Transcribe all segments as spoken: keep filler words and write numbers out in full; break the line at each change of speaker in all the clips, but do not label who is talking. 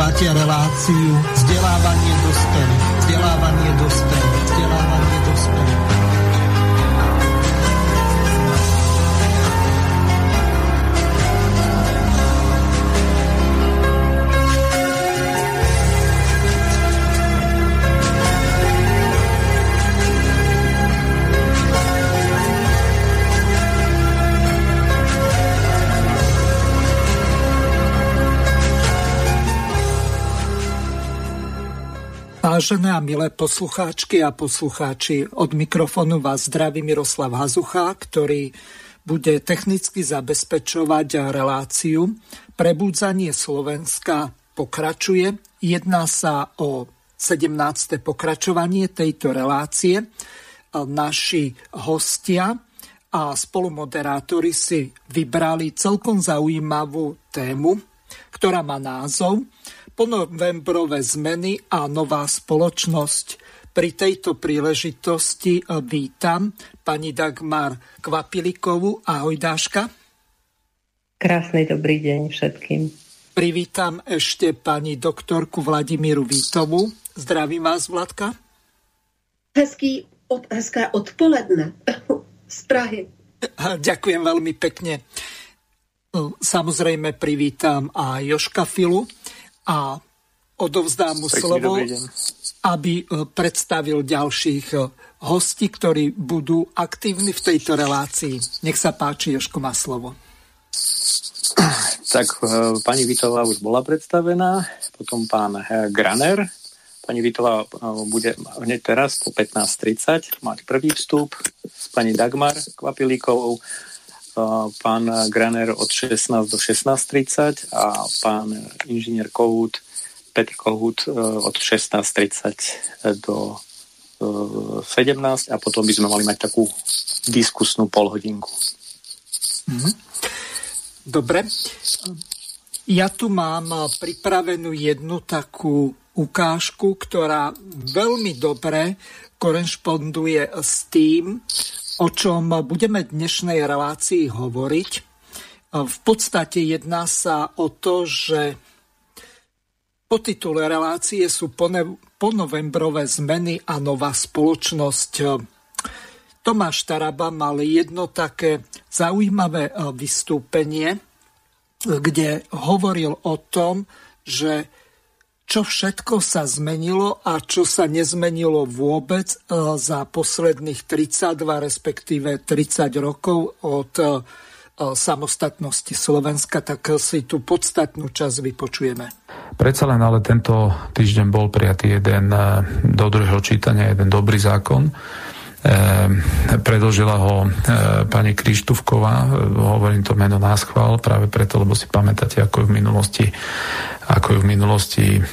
Počúvate reláciu Vzdelávanie dospelých. Vzdelávanie dospelých. Vzdelávanie dospelých. Vážené a milé poslucháčky a poslucháči, od mikrofónu vás zdraví Miroslav Hazucha, ktorý bude technicky zabezpečovať reláciu. Prebudzanie Slovenska pokračuje. Jedná sa o sedemnáste pokračovanie tejto relácie. Naši hostia a spolumoderátori si vybrali celkom zaujímavú tému, ktorá má názov Ponovembrové zmeny a nová spoločnosť. Pri tejto príležitosti vítam pani Dagmar Kvapilikovú. Ahoj, Dáška.
Krásny dobrý deň všetkým.
Privítam ešte pani doktorku Vladimíru Vítovú. Zdravím vás, Vladka.
Hezký, od, hezké odpoledne z Prahy.
Ďakujem veľmi pekne. Samozrejme privítam aj Jožka Filu a odovzdám mu slovo, aby predstavil ďalších hostí, ktorí budú aktívni v tejto relácii. Nech sa páči, Jožko má slovo.
Tak pani Vitová už bola predstavená, potom pán Graner. Pani Vitová bude hneď teraz po pätnásť tridsať mať prvý vstup s pani Dagmar Kvapilíkovou, pán Graner od šestnásť do šestnásť tridsať a pán inžinier Kohút, Petr Kohút od šestnásť tridsať do sedemnásť a potom by sme mali mať takú diskusnú polhodinku.
Dobre. Ja tu mám pripravenú jednu takú ukážku, ktorá veľmi dobre korešponduje s tým, o čom budeme v dnešnej relácii hovoriť. V podstate jedná sa o to, že po titule relácie sú ponovembrové zmeny a nová spoločnosť. Tomáš Taraba mal jedno také zaujímavé vystúpenie, kde hovoril o tom, že čo všetko sa zmenilo a čo sa nezmenilo vôbec za posledných tridsaťdva, respektíve tridsať rokov od samostatnosti Slovenska, tak si tú podstatnú časť vypočujeme.
Predsa len ale tento týždeň bol prijatý jeden do druhého čítania, jeden dobrý zákon. Predložila ho pani Krištúfková, hovorím to meno náschvál, práve preto, lebo si pamätáte, ako ju v minulosti ako ju v minulosti e,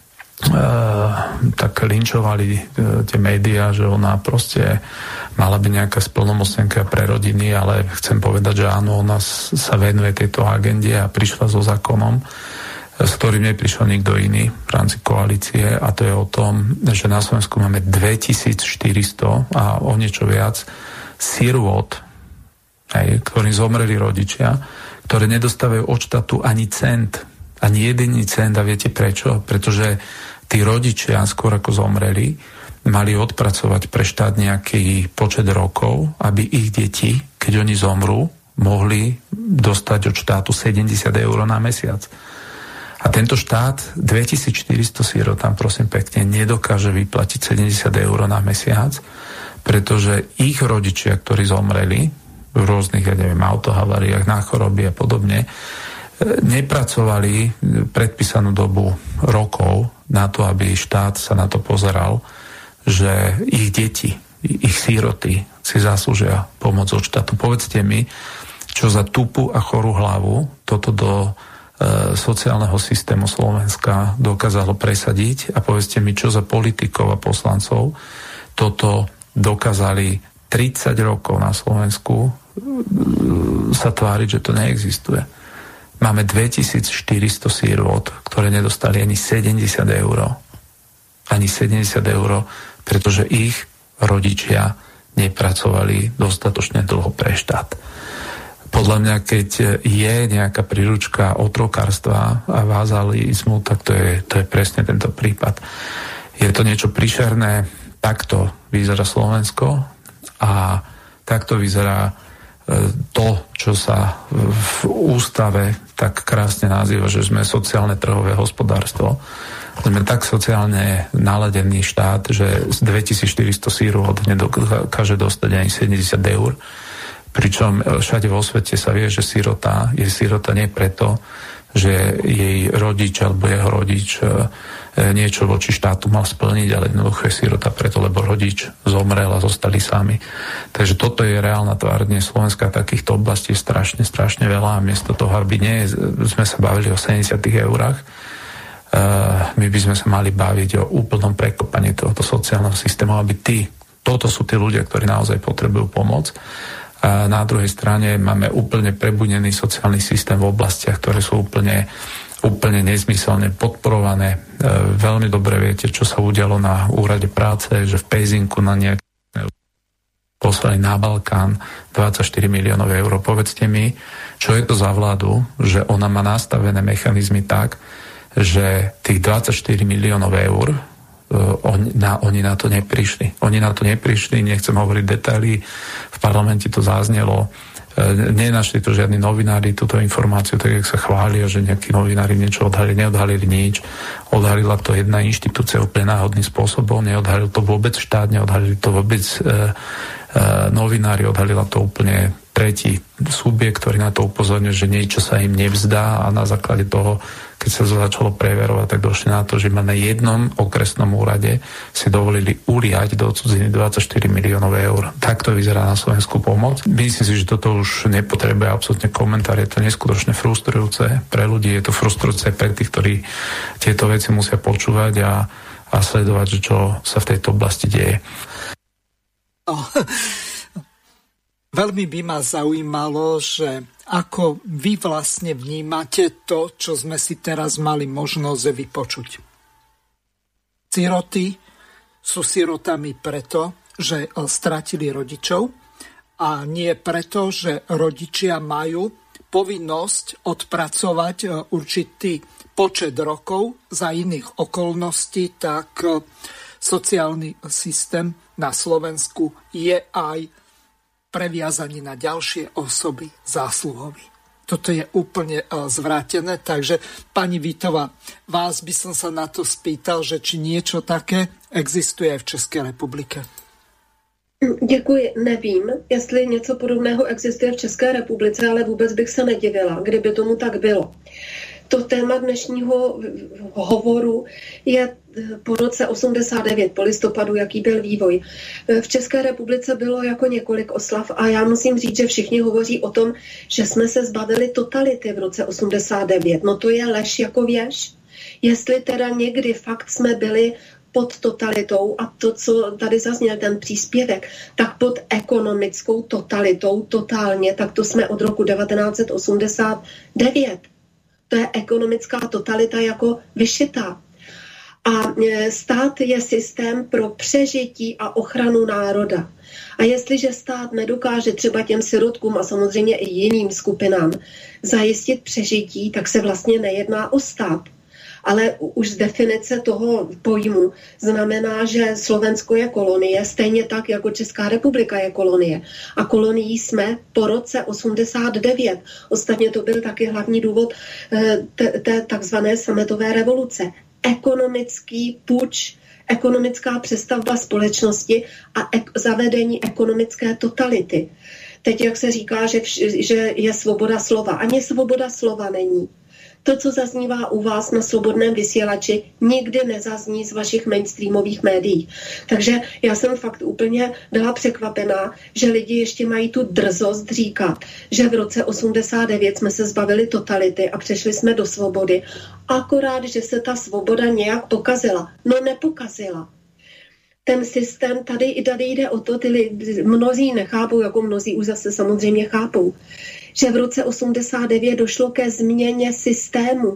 tak linčovali tie médiá, že ona proste mala byť nejaká splnomocnenka pre rodiny, ale chcem povedať, že áno, ona sa venuje tejto agende a prišla so zákonom, s ktorým neprišiel nikto iný v rámci koalície, a to je o tom, že na Slovensku máme dvetisícštyristo a o niečo viac sirôt, ktorým zomreli rodičia, ktoré nedostávajú od štátu ani cent, ani jediný cent. A viete prečo? Pretože tí rodičia, skôr ako zomreli, mali odpracovať pre štát nejaký počet rokov, aby ich deti, keď oni zomrú, mohli dostať od štátu sedemdesiat eur na mesiac. A tento štát dvetisícštyristo sirotám, prosím pekne, nedokáže vyplatiť sedemdesiat eur na mesiac, pretože ich rodičia, ktorí zomreli v rôznych, ja neviem, autohaváriách, na choroby a podobne, nepracovali predpísanú dobu rokov na to, aby štát sa na to pozeral, že ich deti, ich síroty si zaslúžia pomoc od štátu. Povedzte mi, čo za tupú a chorú hlavu toto do e, sociálneho systému Slovenska dokázalo presadiť, a povedzte mi, čo za politikov a poslancov toto dokázali tridsať rokov na Slovensku sa tváriť, že to neexistuje. Máme dvetisícštyristo sirôt, ktoré nedostali ani sedemdesiat eur. Ani sedemdesiat eur, pretože ich rodičia nepracovali dostatočne dlho pre štát. podľa mňa, keď je nejaká príručka otrokárstva a vázalizmu, tak to je, to je presne tento prípad. Je to niečo príšerné, takto vyzerá Slovensko a takto vyzerá to, čo sa v ústave tak krásne nazýva, že sme sociálne trhové hospodárstvo. Sme tak sociálne naladený štát, že z dvetisícštyristo sírov nedokáže dostať ani sedemdesiat eur. Pričom všade vo svete sa vie, že sirota je sirota nie preto, že jej rodič alebo jeho rodič niečo voči štátu mal splniť, ale jednoducho je sirota preto, lebo rodič zomrel a zostali sami. Takže toto je reálna tvár dnes Slovenska, takýchto oblastí je strašne, strašne veľa a miesto toho, aby nie sme sa bavili o sedemdesiatich eurách, my by sme sa mali baviť o úplnom prekopaní tohoto sociálneho systému, aby tí, toto sú tí ľudia, ktorí naozaj potrebujú pomoc. A na druhej strane máme úplne prebudený sociálny systém v oblastiach, ktoré sú úplne, úplne nezmyselne podporované. E, veľmi dobre viete, čo sa udialo na úrade práce, že v Pezinku na nejaké poslali na Balkán dvadsaťštyri miliónov eur. Povedzte mi, čo je to za vládu, že ona má nastavené mechanizmy tak, že tých dvadsaťštyri miliónov eur Oni na, oni na to neprišli. Oni na to neprišli, nechcem hovoriť detaily, v parlamente to zaznelo, nenašli to žiadni novinári, túto informáciu, tak jak sa chvália, že nejakí novinári niečo odhalili, neodhalili nič. Odhalila to jedna inštitúcia úplne náhodným spôsobom, neodhalil to vôbec štát, neodhalili to vôbec e, e, novinári, odhalila to úplne tretí subjekt, ktorý na to upozorňuje, že niečo sa im nevzdá a na základe toho, keď sa to začalo preverovať, tak došli na to, že ma na jednom okresnom úrade si dovolili uliať do cudziny dvadsaťštyri miliónov eur. Takto vyzerá na Slovensku pomoc. Myslím si, že toto už nepotrebuje absolútne komentár. Je to neskutočne frustrujúce pre ľudí, je to frustrujúce pre tých, ktorí tieto veci musia počúvať a, a sledovať, že čo sa v tejto oblasti deje.
Oh. Veľmi by ma zaujímalo, že ako vy vlastne vnímate to, čo sme si teraz mali možnosť vypočuť. Siroty sú sirotami preto, že stratili rodičov a nie preto, že rodičia majú povinnosť odpracovať určitý počet rokov za iných okolností, tak sociálny systém na Slovensku je aj previazaní na ďalšie osoby zásluhoví. Toto je úplne zvrátené, takže pani Vítová, vás by som sa na to spýtal, že či niečo také existuje v České republike.
Děkuji, nevím, jestli něco podobného existuje v České republice, ale vůbec bych se nedivila, kdyby tomu tak bylo. To téma dnešního hovoru je po roce osmdesát devět, po listopadu, jaký byl vývoj. V České republice bylo jako několik oslav a já musím říct, že všichni hovoří o tom, že jsme se zbavili totality v roce osmdesát devět. No to je lež jako věž. Jestli teda někdy fakt jsme byli pod totalitou a to, co tady zazněl ten příspěvek, tak pod ekonomickou totalitou totálně, tak to jsme od roku devatenáct set osmdesát devět. To je ekonomická totalita jako vyšitá. A stát je systém pro přežití a ochranu národa. A jestliže stát nedokáže třeba těm sirotkům a samozřejmě i jiným skupinám zajistit přežití, tak se vlastně nejedná o stát. Ale už z definice toho pojmu znamená, že Slovensko je kolonie, stejně tak, jako Česká republika je kolonie. A kolonií jsme po roce osmdesát devět. Ostatně to byl taky hlavní důvod té takzvané sametové revoluce. Ekonomický puč, ekonomická přestavba společnosti a ek- zavedení ekonomické totality. Teď, jak se říká, že, vš- že je svoboda slova. Ani svoboda slova není. To, co zaznívá u vás na Slobodném vysílači, nikdy nezazní z vašich mainstreamových médií. Takže já jsem fakt úplně byla překvapená, že lidi ještě mají tu drzost říkat, že v roce osmdesát devět jsme se zbavili totality a přešli jsme do svobody. Akorát, že se ta svoboda nějak pokazila. No nepokazila. Ten systém, tady i tady jde o to, ty lidi, mnozí nechápou, jako mnozí už zase samozřejmě chápou, že v roce osmdesát devět došlo ke změně systému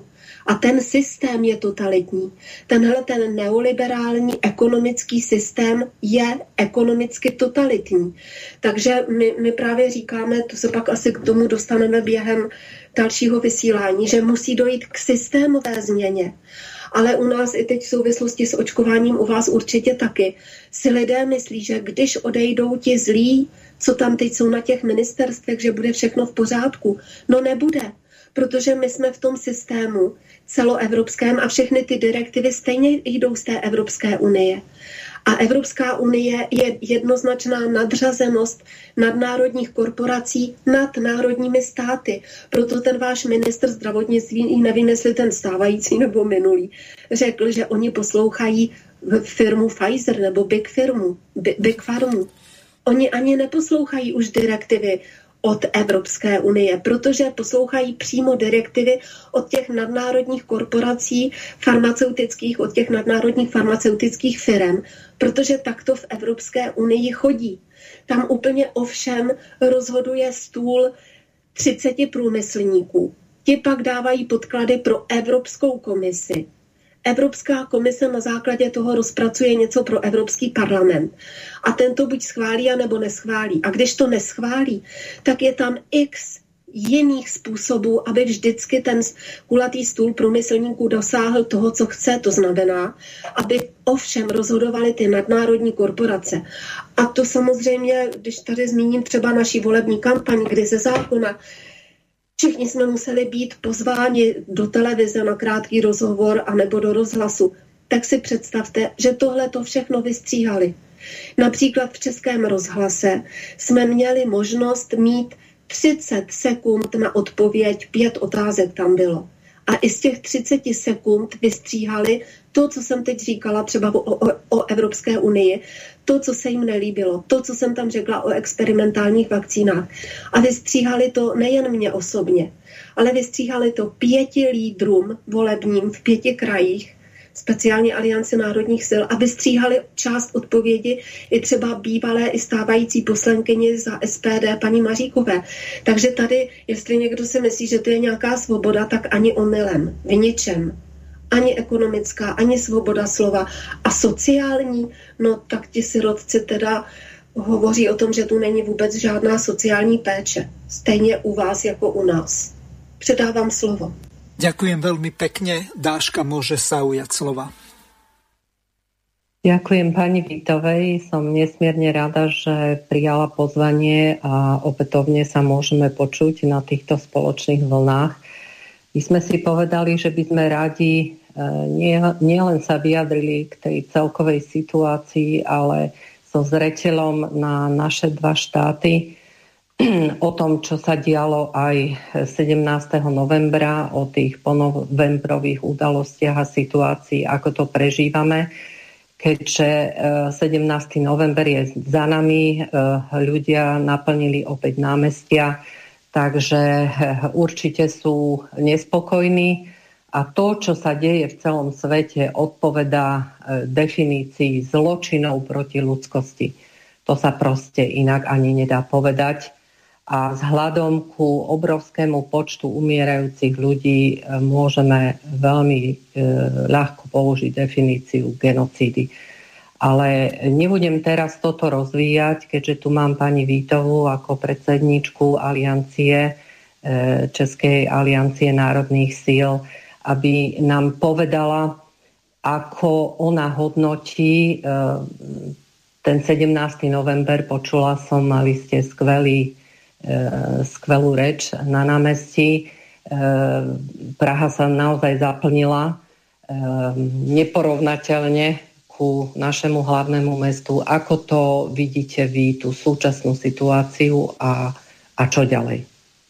A ten systém je totalitní. Tenhle ten neoliberální ekonomický systém je ekonomicky totalitní. Takže my, my právě říkáme, to se pak asi k tomu dostaneme během dalšího vysílání, že musí dojít k systémové změně. Ale u nás i teď v souvislosti s očkováním, u vás určitě taky, si lidé myslí, že když odejdou ti zlí, co tam teď jsou na těch ministerstvech, že bude všechno v pořádku. No nebude, protože my jsme v tom systému celoevropském a všechny ty direktivy stejně jdou z té Evropské unie. A Evropská unie je jednoznačná nadřazenost nadnárodních korporací nad národními státy. Proto ten váš ministr zdravotnictví, nevím, jestli ten stávající nebo minulý, řekl, že oni poslouchají firmu Pfizer nebo Big firmu, Big Pharmu. Oni ani neposlouchají už direktivy od Evropské unie, protože poslouchají přímo direktivy od těch nadnárodních korporací farmaceutických, od těch nadnárodních farmaceutických firm, protože takto v Evropské unii chodí. Tam úplně ovšem rozhoduje stůl třiceti průmyslníků. Ti pak dávají podklady pro Evropskou komisi. Evropská komise na základě toho rozpracuje něco pro Evropský parlament. A ten to buď schválí, anebo neschválí. A když to neschválí, tak je tam x jiných způsobů, aby vždycky ten kulatý stůl průmyslníků dosáhl toho, co chce. To znamená, aby ovšem rozhodovaly ty nadnárodní korporace. A to samozřejmě, když tady zmíním třeba naší volební kampaň, kdy ze zákona všichni jsme museli být pozváni do televize na krátký rozhovor anebo do rozhlasu. Tak si představte, že tohle to všechno vystříhali. Například v Českém rozhlase jsme měli možnost mít třicet sekund na odpověď, pět otázek tam bylo. A i z těch třicet sekund vystříhali to, co jsem teď říkala třeba o, o, o Evropské unii, to, co se jim nelíbilo, to, co jsem tam řekla o experimentálních vakcínách. A vystříhali to nejen mě osobně, ale vystříhali to pěti lídrům volebním v pěti krajích, speciálně Alianci národních sil, a vystříhali část odpovědi i třeba bývalé i stávající poslankyni za S P D paní Maříkové. Takže tady, jestli někdo si myslí, že to je nějaká svoboda, tak ani omylem, v ničem. Ani ekonomická, ani svoboda slova. A sociální, no tak ti sirotci teda hovoří o tom, že tu není vůbec žádná sociální péče. Stejně u vás jako u nás. Předávám slovo.
Ďakujem veľmi pekne. Dáška môže sa ujať slova.
Ďakujem pani Vítovej. Som nesmierne rada, že prijala pozvanie a opätovne sa môžeme počuť na týchto spoločných vlnách. My sme si povedali, že by sme radi nie, nie len sa vyjadrili k tej celkovej situácii, ale so zreteľom na naše dva štáty, o tom, čo sa dialo aj sedemnásteho novembra, o tých ponovembrových udalostiach a situácii, ako to prežívame. Keďže sedemnásteho november je za nami, ľudia naplnili opäť námestia, takže určite sú nespokojní a to, čo sa deje v celom svete, odpovedá definícii zločinov proti ľudskosti. To sa proste inak ani nedá povedať. A vzhľadom ku obrovskému počtu umierajúcich ľudí môžeme veľmi e, ľahko použiť definíciu genocídy. Ale nebudem teraz toto rozvíjať, keďže tu mám pani Vítovú ako predsedničku aliancie, e, Českej aliancie národných síl, aby nám povedala, ako ona hodnotí e, ten sedemnásteho november. Počula som, mali ste skvelý skvelú reč na námestí. Praha sa naozaj zaplnila neporovnateľne ku našemu hlavnému mestu. Ako to vidíte vy, tú súčasnú situáciu a, a čo ďalej?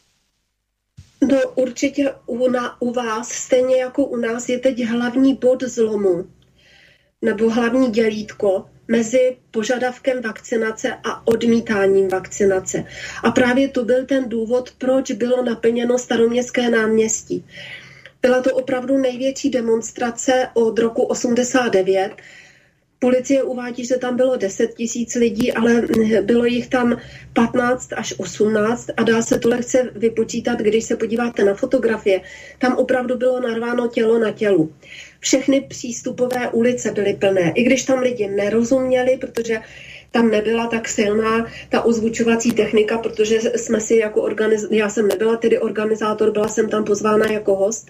No určitě u, na, u vás, stejně jako u nás, je teď hlavní bod zlomu, nebo hlavní dělítko mezi požadavkem vakcinace a odmítáním vakcinace. A právě to byl ten důvod, proč bylo naplněno Staroměstské náměstí. Byla to opravdu největší demonstrace od roku osmdesát devět. Policie uvádí, že tam bylo deset tisíc lidí, ale bylo jich tam patnáct až osmnáct a dá se to lehce vypočítat, když se podíváte na fotografie. Tam opravdu bylo narváno tělo na tělu. Všechny přístupové ulice byly plné, i když tam lidi nerozuměli, protože tam nebyla tak silná ta ozvučovací technika, protože jsme si jako organiz... já jsem nebyla tedy organizátor, byla jsem tam pozvána jako host,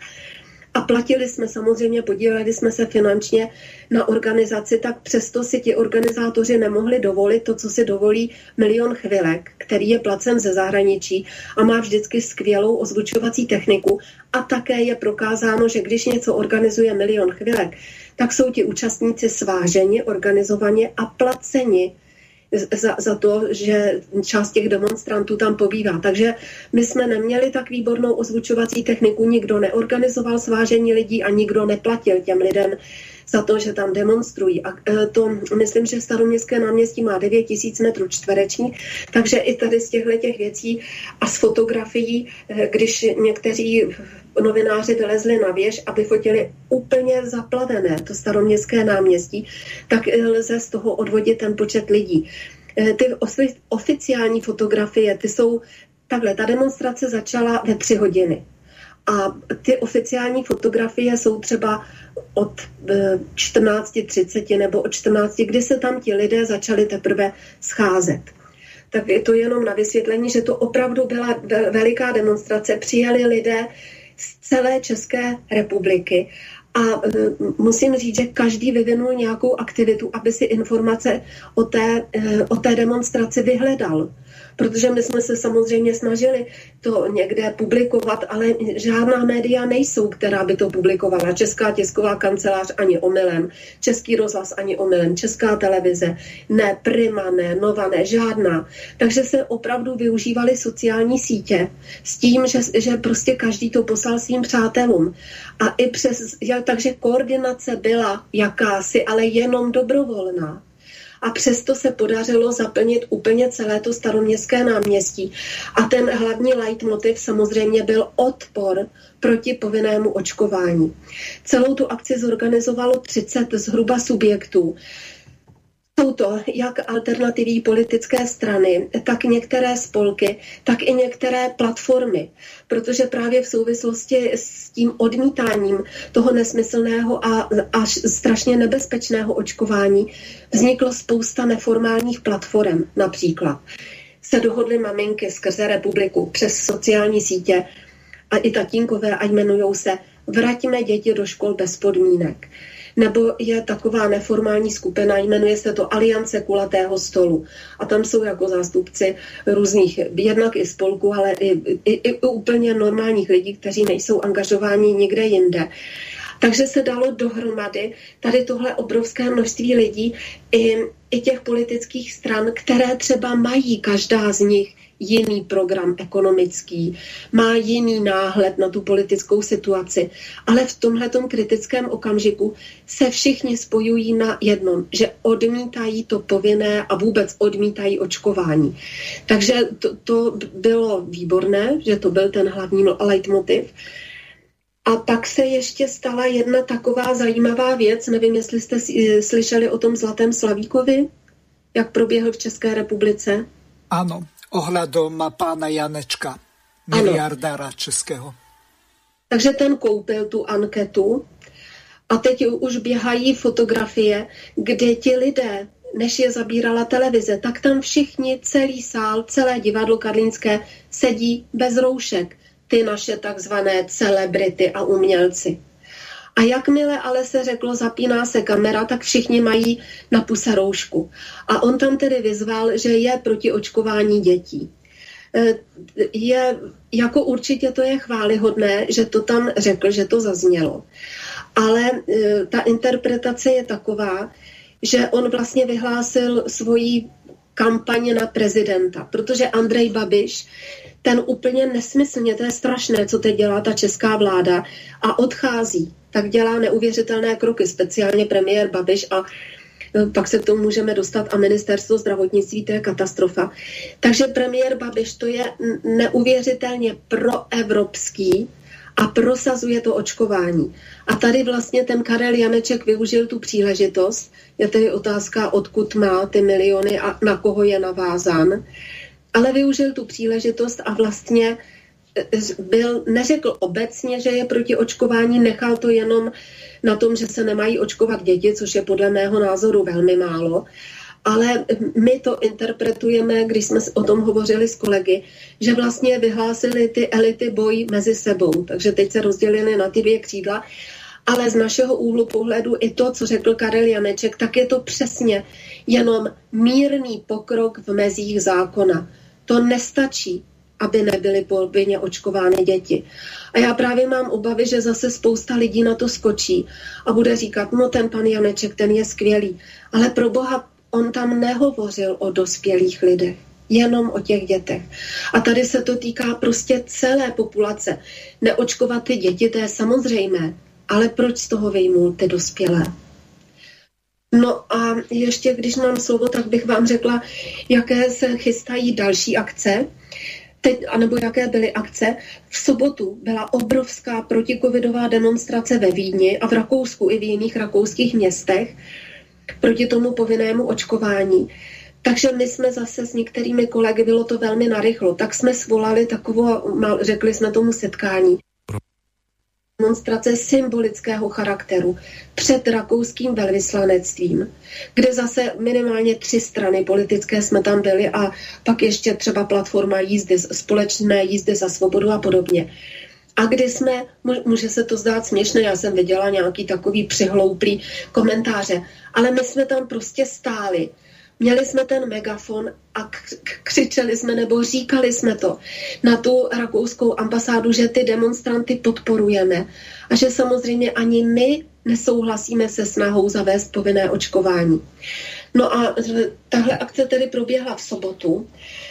a platili jsme samozřejmě, podíleli jsme se finančně na organizaci, tak přesto si ti organizátoři nemohli dovolit to, co si dovolí Milion chvilek, který je placen ze zahraničí a má vždycky skvělou ozvučovací techniku a také je prokázáno, že když něco organizuje Milion chvilek, tak jsou ti účastníci sváženi, organizovaně a placeni Za, za to, že část těch demonstrantů tam pobývá. Takže my jsme neměli tak výbornou ozvučovací techniku, nikdo neorganizoval svážení lidí a nikdo neplatil těm lidem za to, že tam demonstrují. A to, myslím, že Staroměstské náměstí má devět tisíc metrů čtverečních, takže i tady z těchto těch věcí a z fotografií, když někteří novináři vylezli na věž, aby fotili úplně zaplavené to Staroměstské náměstí, tak lze z toho odvodit ten počet lidí. Ty oficiální fotografie, ty jsou takhle, ta demonstrace začala ve tři hodiny. A ty oficiální fotografie jsou třeba od čtrnáct třicet nebo od čtrnácti, kdy se tam ti lidé začali teprve scházet. Tak je to jenom na vysvětlení, že to opravdu byla veliká demonstrace. Přijeli lidé z celé České republiky a musím říct, že každý vyvinul nějakou aktivitu, aby si informace o té, o té demonstraci vyhledal. Protože my jsme se samozřejmě snažili to někde publikovat, ale žádná média nejsou, která by to publikovala. Česká tisková kancelář ani omylem, Český rozhlas ani omylem, Česká televize, ne, Prima, ne, Nova, ne, žádná. Takže se opravdu využívaly sociální sítě s tím, že, že prostě každý to poslal svým přátelům. A i přes, takže koordinace byla jakási, ale jenom dobrovolná. A přesto se podařilo zaplnit úplně celé to Staroměstské náměstí. A ten hlavní leitmotiv samozřejmě byl odpor proti povinnému očkování. Celou tu akci zorganizovalo třicet zhruba subjektů. Jsou to jak alternativní politické strany, tak některé spolky, tak i některé platformy, protože právě v souvislosti s tím odmítáním toho nesmyslného a až strašně nebezpečného očkování vzniklo spousta neformálních platform. Například se dohodly maminky skrze republiku přes sociální sítě a i tatínkové a jmenujou se Vraťme děti do škol bez podmínek. Nebo je taková neformální skupina, jmenuje se to Aliance kulatého stolu. A tam jsou jako zástupci různých, jednak i spolků, ale i, i, i úplně normálních lidí, kteří nejsou angažováni nikde jinde. Takže se dalo dohromady tady tohle obrovské množství lidí i, i těch politických stran, které třeba mají každá z nich jiný program ekonomický, má jiný náhled na tu politickou situaci, ale v tomhletom kritickém okamžiku se všichni spojují na jednom, že odmítají to povinné a vůbec odmítají očkování. Takže to, to bylo výborné, že to byl ten hlavní leitmotiv. A pak se ještě stala jedna taková zajímavá věc, nevím, jestli jste slyšeli o tom Zlatém Slavíkovi, jak proběhl v České republice.
Ano. Ohľadom pána Janečka, miliardára českého.
Takže ten koupil tu anketu a teď už běhají fotografie, kde ti lidé, než je zabírala televize, tak tam všichni, celý sál, celé divadlo karlínské sedí bez roušek. Ty naše takzvané celebrity a umělci. A jakmile ale se řeklo, zapíná se kamera, tak všichni mají na puse roušku. A on tam tedy vyzval, že je proti očkování dětí. Je, jako určitě to je chvályhodné, že to tam řekl, že to zaznělo. Ale ta interpretace je taková, že on vlastně vyhlásil svoji kampaň na prezidenta, protože Andrej Babiš, ten úplně nesmyslně, to je strašné, co teď dělá ta česká vláda a odchází, tak dělá neuvěřitelné kroky, speciálně premiér Babiš a pak se k tomu můžeme dostat a ministerstvo zdravotnictví, to je katastrofa. Takže premiér Babiš to je neuvěřitelně proevropský a prosazuje to očkování. A tady vlastně ten Karel Janeček využil tu příležitost, je tedy otázka, odkud má ty miliony a na koho je navázán, ale využil tu příležitost a vlastně byl, neřekl obecně, že je proti očkování, nechal to jenom na tom, že se nemají očkovat děti, což je podle mého názoru velmi málo, ale my to interpretujeme, když jsme o tom hovořili s kolegy, že vlastně vyhlásili ty elity boj mezi sebou, takže teď se rozdělili na ty dvě křídla, ale z našeho úhlu pohledu i to, co řekl Karel Janeček, tak je to přesně jenom mírný pokrok v mezích zákona. To nestačí, aby nebyly povinně očkovány děti. A já právě mám obavy, že zase spousta lidí na to skočí a bude říkat, no ten pan Janeček, ten je skvělý. Ale pro Boha, on tam nehovořil o dospělých lidech, jenom o těch dětech. A tady se to týká prostě celé populace. Neočkovat ty děti, to je samozřejmé, ale proč z toho vyjmul ty dospělé? No a ještě, když mám slovo, tak bych vám řekla, jaké se chystají další akce. Teď, anebo jaké byly akce. V sobotu byla obrovská protikovidová demonstrace ve Vídni a v Rakousku i v jiných rakouských městech proti tomu povinnému očkování. Takže my jsme zase s některými kolegy, bylo to velmi narychlo, tak jsme svolali takovou, řekli jsme tomu setkání, demonstrace symbolického charakteru před rakouským velvyslanectvím, kde zase minimálně tři strany politické jsme tam byli a pak ještě třeba platforma jízdy, společné jízdy za svobodu a podobně. A kdy jsme, může se to zdát směšné, já jsem viděla nějaký takový přihlouplý komentáře, ale my jsme tam prostě stáli. Měli jsme ten megafon a křičeli jsme nebo říkali jsme to na tu rakouskou ambasádu, že ty demonstranty podporujeme a že samozřejmě ani my nesouhlasíme se snahou zavést povinné očkování. No a tahle akce tedy proběhla v sobotu.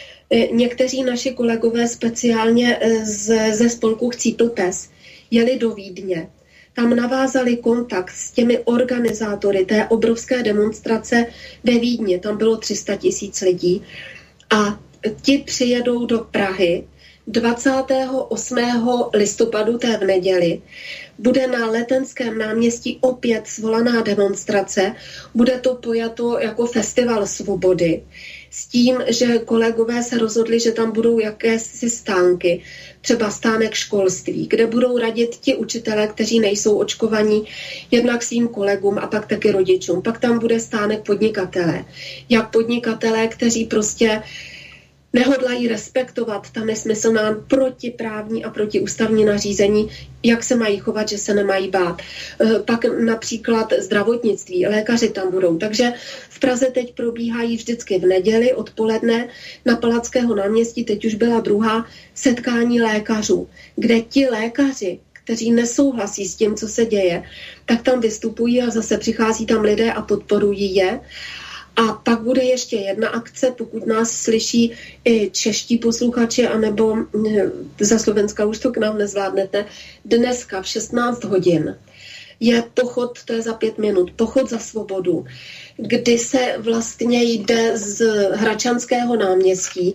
Někteří naši kolegové speciálně z, ze spolku Chcípl pes jeli do Vídně. Tam navázali kontakt s těmi organizátory té obrovské demonstrace ve Vídni. Tam bylo tři sta tisíc lidí. A ti přijedou do Prahy dvacátého osmého listopadu, té v neděli. Bude na Letenském náměstí opět svolaná demonstrace. Bude to pojato jako festival svobody. S tím, že kolegové se rozhodli, že tam budou jakési stánky, třeba stánek školství, kde budou radit ti učitelé, kteří nejsou očkovaní, jednak svým kolegům a pak taky rodičům. Pak tam bude stánek podnikatelé. Jak podnikatelé, kteří prostě nehodlají respektovat ta nesmyslná protiprávní a protiústavní nařízení, jak se mají chovat, že se nemají bát. Pak například zdravotnictví, lékaři tam budou. Takže v Praze teď probíhají vždycky v neděli odpoledne na Palackého náměstí, teď už byla druhá, setkání lékařů, kde ti lékaři, kteří nesouhlasí s tím, co se děje, tak tam vystupují a zase přichází tam lidé a podporují je. A pak bude ještě jedna akce, pokud nás slyší i čeští posluchači, anebo za Slovenska už to k nám nezvládnete. Dneska v šestnáct hodin je pochod, to je za pět minut, pochod za svobodu, kdy se vlastně jde z Hradčanského náměstí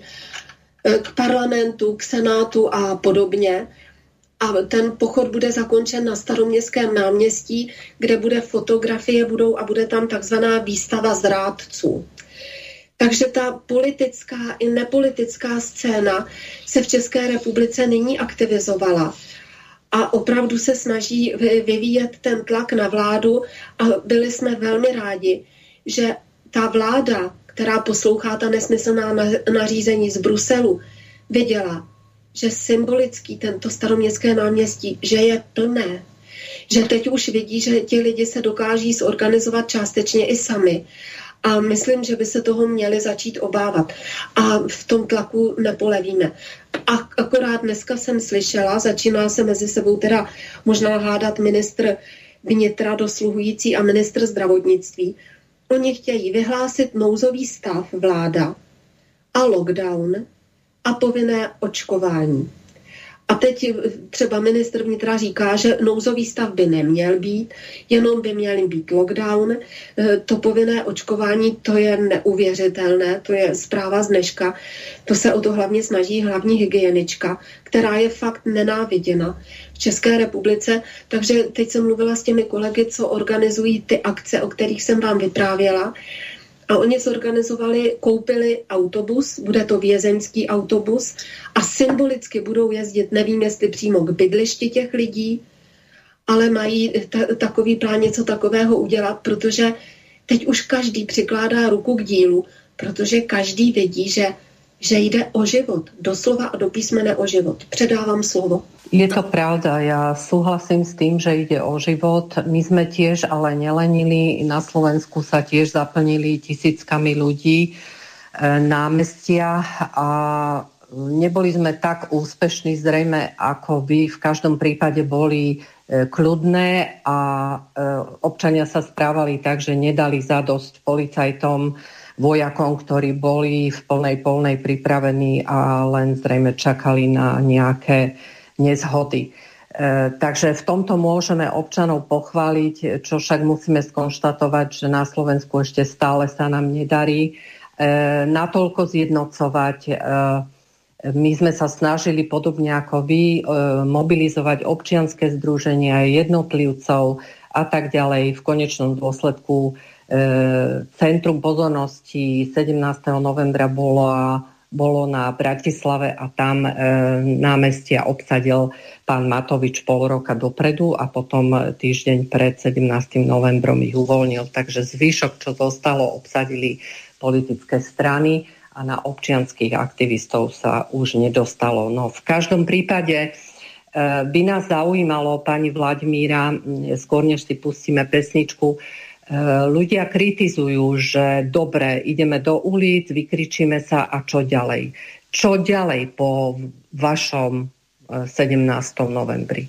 k parlamentu, k senátu a podobně. A ten pochod bude zakončen na Staroměstském náměstí, kde bude fotografie budou a bude tam takzvaná výstava zrádců. Takže ta politická i nepolitická scéna se v České republice nyní aktivizovala a opravdu se snaží vyvíjet ten tlak na vládu a byli jsme velmi rádi, že ta vláda, která poslouchá ta nesmyslná nařízení z Bruselu, viděla, že symbolický tento Staroměstské náměstí, že je plné, že teď už vidí, že ti lidi se dokáží zorganizovat částečně i sami. A myslím, že by se toho měli začít obávat. A v tom tlaku nepolevíme. A akorát dneska jsem slyšela, začíná se mezi sebou teda možná hádat ministr vnitra dosluhující a ministr zdravotnictví. Oni chtějí vyhlásit nouzový stav vláda a lockdown a povinné očkování. A teď třeba ministr vnitra říká, že nouzový stav by neměl být, jenom by měl být lockdown. To povinné očkování, to je neuvěřitelné, to je zpráva z dneška. To se o to hlavně snaží hlavní hygienička, která je fakt nenáviděna v České republice. Takže teď jsem mluvila s těmi kolegy, co organizují ty akce, o kterých jsem vám vyprávěla. A oni zorganizovali, koupili autobus, bude to vězeňský autobus a symbolicky budou jezdit, nevím jestli přímo k bydlišti těch lidí, ale mají t- takový plán něco takového udělat, protože teď už každý přikládá ruku k dílu, protože každý vidí, že, že jde o život, doslova a do písmene o život. Předávám slovo.
Je to pravda, ja súhlasím s tým, že ide o život. My sme tiež ale nelenili, na Slovensku sa tiež zaplnili tisíckami ľudí námestia a neboli sme tak úspešní zrejme, ako by v každom prípade boli kľudné a občania sa správali tak, že nedali zadosť policajtom, vojakom, ktorí boli v plnej polnej pripravení a len zrejme čakali na nejaké nezhody. E, takže v tomto môžeme občanov pochváliť, čo však musíme skonštatovať, že na Slovensku ešte stále sa nám nedarí e, natoľko zjednocovať. E, my sme sa snažili podobne ako vy e, mobilizovať občianske združenia, jednotlivcov a tak ďalej. V konečnom dôsledku e, Centrum pozornosti sedemnásteho novembra bolo bolo na Bratislave a tam e, námestia obsadil pán Matovič pol roka dopredu a potom týždeň pred sedemnástym novembrom ich uvoľnil. Takže zvyšok, čo zostalo, obsadili politické strany a na občianskych aktivistov sa už nedostalo. No v každom prípade e, by nás zaujímalo, pani Vladimíra, skôr než si pustíme pesničku, ľudia kritizujú, že dobre, ideme do ulic, vykričíme sa a čo ďalej? Čo ďalej po vašom sedemnáctom novembri?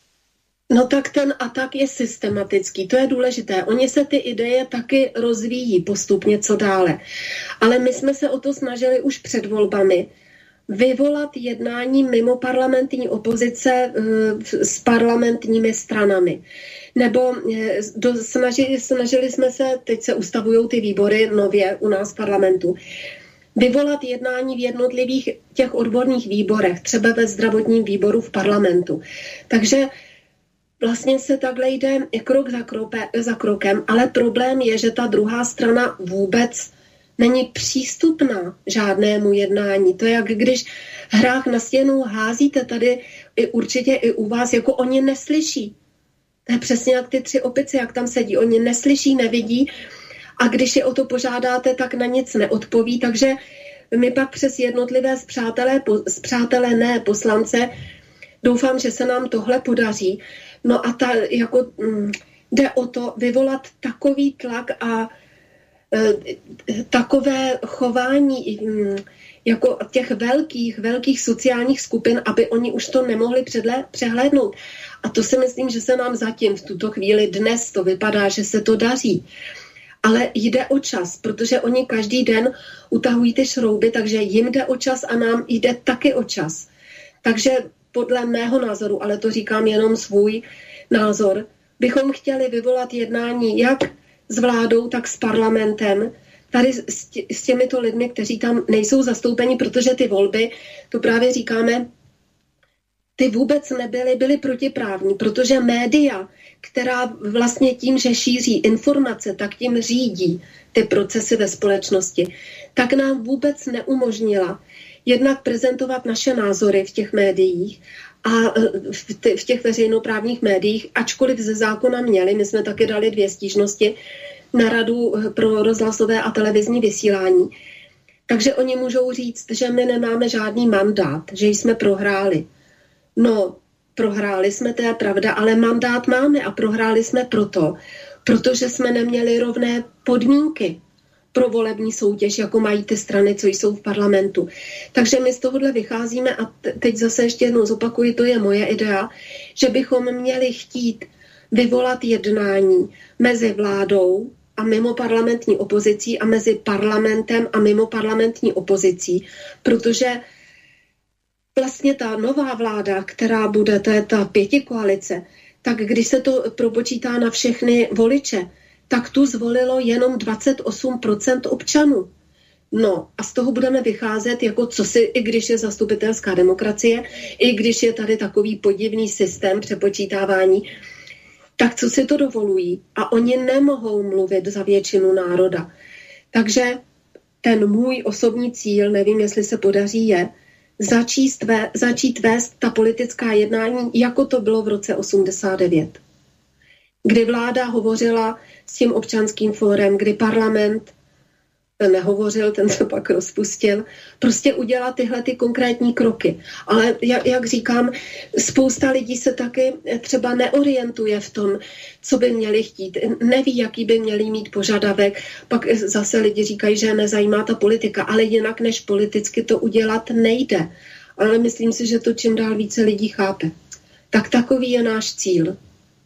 No tak ten atak je systematický, to je důležité. Oni se ty ideje taky rozvíjí postupně co dále. Ale my jsme se o to snažili už před volbami vyvolat jednání mimo parlamentní opozice s parlamentními stranami. Nebo do, snažili, snažili jsme se, teď se ustavují ty výbory nově u nás v parlamentu, vyvolat jednání v jednotlivých těch odborných výborech, třeba ve zdravotním výboru v parlamentu. Takže vlastně se takhle jde krok za, krope, za krokem, ale problém je, že ta druhá strana vůbec není přístupná žádnému jednání. To je jak když hrách na stěnu házíte tady i určitě i u vás, jako oni neslyší. To je přesně jak ty tři opice, jak tam sedí. Oni neslyší, nevidí a když je o to požádáte, tak na nic neodpoví. Takže my pak přes jednotlivé spřátelé, spřátelené poslance doufám, že se nám tohle podaří. No a ta, jako, m, jde o to vyvolat takový tlak a e, takové chování m, jako těch velkých, velkých sociálních skupin, aby oni už to nemohli předle, přehlédnout. A to si myslím, že se nám zatím v tuto chvíli dnes to vypadá, že se to daří. Ale jde o čas, protože oni každý den utahují ty šrouby, takže jim jde o čas a nám jde taky o čas. Takže podle mého názoru, ale to říkám jenom svůj názor, bychom chtěli vyvolat jednání jak s vládou, tak s parlamentem, tady s, tě, s těmito lidmi, kteří tam nejsou zastoupeni, protože ty volby, to právě říkáme, ty vůbec nebyly, byly protiprávní, protože média, která vlastně tím, že šíří informace, tak tím řídí ty procesy ve společnosti, tak nám vůbec neumožnila jednak prezentovat naše názory v těch médiích a v těch veřejnoprávních médiích, ačkoliv ze zákona měli, my jsme taky dali dvě stížnosti na Radu pro rozhlasové a televizní vysílání. Takže oni můžou říct, že my nemáme žádný mandát, že jsme prohráli. No, prohráli jsme, to je pravda, ale mandát máme a prohráli jsme proto, protože jsme neměli rovné podmínky pro volební soutěž, jako mají ty strany, co jsou v parlamentu. Takže my z tohohle vycházíme a teď zase ještě jednou zopakuji, to je moje idea, že bychom měli chtít vyvolat jednání mezi vládou a mimo parlamentní opozicí a mezi parlamentem a mimo parlamentní opozicí, protože vlastně ta nová vláda, která bude, to je ta pětikoalice, tak když se to propočítá na všechny voliče, tak tu zvolilo jenom dvacet osm procent občanů. No a z toho budeme vycházet, jako co si, i když je zastupitelská demokracie, i když je tady takový podivný systém přepočítávání, tak co si to dovolují? A oni nemohou mluvit za většinu národa. Takže ten můj osobní cíl, nevím, jestli se podaří, je začít, vé, začít vést ta politická jednání, jako to bylo v roce osmdesát devět. Kdy vláda hovořila s tím občanským fórem, kdy parlament ten nehovořil, ten se pak rozpustil. Prostě udělat tyhle ty konkrétní kroky. Ale jak, jak říkám, spousta lidí se taky třeba neorientuje v tom, co by měli chtít. Neví, jaký by měli mít požadavek. Pak zase lidi říkají, že nezajímá ta politika, ale jinak než politicky to udělat nejde. Ale myslím si, že to čím dál více lidí chápe. Tak takový je náš cíl.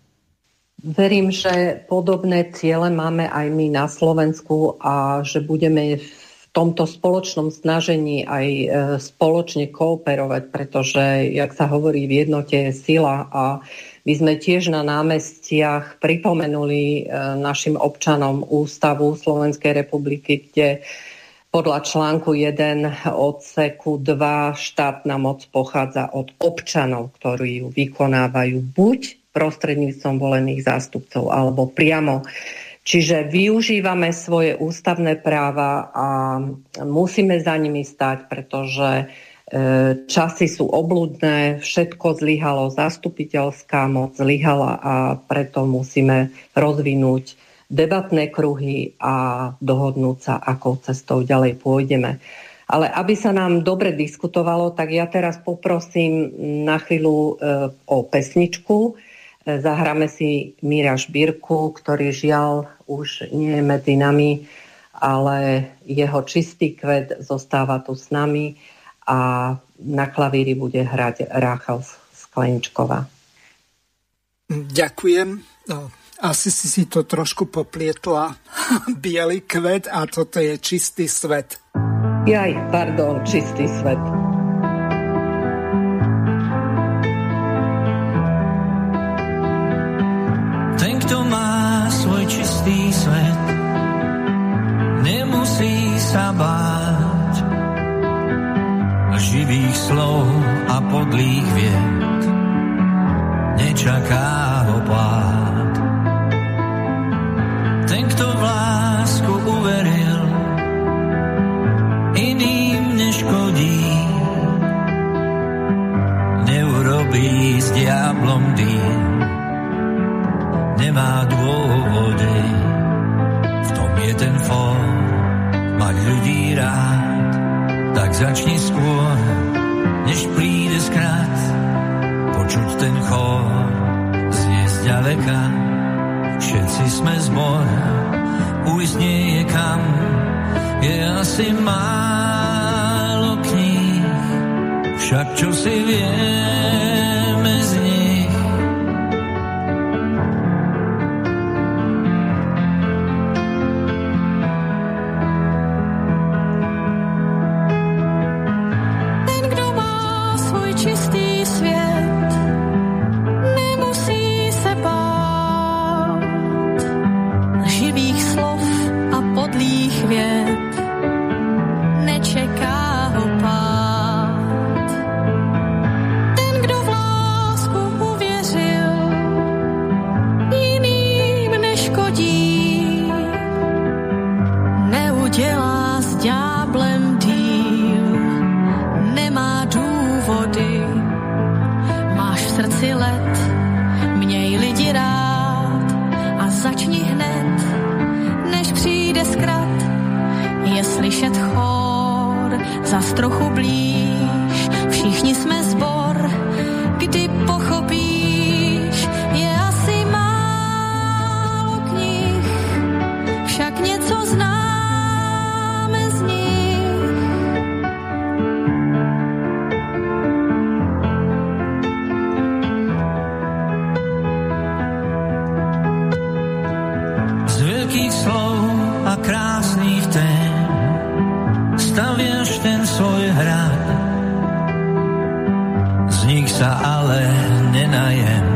Verím, že podobné ciele máme aj my na Slovensku a že budeme v tomto spoločnom snažení aj spoločne kooperovať, pretože, jak sa hovorí, v jednote je sila a my sme tiež na námestiach pripomenuli našim občanom Ústavu Slovenskej republiky, kde podľa článku jeden odseku dva štátna moc pochádza od občanov, ktorí ju vykonávajú buď prostredníctvom volených zástupcov alebo priamo. Čiže využívame svoje ústavné práva a musíme za nimi stať, pretože časy sú obľudné, všetko zlyhalo, zastupiteľská moc zlyhala a preto musíme rozvinúť debatné kruhy a dohodnúť sa, akou cestou ďalej pôjdeme. Ale aby sa nám dobre diskutovalo, tak ja teraz poprosím na chvíľu o pesničku. Zahráme si Míra Žbírku, ktorý žiaľ už nie je medzi nami, ale jeho Čistý kvet zostáva tu s nami a na klavíri bude hrať Ráchel Skleničková.
Ďakujem. Asi si si to trošku poplietla. Bielý kvet a toto je Čistý svet.
Jaj, pardon, Čistý svet.
Ten, kto má svoj čistý svet, nemusí sa báť živých slov a podlých vied, nečaká ho pád. Ten, kto v lásku uveril, iným neškodí, neurobí s diablom dým, nemá dôvody, v tom je ten fór, mať ľudí rád, tak začni skôr, než príde skrat, počuť ten chór, znie zďaleka, všetci sme zbor, ujsť nie je kam, je asi málo kníh, však čo si vieme z nich. sa ale nenajem,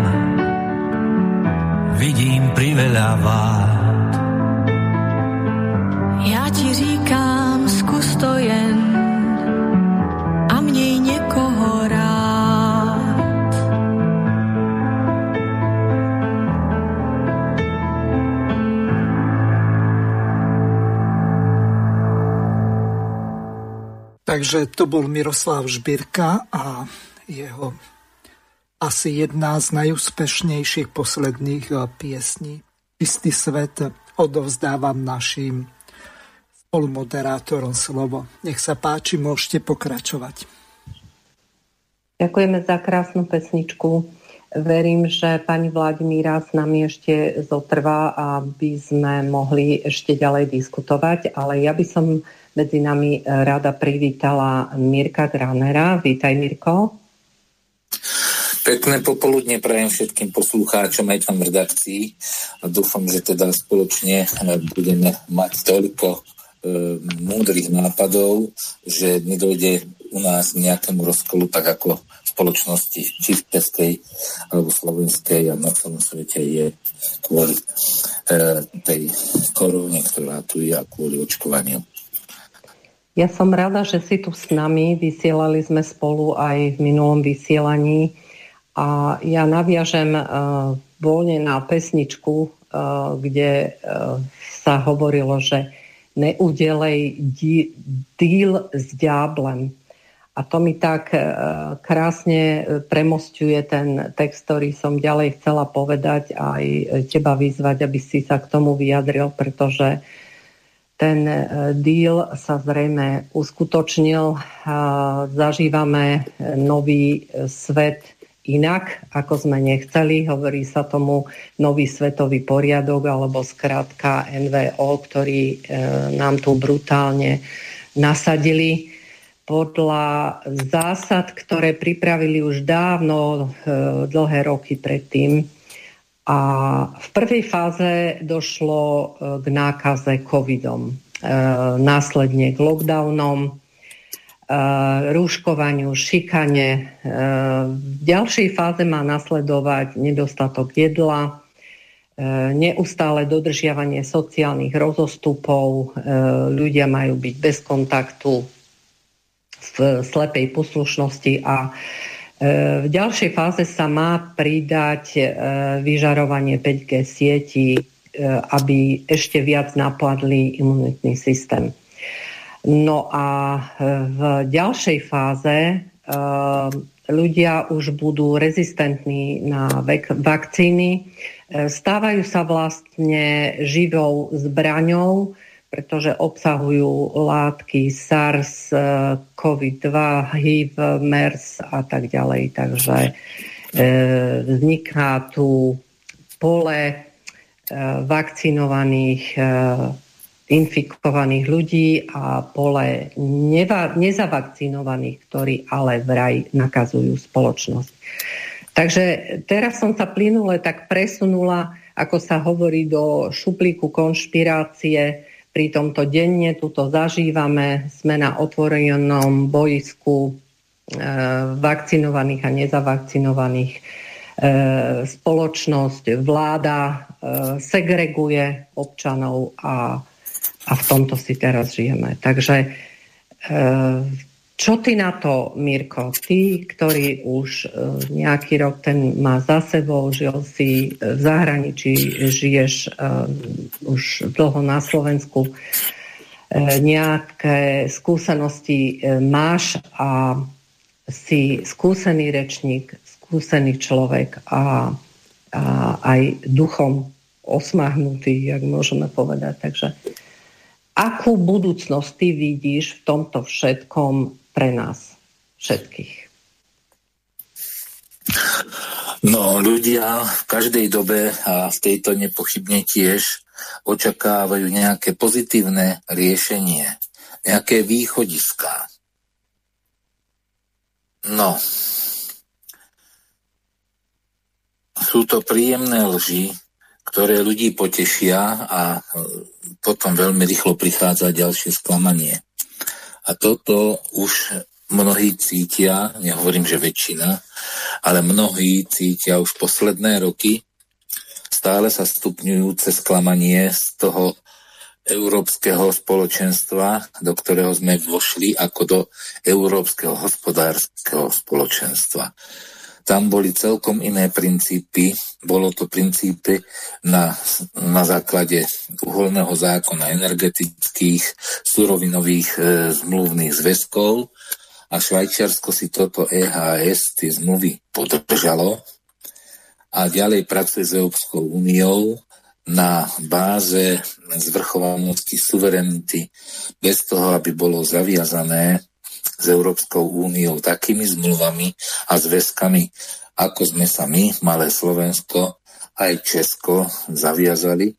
vidím priveľa vád.
Ja ti říkám, zkus to jen a měj někoho rád.
Takže to bol Miroslav Žbírka a jeho asi jedna z najúspešnejších posledných piesní. Čistý svet odovzdávam našim spolumoderátorom slovo. Nech sa páči, môžete pokračovať.
Ďakujeme za krásnu pesničku. Verím, že pani Vladimíra s nami ešte zotrvá, aby sme mohli ešte ďalej diskutovať, ale ja by som medzi nami rada privítala Mirka Granera. Vítaj, Mirko.
Pekné popoludne prajem všetkým poslucháčom aj tam v redakcii a dúfam, že teda spoločne budeme mať toľko e, múdrych nápadov, že nedojde u nás nejakému rozkolu, tak ako v spoločnosti či v českej alebo slovenskej a na celom svete je kvôli e, tej korone, ktorá tu je a kvôli očkovaniu.
Ja som rada, že si tu s nami. Vysielali sme spolu aj v minulom vysielaní a ja naviažem uh, voľne na pesničku, uh, kde uh, sa hovorilo, že neudelej di- díl s ďáblem. A to mi tak uh, krásne premosťuje ten text, ktorý som ďalej chcela povedať a aj teba vyzvať, aby si sa k tomu vyjadril, pretože ten deal sa zrejme uskutočnil. Zažívame nový svet inak, ako sme nechceli. Hovorí sa tomu nový svetový poriadok, alebo skrátka en vé ó, ktorý nám tu brutálne nasadili podľa zásad, ktoré pripravili už dávno, dlhé roky predtým. A v prvej fáze došlo k nákaze covidom, následne k lockdownom, rúškovaniu, šikane. V ďalšej fáze má nasledovať nedostatok jedla, neustále dodržiavanie sociálnych rozostupov, ľudia majú byť bez kontaktu, v slepej poslušnosti a v ďalšej fáze sa má pridať vyžarovanie päť gé sietí, aby ešte viac napadli imunitný systém. No a v ďalšej fáze ľudia už budú rezistentní na vakcíny, stávajú sa vlastne živou zbraňou, pretože obsahujú látky SARS, kóvid dva, há í vé, MERS a tak ďalej. Takže e, vzniká tu pole e, vakcinovaných, e, infikovaných ľudí a pole neva, nezavakcinovaných, ktorí ale vraj nakazujú spoločnosť. Takže teraz som sa plynule tak presunula, ako sa hovorí, do šuplíku konšpirácie. Pri tomto denne tuto zažívame, sme na otvorenom bojisku e, vakcinovaných a nezavakcinovaných. E, spoločnosť, vláda e, segreguje občanov a, a v tomto si teraz žijeme. Takže e, čo ty na to, Mirko? Ty, ktorý už e, nejaký rok ten má za sebou, žil si v zahraničí, žiješ e, už dlho na Slovensku, e, nejaké skúsenosti e, máš a si skúsený rečník, skúsený človek a, a aj duchom osmahnutý, jak môžeme povedať. Takže akú budúcnosť ty vidíš v tomto všetkom pre nás všetkých?
No, ľudia v každej dobe a v tejto nepochybne tiež očakávajú nejaké pozitívne riešenie, nejaké východiská. No, sú to príjemné lži, ktoré ľudí potešia a potom veľmi rýchlo prichádza ďalšie sklamanie. A toto už mnohí cítia, nehovorím, že väčšina, ale mnohí cítia už posledné roky stále sa stupňujúce sklamanie z toho európskeho spoločenstva, do ktorého sme vošli ako do európskeho hospodárskeho spoločenstva. Tam boli celkom iné princípy. Bolo to princípy na, na základe uholného zákona, energetických, surovinových e, zmluvných zväzkov a Švajčiarsko si toto é há es, tie zmluvy podržalo a ďalej pracuje s Európskou úniou na báze zvrchovanosti, suverenity, bez toho, aby bolo zaviazané s Európskou úniou takými zmluvami a zväzkami, ako sme sa my, malé Slovensko, aj Česko zaviazali.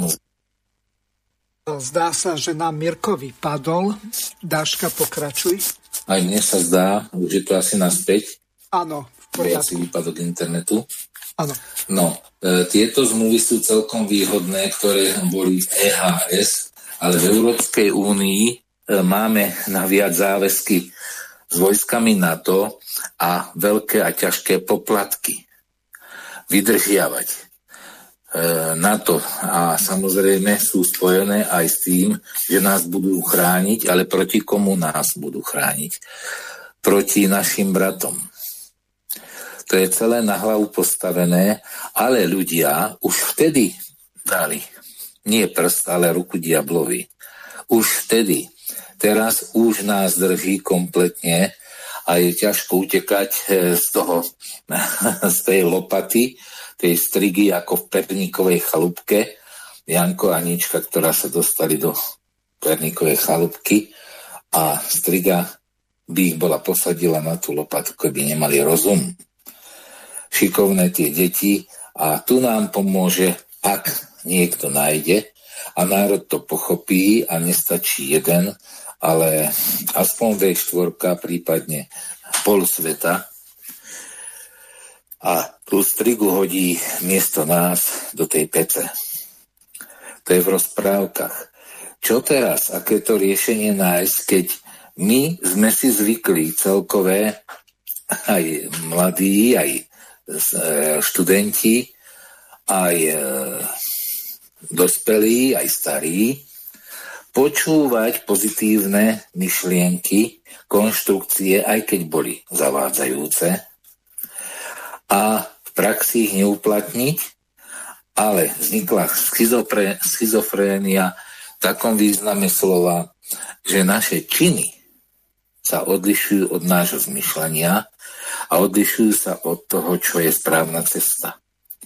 Zdá sa, že nám Mirko vypadol. Dáška, pokračuj.
Aj mne sa zdá, už je to asi naspäť.
Áno, v poriadku.
Asi výpadok internetu.
Áno.
No, e, tieto zmluvy sú celkom výhodné, ktoré boli v é há es, ale v Európskej únii máme na viac záväzky s vojskami NATO a veľké a ťažké poplatky vydržiavať. E, NATO a samozrejme sú spojené aj s tým, že nás budú chrániť, ale proti komu nás budú chrániť? Proti našim bratom. To je celé na hlavu postavené, ale ľudia už vtedy dali nie prst, ale ruku diablovi. Už vtedy. Teraz už nás drží kompletne a je ťažko utekať z toho, z tej lopaty, tej strigy ako v perníkovej chalúbke. Janko a Anička, ktorá sa dostali do perníkovej chalúbky a striga by ich bola posadila na tú lopatu, keby nemali rozum. Šikovné tie deti a tu nám pomôže, ak niekto nájde a národ to pochopí a nestačí jeden, ale aspoň vé štyri, prípadne pol sveta a tú strigu hodí miesto nás do tej pece. To je v rozprávkach. Čo teraz? Aké to riešenie nájsť, keď my sme si zvykli celkové, aj mladí, aj študenti, aj dospelí, aj starí, počúvať pozitívne myšlienky, konštrukcie, aj keď boli zavádzajúce a v praxi ich neuplatniť, ale vznikla schizofre, schizofrénia v takom význame slova, že naše činy sa odlišujú od nášho zmyšľania a odlišujú sa od toho, čo je správna cesta.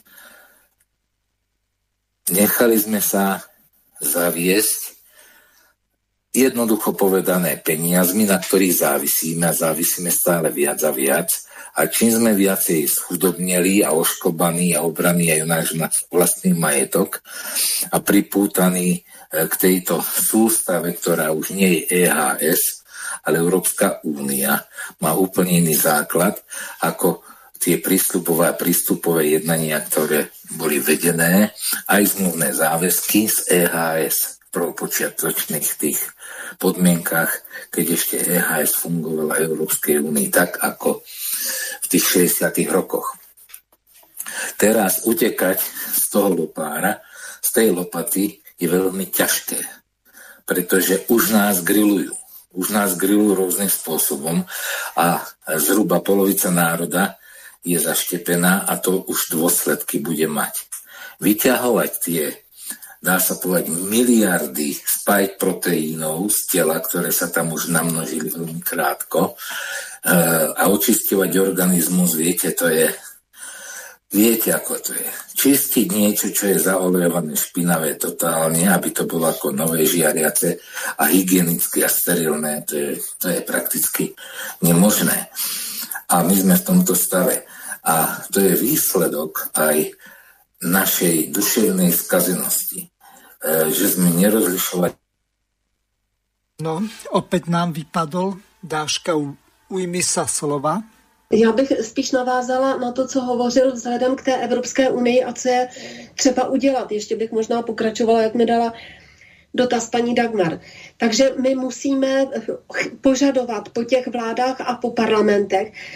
Nechali sme sa zaviesť, jednoducho povedané, peniazmi, na ktorých závisíme a závisíme stále viac a viac. A čím sme viacej schudobneli a oškobaní a obraní aj náš vlastný majetok a pripútaní k tejto sústave, ktorá už nie je é há es, ale Európska únia, má úplne iný základ ako tie prístupové a prístupové jednania, ktoré boli vedené, aj zmluvné záväzky z é há es v prvopočiatočných tých podmienkach, keď ešte é há es fungovala v Európskej únii tak, ako v tých šesťdesiatych rokoch. Teraz utekať z toho lopára, z tej lopaty je veľmi ťažké, pretože už nás grillujú. Už nás grillujú rôznym spôsobom a zhruba polovica národa je zaštepená a to už dôsledky bude mať. Vyťahovať tie, dá sa povedať, miliardy spike proteínov z tela, ktoré sa tam už namnožili veľmi krátko a očisťovať organizmus, viete, to je, viete, ako to je. Čistiť niečo, čo je zaolejované špinavé totálne, aby to bolo ako nové žiariace a hygienické a sterilné, to je, to je prakticky nemožné. A my sme v tomto stave. A to je výsledok aj našej duševnej skazenosti, že sme nerozlišovali.
No, opäť nám vypadol. Dáška, ujmi sa slova.
Já bych spíš navázala na to, co hovořil vzhledem k té Evropské unii a co je třeba udělat. Ještě bych možná pokračovala, jak mi dala dotaz paní Dagmar. Takže my musíme požadovat po těch vládách a po parlamentech,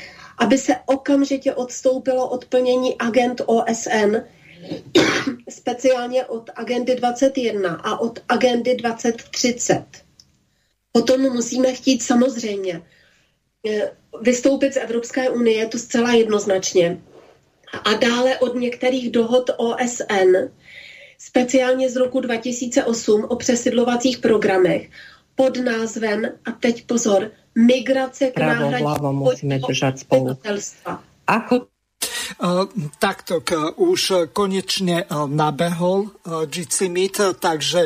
aby se okamžitě odstoupilo od plnění agend O S N, speciálně od agendy dvacet jedna a od agendy dvacet třicet. Potom musíme chtít samozřejmě vystoupit z Evropské unie, to zcela jednoznačně. A dále od některých dohod O S N, speciálně z roku dva tisíce osm o přesidlovacích programech, pod názvem, a teď pozor, migrace k náhradě obyvatelstva.
Ako?
Takto, už konečne nabehol Jitsimit, takže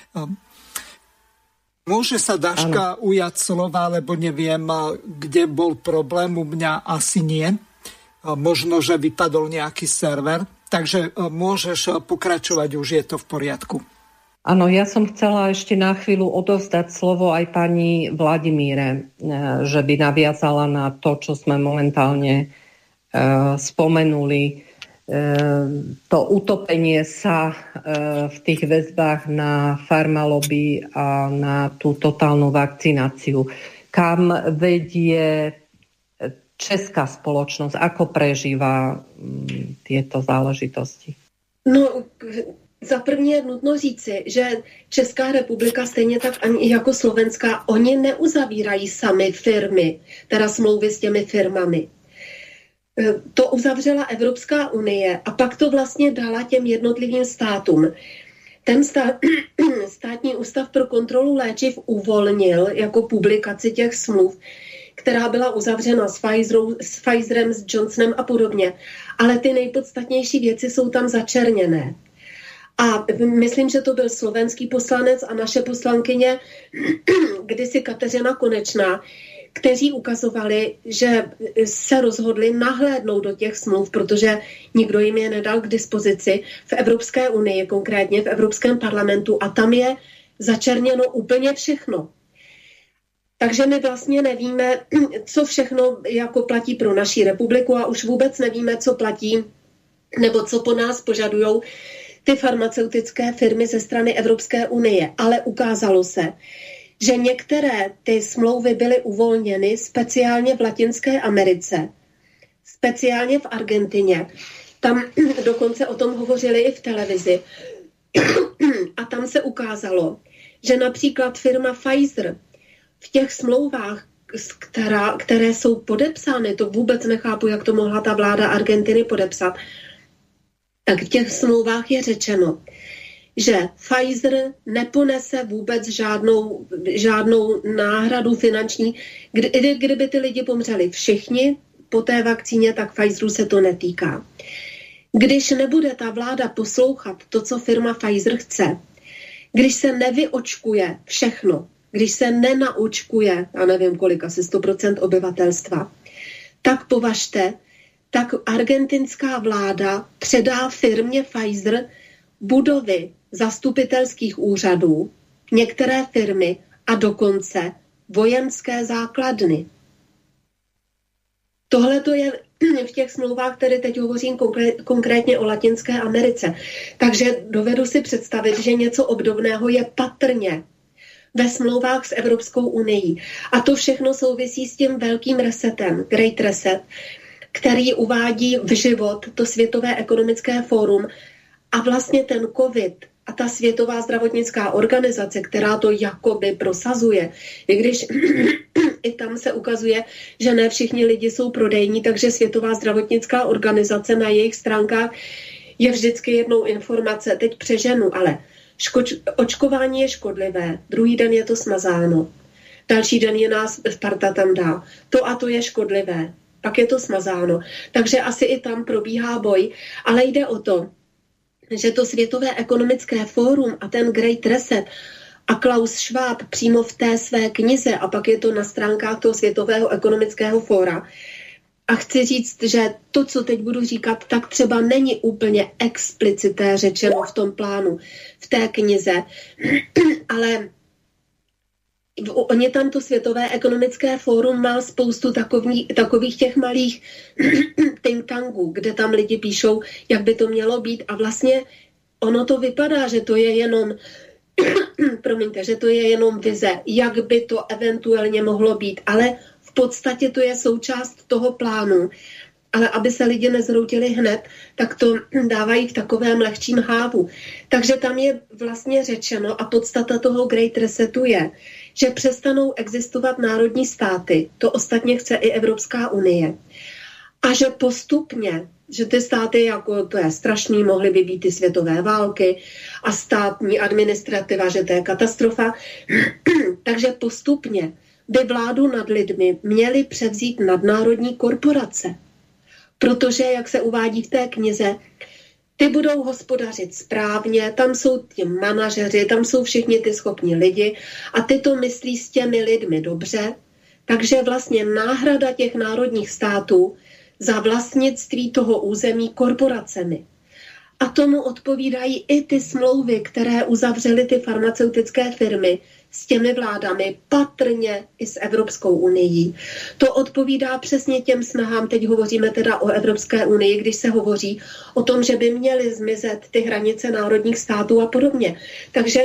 môže sa Daška ano. ujať slova, lebo neviem, kde bol problém, u mňa asi nie. Možno, že vypadol nejaký server, takže môžeš pokračovať, už je to v poriadku.
Áno, ja som chcela ešte na chvíľu odovzdať slovo aj pani Vladimíre, že by naviazala na to, čo sme momentálne uh, spomenuli. Uh, to utopenie sa uh, v tých väzbách na farmalobby a na tú totálnu vakcináciu. Kam vedie česká spoločnosť? Ako prežíva um, tieto záležitosti?
No... Za první je nutno říci, že Česká republika, stejně tak ani jako Slovenská, oni neuzavírají sami firmy, teda smlouvy s těmi firmami. To uzavřela Evropská unie a pak to vlastně dala těm jednotlivým státům. Ten stát, státní ústav pro kontrolu léčiv uvolnil jako publikaci těch smluv, která byla uzavřena s, Pfizerou, s Pfizerem, s Johnsonem a podobně. Ale ty nejpodstatnější věci jsou tam začerněné. A myslím, že to byl slovenský poslanec a naše poslankyně, kdysi Kateřina Konečná, kteří ukazovali, že se rozhodli nahlédnout do těch smluv, protože nikdo jim je nedal k dispozici v Evropské unii, konkrétně v Evropském parlamentu, a tam je začerněno úplně všechno. Takže my vlastně nevíme, co všechno jako platí pro naši republiku a už vůbec nevíme, co platí nebo co po nás požadujou ty farmaceutické firmy ze strany Evropské unie. Ale ukázalo se, že některé ty smlouvy byly uvolněny speciálně v Latinské Americe, speciálně v Argentině. Tam dokonce o tom hovořili i v televizi. A tam se ukázalo, že například firma Pfizer v těch smlouvách, která, které jsou podepsány, to vůbec nechápu, jak to mohla ta vláda Argentiny podepsat, tak v těch smlouvách je řečeno, že Pfizer neponese vůbec žádnou, žádnou náhradu finanční. Kdy, kdyby ty lidi pomřeli všichni po té vakcíně, tak Pfizeru se to netýká. Když nebude ta vláda poslouchat to, co firma Pfizer chce, když se nevyočkuje všechno, když se nenaočkuje, já nevím kolik, asi sto procent obyvatelstva, tak považte, tak argentinská vláda předá firmě Pfizer budovy zastupitelských úřadů, některé firmy a dokonce vojenské základny. Tohle to je v těch smlouvách, které teď hovořím konkrétně o Latinské Americe. Takže dovedu si představit, že něco obdobného je patrně ve smlouvách s Evropskou unií. A to všechno souvisí s tím velkým resetem, Great Reset, který uvádí v život to Světové ekonomické fórum a vlastně ten COVID a ta Světová zdravotnická organizace, která to jakoby prosazuje, i když i tam se ukazuje, že ne všichni lidi jsou prodejní, takže Světová zdravotnická organizace na jejich stránkách je vždycky jednou informace, teď přeženu, ale škoč, očkování je škodlivé, druhý den je to smazáno, další den je nás parta tam dá, to a to je škodlivé, pak je to smazáno. Takže asi i tam probíhá boj, ale jde o to, že to Světové ekonomické fórum a ten Great Reset a Klaus Schwab přímo v té své knize, a pak je to na stránkách toho Světového ekonomického fóra. A chci říct, že to, co teď budu říkat, tak třeba není úplně explicité řečeno v tom plánu, v té knize, ale oni tam to Světové ekonomické fórum má spoustu takový, takových těch malých think tanků, kde tam lidi píšou, jak by to mělo být a vlastně ono to vypadá, že to je jenom promiňte, že to je jenom vize, jak by to eventuálně mohlo být, ale v podstatě to je součást toho plánu. Ale aby se lidi nezhroutili hned, tak to dávají v takovém lehčím hávu. Takže tam je vlastně řečeno a podstata toho Great Resetu je, že přestanou existovat národní státy, to ostatně chce i Evropská unie, a že postupně, že ty státy, jako to je strašný, mohly by být ty světové války a státní administrativa, že to je katastrofa, takže postupně by vládu nad lidmi měly převzít nadnárodní korporace. Protože, jak se uvádí v té knize, ty budou hospodařit správně, tam jsou ti manažeři, tam jsou všichni ty schopní lidi a ty to myslí s těmi lidmi dobře, takže vlastně náhrada těch národních států za vlastnictví toho území korporacemi. A tomu odpovídají i ty smlouvy, které uzavřely ty farmaceutické firmy s těmi vládami, patrně i s Evropskou unií. To odpovídá přesně těm snahám, teď hovoříme teda o Evropské unii, když se hovoří o tom, že by měly zmizet ty hranice národních států a podobně. Takže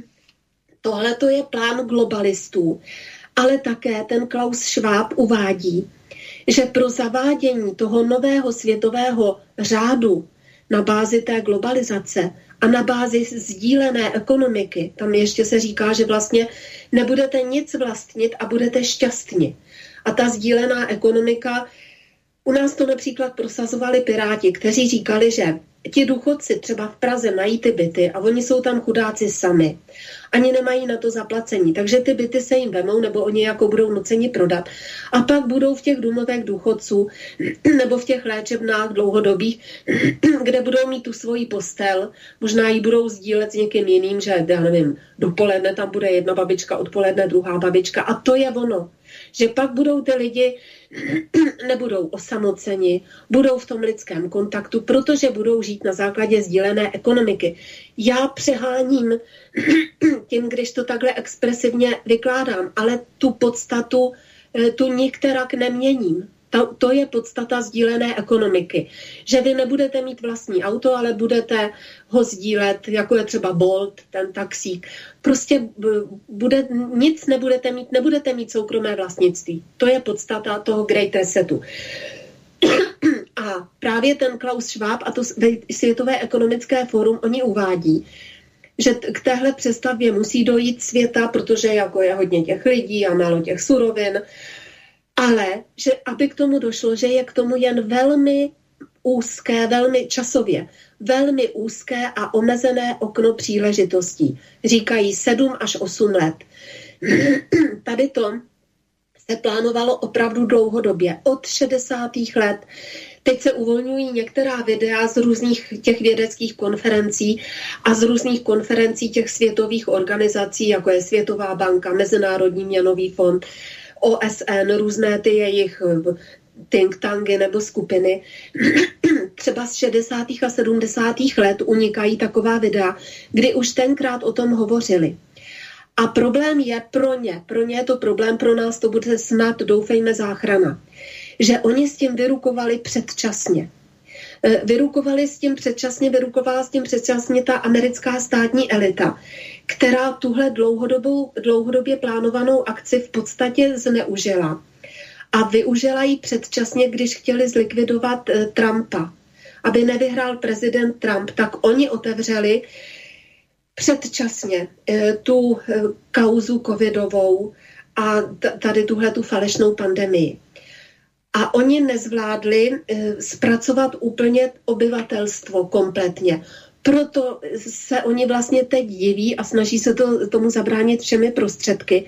tohle to je plán globalistů. Ale také ten Klaus Schwab uvádí, že pro zavádění toho nového světového řádu na bázi té globalizace a na bázi sdílené ekonomiky, tam ještě se říká, že vlastně nebudete nic vlastnit a budete šťastní. A ta sdílená ekonomika, u nás to například prosazovali Piráti, kteří říkali, že ti důchodci třeba v Praze mají ty byty a oni jsou tam chudáci sami. Ani nemají na to zaplacení, takže ty byty se jim vemou nebo oni jako budou nuceni prodat. A pak budou v těch domovech důchodců nebo v těch léčebnách dlouhodobých, kde budou mít tu svoji postel, možná ji budou sdílet s někým jiným, že já nevím, dopoledne tam bude jedna babička, odpoledne druhá babička a to je ono. Že pak budou ty lidi, nebudou osamoceni, budou v tom lidském kontaktu, protože budou žít na základě sdílené ekonomiky. Já přeháním tím, když to takhle expresivně vykládám, ale tu podstatu tu nikterak neměním. To, to je podstata sdílené ekonomiky. Že vy nebudete mít vlastní auto, ale budete ho sdílet, jako je třeba Bolt, ten taxík. Prostě bude, nic nebudete mít, nebudete mít soukromé vlastnictví. To je podstata toho Great Resetu. A právě ten Klaus Schwab a to Světové ekonomické fórum, oni uvádí, že k téhle přestavbě musí dojít světa, protože jako je hodně těch lidí a málo těch surovin, ale že aby k tomu došlo, že je k tomu jen velmi úzké, velmi časově, velmi úzké a omezené okno příležitostí. Říkají sedm až osm let. Tady to se plánovalo opravdu dlouhodobě, od šedesátých let. Teď se uvolňují některá videa z různých těch vědeckých konferencí a z různých konferencí těch světových organizací, jako je Světová banka, Mezinárodní měnový fond, O S N, různé ty jejich think tanky nebo skupiny. Třeba z šedesátých a sedmdesátých let unikají taková videa, kdy už tenkrát o tom hovořili. A problém je pro ně, pro ně je to problém, pro nás to bude snad, doufejme, záchrana, že oni s tím vyrukovali předčasně. Vyrukovali s tím předčasně, vyrukovala s tím předčasně ta americká státní elita, která tuhle dlouhodobou, dlouhodobě plánovanou akci v podstatě zneužila. A využila ji předčasně, když chtěli zlikvidovat eh, Trumpa. Aby nevyhrál prezident Trump, tak oni otevřeli předčasně eh, tu eh, kauzu covidovou a t- tady tuhle tu falešnou pandemii. A oni nezvládli eh, zpracovat úplně obyvatelstvo kompletně. Proto se oni vlastně teď diví a snaží se to, tomu zabránit všemi prostředky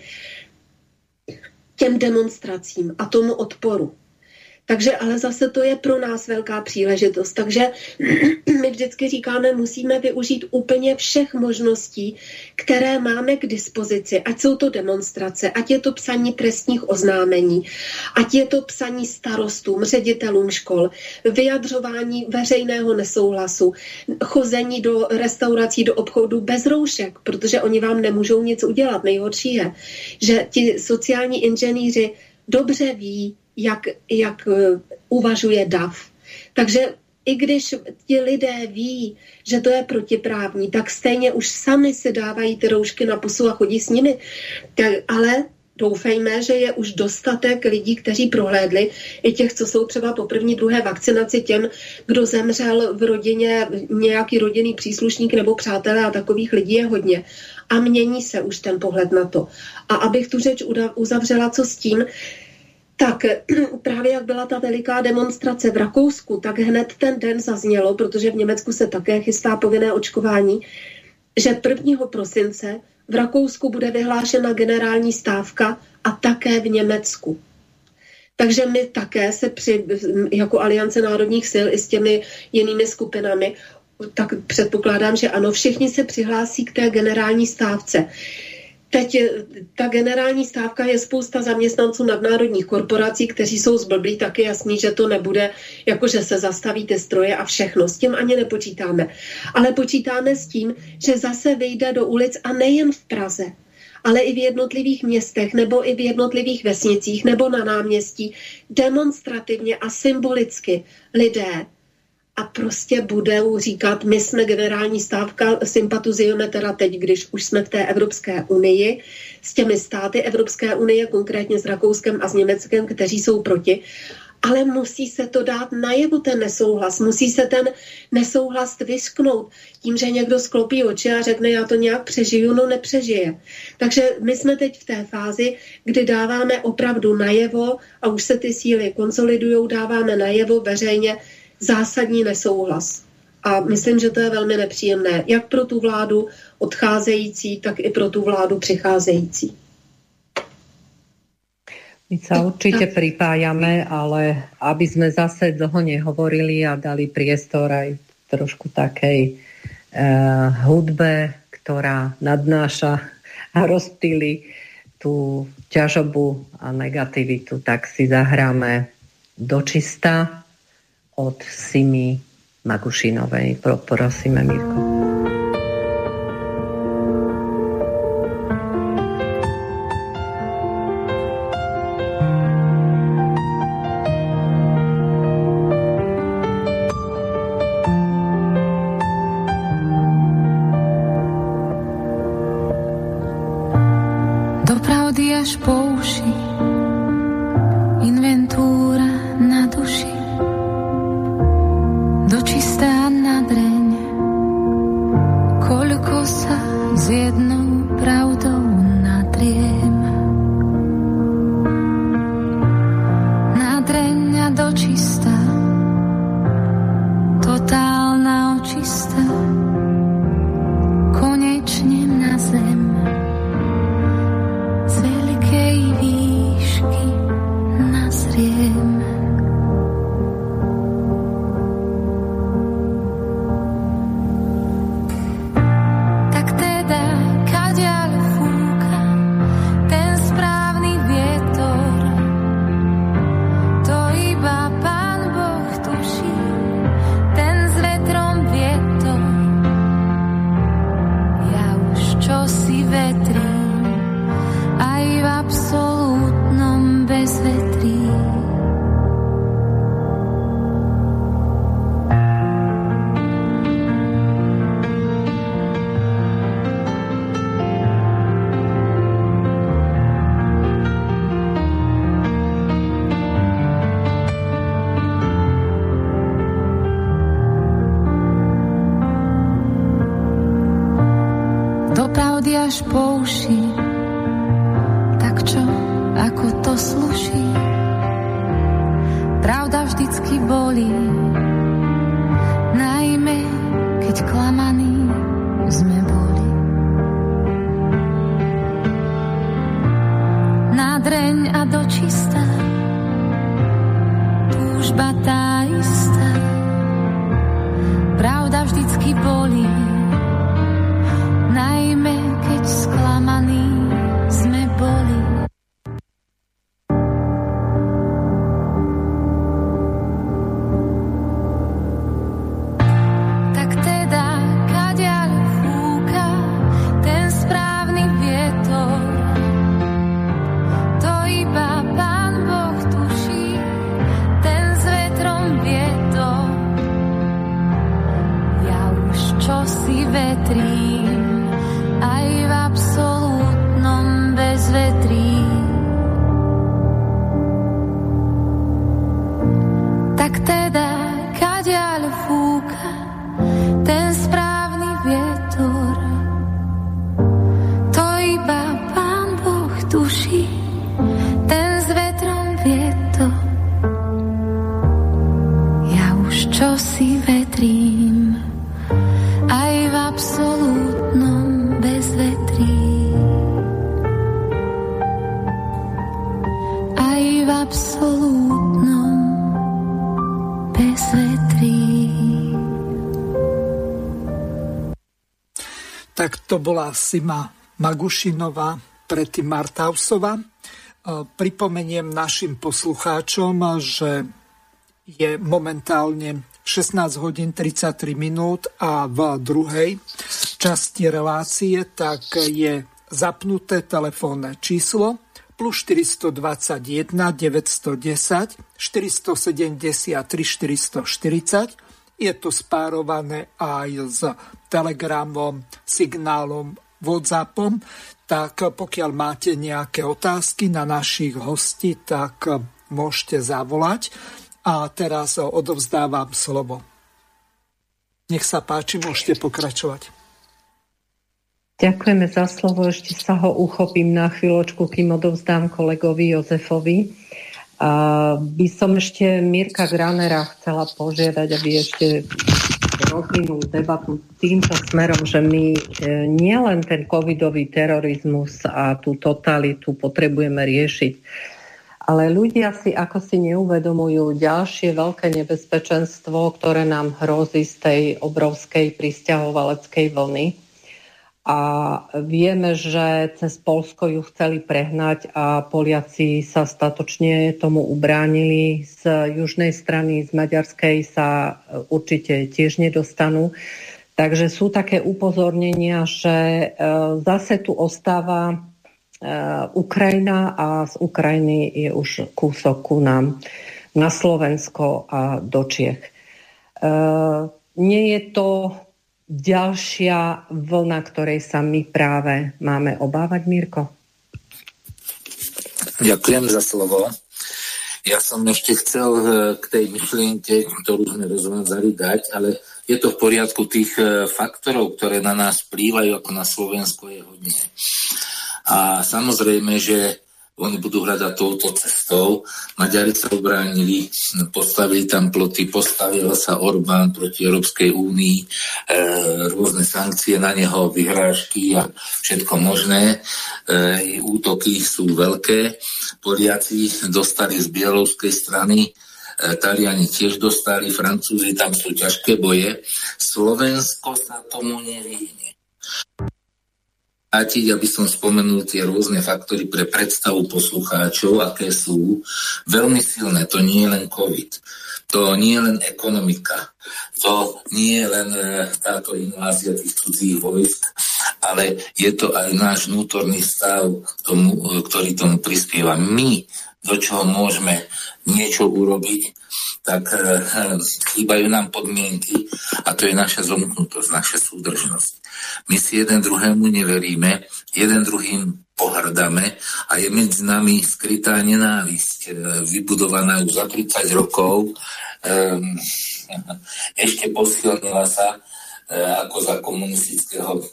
těm demonstracím a tomu odporu. Takže ale zase to je pro nás velká příležitost. Takže my vždycky říkáme, musíme využít úplně všech možností, které máme k dispozici. Ať jsou to demonstrace, ať je to psaní trestních oznámení, ať je to psaní starostům, ředitelům škol, vyjadřování veřejného nesouhlasu, chození do restaurací, do obchodu bez roušek, protože oni vám nemůžou nic udělat. Nejhorší je, že ti sociální inženýři dobře ví, jak, jak uvažuje D A F. Takže i když ti lidé ví, že to je protiprávní, tak stejně už sami si dávají ty roušky na pusu a chodí s nimi. Tak, ale doufejme, že je už dostatek lidí, kteří prohlédli, i těch, co jsou třeba po první, druhé vakcinaci, těm, kdo zemřel v rodině, nějaký rodinný příslušník nebo přátelé, a takových lidí je hodně. A mění se už ten pohled na to. A abych tu řeč uzavřela, co s tím, tak právě jak byla ta veliká demonstrace v Rakousku, tak hned ten den zaznělo, protože v Německu se také chystá povinné očkování, že prvního prosince v Rakousku bude vyhlášena generální stávka a také v Německu. Takže my také se při, jako Aliance národních sil i s těmi jinými skupinami, tak předpokládám, že ano, všichni se přihlásí k té generální stávce. Teď ta generální stávka je spousta zaměstnanců nadnárodních korporací, kteří jsou zblblí, tak je jasný, že to nebude, jako že se zastaví ty stroje a všechno. S tím ani nepočítáme. Ale počítáme s tím, že zase vyjde do ulic a nejen v Praze, ale i v jednotlivých městech nebo i v jednotlivých vesnicích nebo na náměstí demonstrativně a symbolicky lidé a prostě budou říkat, my jsme generální stávka, sympatizujeme teda teď, když už jsme v té Evropské unii, s těmi státy Evropské unie, konkrétně s Rakouskem a s Německem, kteří jsou proti, ale musí se to dát najevo ten nesouhlas, musí se ten nesouhlas vysknout tím, že někdo sklopí oči a řekne, já to nějak přežiju, no nepřežije. Takže my jsme teď v té fázi, kdy dáváme opravdu najevo a už se ty síly konsolidujou, dáváme najevo veřejně zásadní nesouhlas. A myslím, že to je velmi nepříjemné, jak pro tu vládu odcházející, tak i pro tu vládu přicházející.
My sa určite pripájame, ale aby sme zase dlho nehovorili a dali priestor aj trošku takej uh, hudbe, ktorá nadnáša a rozptýli tú ťažobu a negativitu, tak si zahráme Dočista od Simi Magušinovej. Prosíme, Mirko.
Do pravdy až po uši, inventúra na duši, dočistá na dreň, koľko sa s jednou pravdou natriem. Na dreň a dočistá, totálna očistá, konečne na zem. Z veľkej výšky nazriem. Tak teda, kadiaľ fúka ten správny vietor, to iba Pán Boh tuší, ten s vetrom vietor. Ja už čosi vetrím, aj v absolútnom bezvetrí. Do pravdy až po uši, tak čo, ako to sluší? Pravda vždycky bolí, najmä keď klamaní sme boli. Na dreň a dočistá, túžba tá istá, pravda vždycky bolí, najmä keď sklamaní sme boli. Tak teda, kadiaľ fúka ten správny vietor, to iba Pán Boh tuší, ten s vetrom absolútnom bezvetrí.
Tak to bola Sima Magušinová, predtým Martausová. Pripomeniem našim poslucháčom, že je momentálne šestnásť hodín tridsaťtri minút a v druhej časti relácie tak je zapnuté telefónne číslo plus štyri dva jeden, deväť jedna nula, štyri sedem tri, štyri štyridsať. Je to spárované aj s Telegramom, signálom, WhatsAppom. Tak pokiaľ máte nejaké otázky na našich hostí, tak môžete zavolať. A teraz odovzdávam slovo. Nech sa páči, môžete pokračovať.
Ďakujeme za slovo. Ešte sa ho uchopím na chvíľočku, kým odovzdám kolegovi Jozefovi. A by som ešte Mirka Granera chcela požiadať, aby ešte rozvinul debatu týmto smerom, že my nielen ten covidový terorizmus a tú totalitu potrebujeme riešiť, ale ľudia si ako si neuvedomujú ďalšie veľké nebezpečenstvo, ktoré nám hrozí z tej obrovskej prisťahovaleckej vlny. A vieme, že cez Poľsko ju chceli prehnať a Poliaci sa statočne tomu ubránili. Z južnej strany, z maďarskej sa určite tiež nedostanú. Takže sú také upozornenia, že zase tu ostáva Ukrajina a z Ukrajiny je už kúsok ku nám na Slovensko a do Čiech. Nie je to ďalšia vlna, ktorej sa my práve máme obávať, Mirko?
Ďakujem za slovo. Ja som ešte chcel k tej myšlienke, ktorú sme rozvádzali, dať, ale je to v poriadku tých faktorov, ktoré na nás vplývajú, ako na Slovensko, je hodne. A samozrejme, že oni budú hľadať touto cestou. Maďari sa obránili, postavili tam ploty, postavil sa Orbán proti Európskej únii, e, rôzne sankcie na neho, vyhrážky a všetko možné. E, útoky sú veľké. Poliaci dostali z bieloruskej strany, e, Taliani tiež dostali, Francúzi, tam sú ťažké boje. Slovensko sa tomu nevyhne. Aby som spomenul tie rôzne faktory pre predstavu poslucháčov, aké sú veľmi silné. To nie je len COVID, to nie je len ekonomika, to nie je len táto invázia tých cudzích vojsk, ale je to aj náš vnútorný stav, tomu, ktorý tomu prispieva. My, do čoho môžeme niečo urobiť, tak chýbajú nám podmienky a to je naša zomknutosť, naša súdržnosť. My si jeden druhému neveríme, jeden druhým pohrdáme a je medzi nami skrytá nenávisť, vybudovaná už za tridsať rokov. Ešte posilnila sa ako za komunistického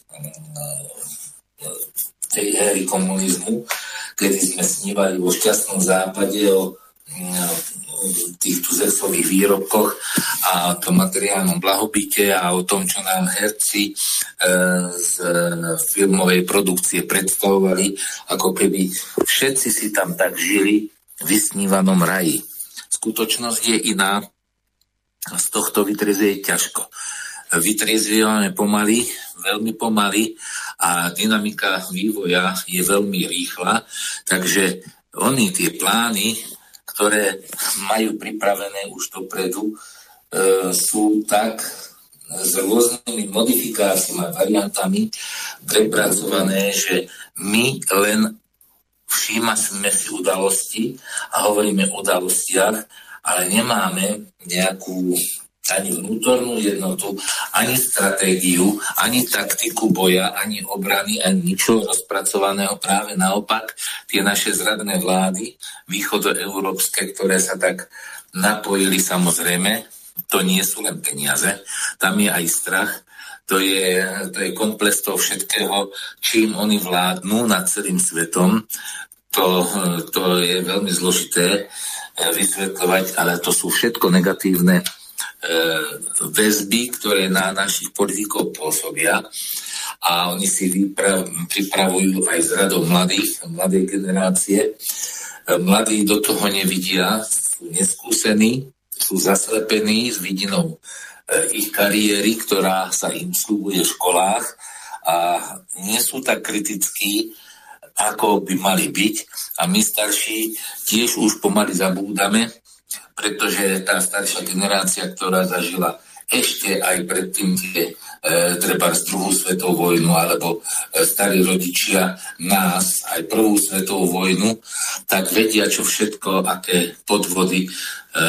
tej éry komunizmu, kedy sme snívali vo šťastnom západe o tých tuzesových výrobkoch a o tom materiálnom blahobite a o tom, čo nám herci e, z filmovej produkcie predstavovali, ako keby všetci si tam tak žili v vysnívanom raji. Skutočnosť je iná, z tohto vytriezieť ťažko. Vytriezvievame pomaly, veľmi pomaly a dynamika vývoja je veľmi rýchla, takže oni tie plány, ktoré majú pripravené už dopredu, e, sú tak s rôznymi modifikáciami a variantami prepracované, že my len všímame si udalosti a hovoríme o udalostiach, ale nemáme nejakú ani vnútornú jednotu, ani stratégiu, ani taktiku boja, ani obrany, ani ničo rozpracovaného. Práve naopak, tie naše zradné vlády, východoeurópske, ktoré sa tak napojili, samozrejme, to nie sú len peniaze, tam je aj strach, to je, to je komplex toho všetkého, čím oni vládnu nad celým svetom. To, to je veľmi zložité vysvetľovať, ale to sú všetko negatívne väzby, ktoré na našich politikov pôsobia a oni si vyprav, pripravujú aj z radou mladých, mladej generácie Mladí do toho nevidia, sú neskúsení, sú zaslepení s vidinou ich kariéry, ktorá sa im slúbuje v školách a nie sú tak kritickí, ako by mali byť. A my starší tiež už pomaly zabúdame, pretože tá staršia generácia, ktorá zažila ešte aj predtým tie e, treba z druhú svetovú vojnu alebo e, starí rodičia nás aj prvú svetovú vojnu, tak vedia, čo všetko, aké podvody e,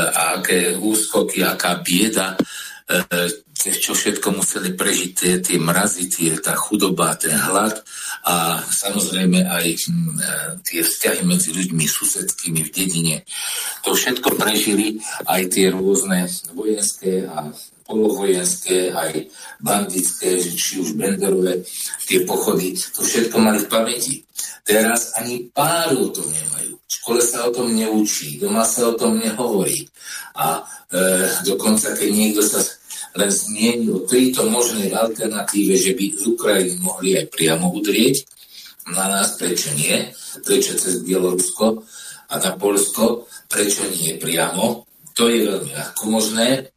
a aké úskoky, aká bieda, e, čo všetko museli prežiť tie, tie mrazy, tie, tá chudoba, ten hlad a samozrejme aj e, tie vzťahy medzi ľuďmi susedskými v dedine. To všetko prežili aj tie rôzne vojenské a polovojenské, aj bandické, či už Benderové, tie pochody, to všetko mali v pamäti. Teraz ani páru o tom nemajú. V škole sa o tom neučí, doma sa o tom nehovorí. A e, dokonca, keď niekto sa len zmieni o tejto možnej alternatíve, že by z Ukrajiny mohli aj priamo udrieť na nás, prečo nie? Prečo cez Bielorusko a na Poľsko? Prečo nie priamo? To je veľmi ľahko možné.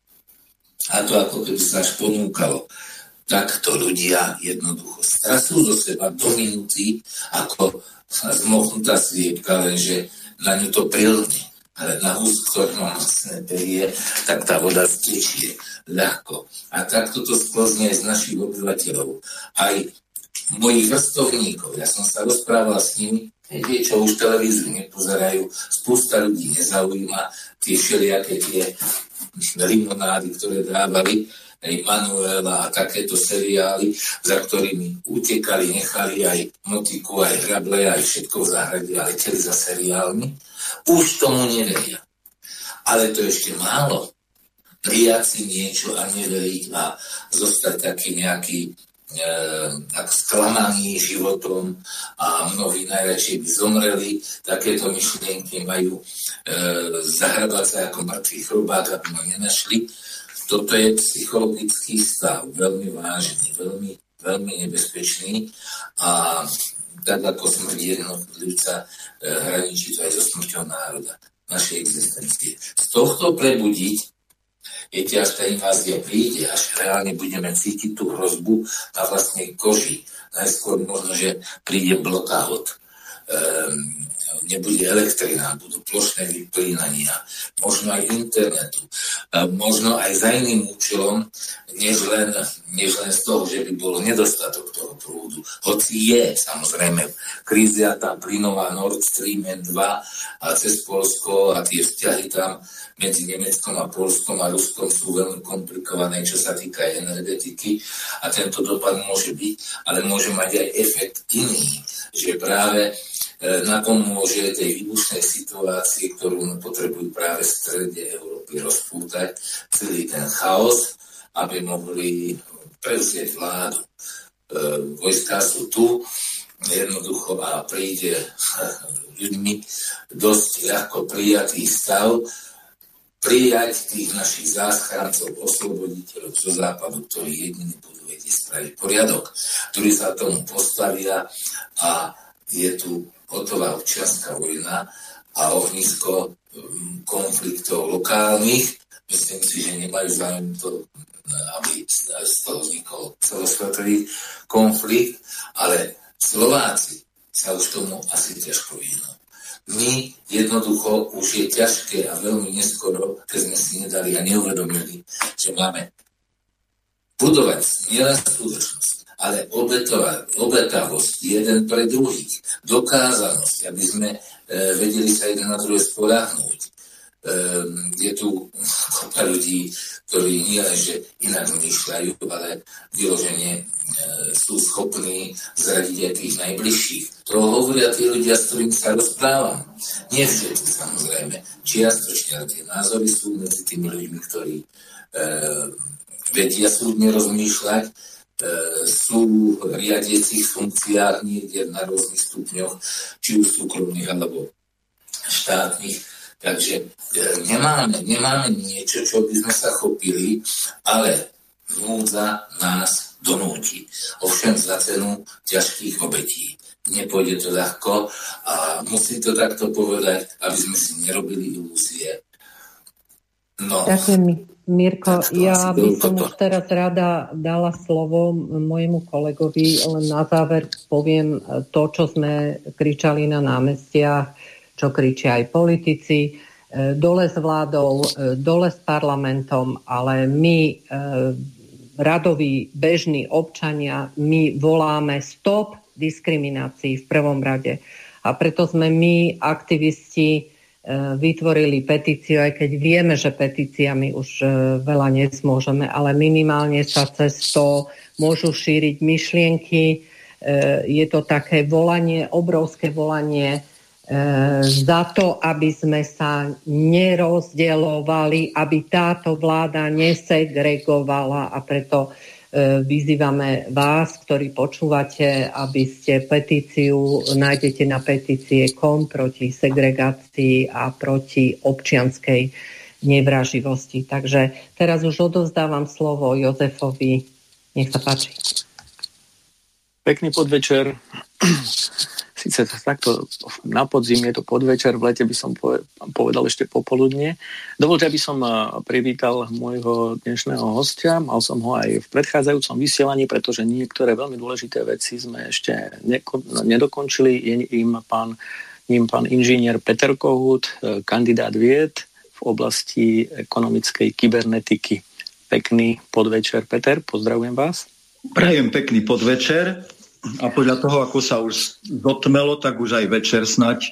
A to ako keby sa až ponúkalo. Takto ľudia jednoducho strasú zo seba do minúty ako zmochnutá sliepka, lenže na ňu to prilne. Ale na hús, ktorý má masné perie, tak tá voda stečie ľahko. A takto to sklzne aj z našich obyvateľov. Aj mojich vrstovníkov. Ja som sa rozprával s nimi, tie, čo už televíziu nepozerajú, spústa ľudí nezaujíma tie všelijaké tie limonády, ktoré dávali aj Manuela a takéto seriály, za ktorými utekali, nechali aj motiku, aj hrable, aj všetko v záhrade a leteli za seriálmi. Už tomu neveria. Ale to ešte málo. Prijať si niečo a neveriť a zostať taký nejaký e, tak sklamaný životom a mnohí najradšej by zomreli. Takéto myšlienky majú e, zahrabať sa ako mŕtvý chrobák, aby ma nenašli. Toto je psychologický stav, veľmi vážny, veľmi, veľmi nebezpečný a tak ako smrť jednotlivca e, hraničí to aj so smrťou národa, našej existencie. Z tohto prebudiť, viete, až tá invázia príde, až reálne budeme cítiť tú hrozbu na vlastnej koži. Najskôr možno, že príde blackout, ehm, nebude elektrina, budú plošné vyplínania, možno aj internetu, možno aj za iným účelom, než len, než len z toho, že by bol nedostatok toho prúdu. Hoci je, samozrejme, krízia tá plynová Nord Stream dva a cez Poľsko a tie vzťahy tam medzi Nemeckom a Poľskom a Ruskom sú veľmi komplikované, čo sa týka energetiky a tento dopad môže byť, ale môže mať aj efekt iný, že práve napomôže tej výbušnej situácii, ktorú potrebujú práve v strede Európy rozpútať, celý ten chaos, aby mohli prevziať vládu. E, vojská sú tu, jednoducho a príde ľuďmi dosť ľahko prijatý stav, prijať tých našich záchrancov, osloboditeľov zo západu, ktorí jediní budú vedieť spraviť poriadok, ktorí sa tomu postavia a je tu hotová občianská vojna a ohnisko konfliktov lokálnych. Myslím si, že nemajú záujem to, aby z toho vznikol celosvetový konflikt, ale Slováci sa už tomu asi ťažko vyhnú. My jednoducho už je ťažké a veľmi neskoro, keď sme si nedali a neuvedomili, že máme budovať nielen skutočnosť, ale obetovať, obetavosť jeden pre druhých, dokázanosť, aby sme e, vedeli sa jeden na druhé spoľahnúť. E, je tu kopa ľudí, ktorí nie len, že inak zmýšľajú, ale vyložene e, sú schopní zradiť aj tých najbližších. To hovoria tí ľudia, s ktorými sa rozprávam. Nie všetci, samozrejme. Čiastočne tie názory sú medzi tými ľuďmi, ktorí e, vedia súdne rozmýšľať, sú v riadiacich funkciách niekde na rôznych stupňoch, či už súkromných alebo štátnych. Takže nemáme, nemáme niečo, čo by sme sa chopili, ale núdza nás donúti. Ovšem za cenu ťažkých obetí. nepôjde to ľahko a musím to takto povedať, aby sme si nerobili ilúzie. No.
Ďakujem, Mirko. Ja by som už teraz rada dala slovo mojemu kolegovi, len na záver poviem to, čo sme kričali na námestiach, čo kričia aj politici, dole s vládou, dole s parlamentom, ale my, radoví, bežní občania, my voláme stop diskriminácii v prvom rade. A preto sme my, aktivisti, vytvorili petíciu, aj keď vieme, že petíciami už veľa nezmôžeme, ale minimálne sa cez to môžu šíriť myšlienky. Je to také volanie, obrovské volanie za to, aby sme sa nerozdeľovali, aby táto vláda nesegregovala, a preto vyzývame vás, ktorí počúvate, aby ste petíciu, nájdete na petície kom proti segregácii a proti občianskej nevraživosti. Takže teraz už odovzdávam slovo Jozefovi. Nech sa páči.
Pekný podvečer. Sice takto na podzim je to podvečer, v lete by som povedal ešte popoludne. Dovoľte, aby som privítal môjho dnešného hostia. Mal som ho aj v predchádzajúcom vysielaní, pretože niektoré veľmi dôležité veci sme ešte nedokončili. Je im pán, ním pán inžinier Peter Kohút, kandidát vied v oblasti ekonomickej kybernetiky. Pekný podvečer, Peter, pozdravujem vás.
Prajem pekný podvečer. A podľa toho, ako sa už dotmelo, tak už aj večer snať.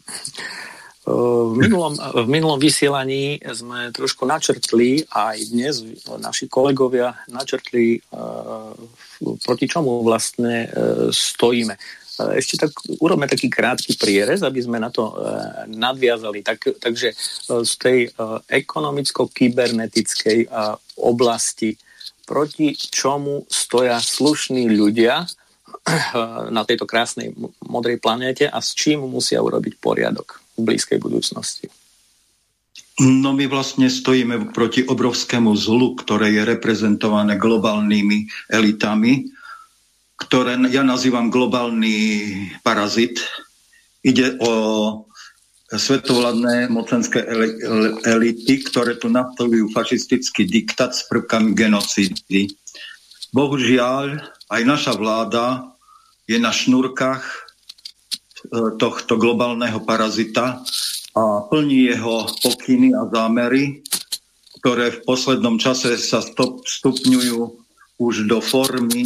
V minulom, v minulom vysielaní sme trošku načrtli, a aj dnes naši kolegovia načrtli, proti čomu vlastne stojíme. Ešte tak urobme taký krátky prierez, aby sme na to nadviazali. Tak, takže z tej ekonomicko-kybernetickej oblasti, proti čomu stoja slušní ľudia na tejto krásnej modrej planéte a s čím musia urobiť poriadok v blízkej budúcnosti?
No my vlastne stojíme proti obrovskému zlu, ktoré je reprezentované globálnymi elitami, ktoré ja nazývam globálny parazit. Ide o svetovládne mocenské elity, ktoré tu nastolujú fašistický diktát s prvkami genocídy. Bohužiaľ, aj naša vláda je na šnúrkach tohto globálneho parazita a plní jeho pokyny a zámery, ktoré v poslednom čase sa stupňujú už do formy e,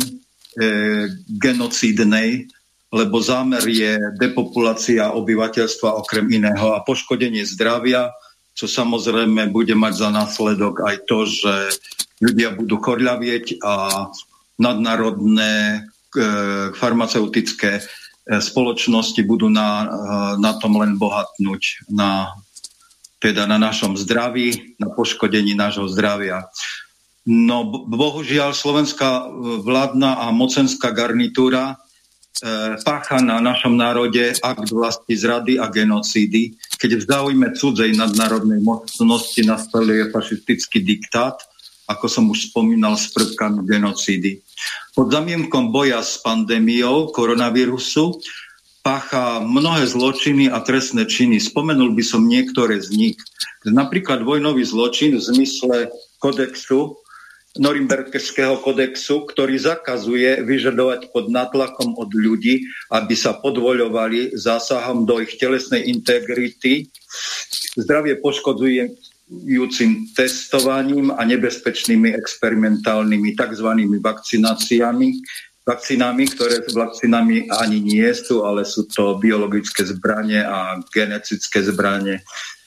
genocídnej, lebo zámer je depopulácia obyvateľstva okrem iného a poškodenie zdravia, čo samozrejme bude mať za následok aj to, že ľudia budú chorľavieť a nadnárodné farmaceutické spoločnosti budú na, na tom len bohatnúť, na, teda na našom zdraví, na poškodení nášho zdravia. No bohužiaľ slovenská vládna a mocenská garnitúra e, pácha na našom národe akt vlasti zrady a genocídy, keď v záujme cudzej nadnárodnej mocnosti nastoluje fašistický diktát, ako som už spomínal, s prvkami genocídy. Pod zamienkom boja s pandémiou koronavírusu pácha mnohé zločiny a trestné činy. Spomenul by som niektoré z nich. Napríklad vojnový zločin v zmysle kodexu, Norimberského kodexu, ktorý zakazuje vyžadovať pod nátlakom od ľudí, aby sa podvoľovali zásahom do ich telesnej integrity. Zdravie poškodzuje júcim testovaním a nebezpečnými experimentálnymi tzv. Vakcináciami, vakcínami, ktoré vakcínami ani nie sú, ale sú to biologické zbranie a genetické zbranie,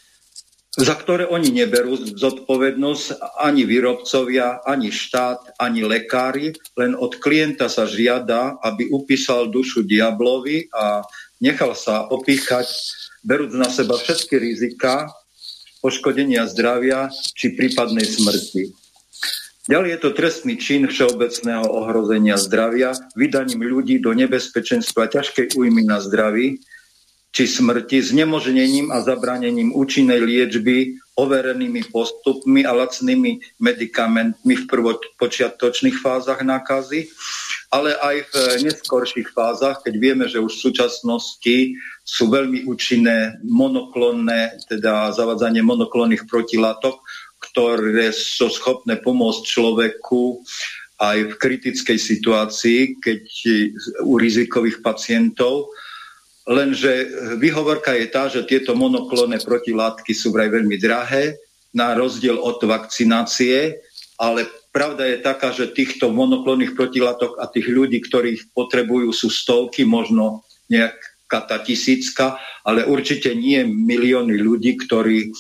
za ktoré oni neberú zodpovednosť ani výrobcovia, ani štát, ani lekári, len od klienta sa žiada, aby upísal dušu diablovi a nechal sa opíchať, berúc na seba všetky riziká poškodenia zdravia či prípadnej smrti. Ďalej je to trestný čin všeobecného ohrozenia zdravia vydaním ľudí do nebezpečenstva ťažkej újmy na zdraví či smrti, znemožnením a zabranením účinnej liečby, overenými postupmi a lacnými medikamentmi v prvopočiatočných fázach nákazy ale aj v neskorších fázach, keď vieme, že už v súčasnosti sú veľmi účinné monoklonné, teda zavádzanie monoklonných protilátok, ktoré sú schopné pomôcť človeku aj v kritickej situácii, keď u rizikových pacientov. Lenže výhovorka je tá, že tieto monoklonné protilátky sú vraj veľmi drahé, na rozdiel od vakcinácie, ale pravda je taká, že týchto monoklonných protilátok a tých ľudí, ktorých potrebujú, sú stovky, možno nejaká tá tisícka, ale určite nie milióny ľudí, ktorí e,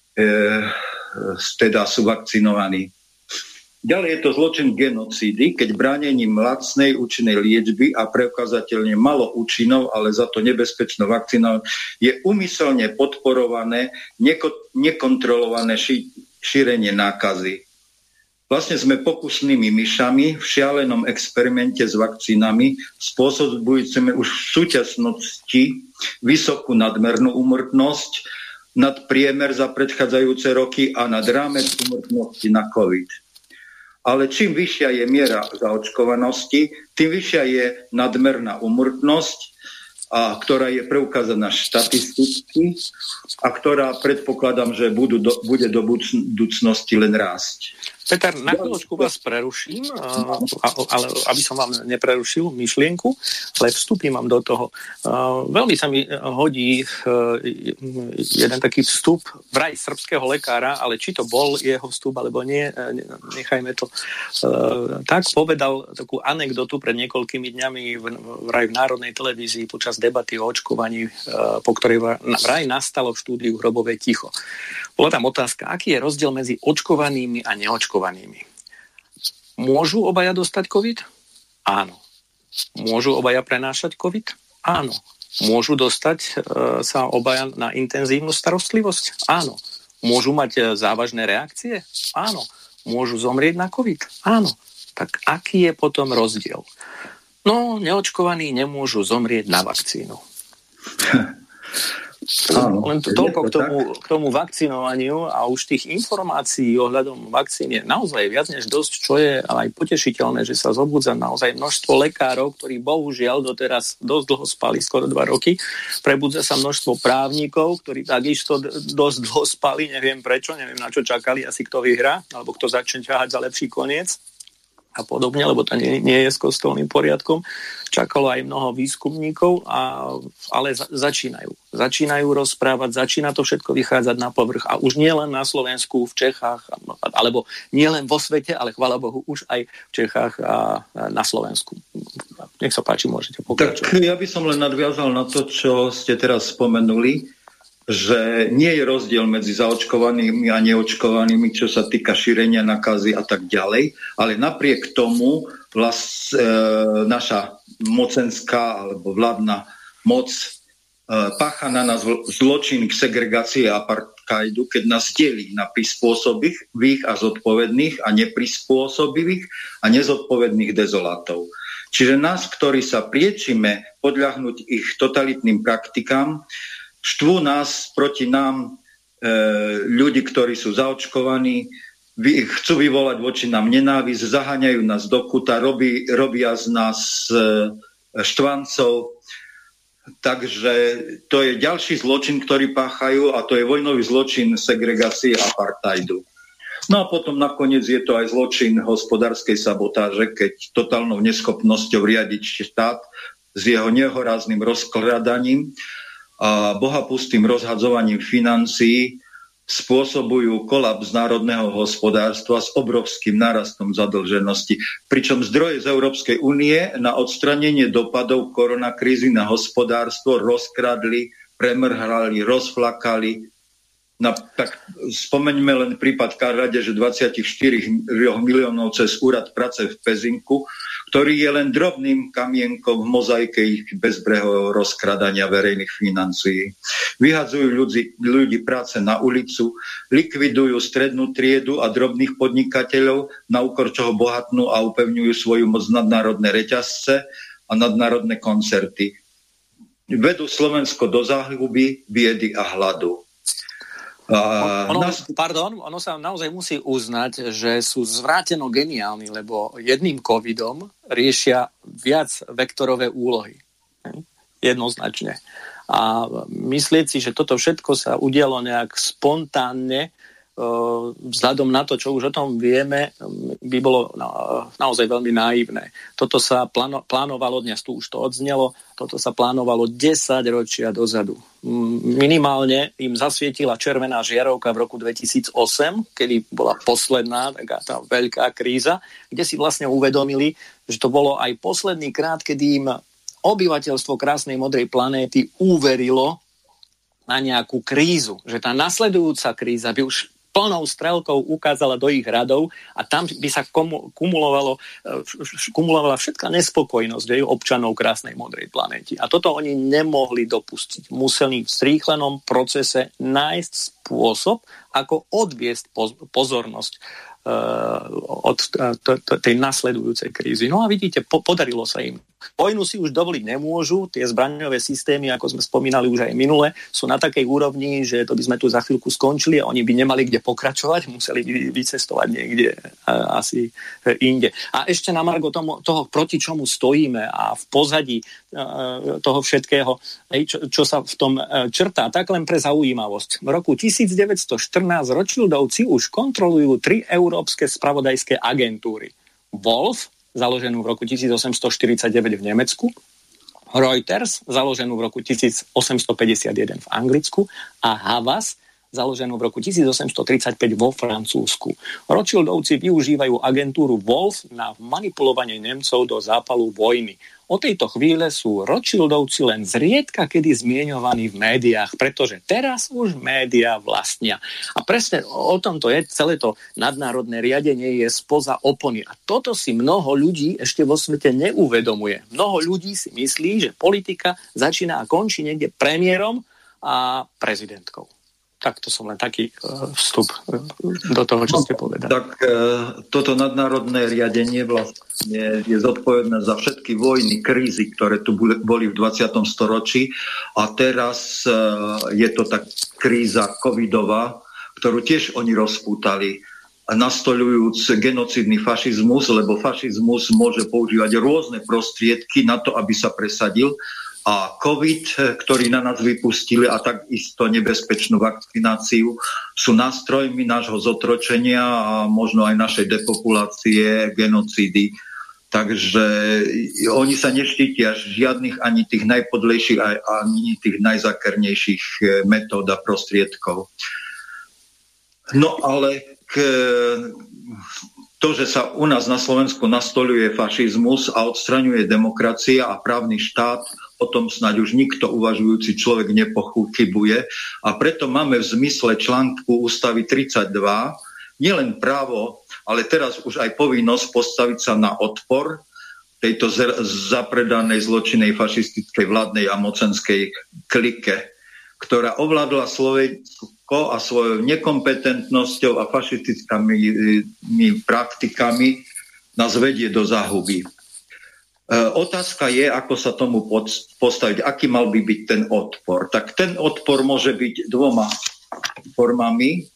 teda sú vakcinovaní. Ďalej je to zločin genocídy, keď bránením lacnej účinnej liečby a preukázateľne malo účinov, ale za to nebezpečnou vakcínou je úmyselne podporované neko- nekontrolované ši- šírenie nákazy. Vlastne sme pokusnými myšami v šialenom experimente s vakcínami, spôsobujúcimi už v súčasnosti vysokú nadmernú úmrtnosť nad priemer za predchádzajúce roky a nad rámec úmrtnosti na COVID. Ale čím vyššia je miera zaočkovanosti, tým vyššia je nadmerná úmrtnosť, a ktorá je preukázaná štatisticky a ktorá predpokladám, že budú do, bude do budúcnosti len rásť.
Peter, na chvíľočku vás preruším, ale aby som vám neprerušil myšlienku, ale vstúpim vám do toho. Veľmi sa mi hodí jeden taký vstup vraj srbského lekára, ale či to bol jeho vstup, alebo nie, nechajme to. Tak povedal takú anekdotu pred niekoľkými dňami vraj v Národnej televízii počas debaty o očkovaní, po ktorej vraj nastalo v štúdiu hrobové ticho. Bola tam otázka, aký je rozdiel medzi očkovanými a neočkovanými. Môžu obaja dostať COVID? Áno. Môžu obaja prenášať COVID? Áno. Môžu dostať e, sa obaja na intenzívnu starostlivosť? Áno. Môžu mať e, závažné reakcie? Áno. Môžu zomrieť na COVID? Áno. Tak aký je potom rozdiel? No, neočkovaní nemôžu zomrieť na vakcínu. Áno, len to, toľko to k tomu, k tomu vakcinovaniu a už tých informácií ohľadom vakcín je naozaj viac než dosť, čo je aj potešiteľné, že sa zobudza naozaj množstvo lekárov, ktorí bohužiaľ doteraz dosť dlho spali, skoro dva roky. Prebudza sa množstvo právnikov, ktorí takisto dosť dlho spali, neviem prečo, neviem na čo čakali, asi kto vyhrá, alebo kto začne ťahať za lepší koniec a podobne, lebo to nie, nie je s kostolným poriadkom. Čakalo aj mnoho výskumníkov, a, ale za, začínajú. Začínajú rozprávať, začína to všetko vychádzať na povrch. A už nie len na Slovensku, v Čechách, alebo nie len vo svete, ale chvála Bohu, už aj v Čechách a na Slovensku. Nech sa páči, môžete pokračovať.
Tak ja by som len nadviazal na to, čo ste teraz spomenuli, že nie je rozdiel medzi zaočkovanými a neočkovanými, čo sa týka šírenia nakazy a tak ďalej, ale napriek tomu vlast, e, naša mocenská alebo vládna moc e, pácha na nás zločin k segregácie a apartheidu, keď nás delí na prispôsobivých a zodpovedných a neprispôsobivých a nezodpovedných dezolátov. Čiže nás, ktorí sa priečime podľahnuť ich totalitným praktikám, štvú nás proti nám e, ľudí, ktorí sú zaočkovaní, vy, chcú vyvolať voči nám nenávisť, zaháňajú nás do kuta, robí, robia z nás e, štvancov. Takže to je ďalší zločin, ktorý páchajú, a to je vojnový zločin segregácie apartheidu. No a potom nakoniec je to aj zločin hospodárskej sabotáže, keď totálnou neschopnosťou riadiť štát s jeho nehorázným rozkladaním a bohapustým rozhadzovaním financií spôsobujú kolaps národného hospodárstva s obrovským nárastom zadlženosti. Pričom zdroje z Európskej únie na odstranenie dopadov koronakrízy na hospodárstvo rozkradli, premrhali, rozflakali. Na, tak spomeňme len prípad krádeže dvadsaťštyri miliónov cez úrad práce v Pezinku, ktorý je len drobným kamienkom v mozaike ich bezbrehového rozkradania verejných financií. Vyhadzujú ľudí, ľudí práce na ulicu, likvidujú strednú triedu a drobných podnikateľov, na úkor čoho bohatnú a upevňujú svoju moc nadnárodné reťazce a nadnárodné koncerty. Vedú Slovensko do záhuby, biedy a hladu.
Uh, ono, nás... Pardon, ono sa naozaj musí uznať, že sú zvráteno geniálni, lebo jedným covidom riešia viac vektorové úlohy. Jednoznačne. A myslieť si, že toto všetko sa udialo nejak spontánne, vzhľadom na to, čo už o tom vieme, by bolo naozaj veľmi naivné. Toto sa pláno, plánovalo, dnes tu už to odznelo, toto sa plánovalo desaťročia dozadu. Minimálne im zasvietila červená žiarovka v roku dvetisícosem, kedy bola posledná taká tá veľká kríza, kde si vlastne uvedomili, že to bolo aj posledný krát, kedy im obyvateľstvo krásnej modrej planéty uverilo na nejakú krízu, že tá nasledujúca kríza by už plnou strelkou ukázala do ich radov a tam by sa kumulovalo, kumulovala všetká nespokojnosť jej občanov krásnej modrej planéty. A toto oni nemohli dopustiť. Museli v zrýchlenom procese nájsť spôsob, ako odviesť pozornosť od tej nasledujúcej krízy. No a vidíte, po, podarilo sa im. Vojnu si už dovoliť nemôžu, tie zbraňové systémy, ako sme spomínali už aj minule, sú na takej úrovni, že to by sme tu za chvíľku skončili a oni by nemali kde pokračovať, museli by vycestovať niekde asi inde. A ešte na margo tomu, toho, proti čomu stojíme a v pozadí toho všetkého, čo, čo sa v tom črtá, tak len pre zaujímavosť. V roku devätnásťstoštrnásť Rothschildovci už kontrolujú tri európske spravodajské agentúry. Wolf, založenú v roku tisícosemstoštyridsaťdeväť v Nemecku, Reuters, založenú v roku tisícosemstopäťdesiatjeden v Anglicku a Havas, založenú v roku tisícosemstotridsaťpäť vo Francúzsku. Rothschildovci využívajú agentúru Wolf na manipulovanie Nemcov do zápalu vojny. Od tejto chvíle sú Rothschildovci len zriedka kedy zmieňovaní v médiách, pretože teraz už médiá vlastnia. A presne o tomto je, celé to nadnárodné riadenie je spoza opony. A toto si mnoho ľudí ešte vo svete neuvedomuje. Mnoho ľudí si myslí, že politika začína a končí niekde premiérom a prezidentkou. Tak to som len taký uh, vstup do toho, čo ste povedali.
Tak uh, toto nadnárodné riadenie vlastne je zodpovedné za všetky vojny, krízy, ktoré tu boli v dvadsiatom storočí a teraz uh, je to tak kríza covidová, ktorú tiež oni rozpútali, nastoľujúc genocidný fašizmus, lebo fašizmus môže používať rôzne prostriedky na to, aby sa presadil. A COVID, ktorý na nás vypustili a takisto nebezpečnú vakcináciu, sú nástrojmi nášho zotročenia a možno aj našej depopulácie, genocídy. Takže oni sa neštítia žiadnych ani tých najpodlejších, ani tých najzakernejších metód a prostriedkov. No ale k... to, že sa u nás na Slovensku nastoľuje fašizmus a odstraňuje demokracia a právny štát, o tom snáď už nikto uvažujúci človek nepochybuje. A preto máme v zmysle článku ústavy tridsaťdva nielen právo, ale teraz už aj povinnosť postaviť sa na odpor tejto zapredanej zločinnej fašistickej vládnej a mocenskej klike, ktorá ovládla Slovensko a svojou nekompetentnosťou a fašistickými praktikami nás vedie do záhuby. E, otázka je, ako sa tomu postaviť, aký mal by byť ten odpor. Tak ten odpor môže byť dvoma formami.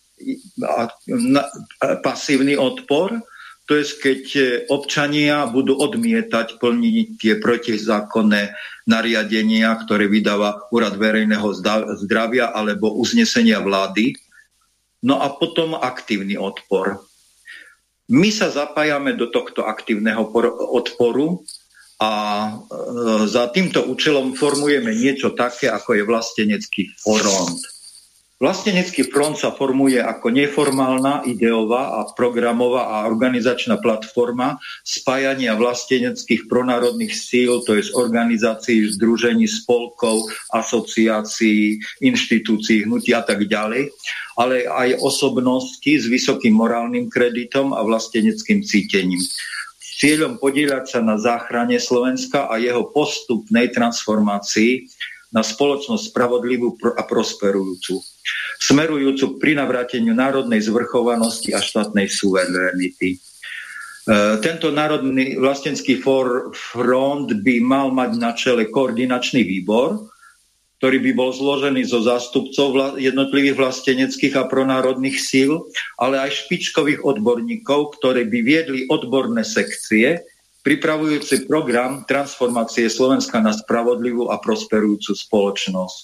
Pasívny odpor, to je, keď občania budú odmietať plniť tie protizákonné nariadenia, ktoré vydáva Úrad verejného zdravia alebo uznesenia vlády. No a potom aktívny odpor. My sa zapájame do tohto aktívneho odporu a za týmto účelom formujeme niečo také, ako je vlastenecký front. Vlastenecký front sa formuje ako neformálna, ideová a programová a organizačná platforma spájania vlasteneckých pronárodných síl, to je z organizácií, združení, spolkov, asociácií, inštitúcií, hnutí a tak ďalej, ale aj osobnosti s vysokým morálnym kreditom a vlasteneckým cítením. S cieľom podieľať sa na záchrane Slovenska a jeho postupnej transformácii na spoločnosť spravodlivú a prosperujúcu, smerujúcu k prinavráteniu národnej zvrchovanosti a štátnej suverenity. E, tento národný vlastenecký front by mal mať na čele koordinačný výbor, ktorý by bol zložený zo zástupcov jednotlivých vlasteneckých a pronárodných síl, ale aj špičkových odborníkov, ktorí by viedli odborné sekcie, pripravujúci program transformácie Slovenska na spravodlivú a prosperujúcu spoločnosť.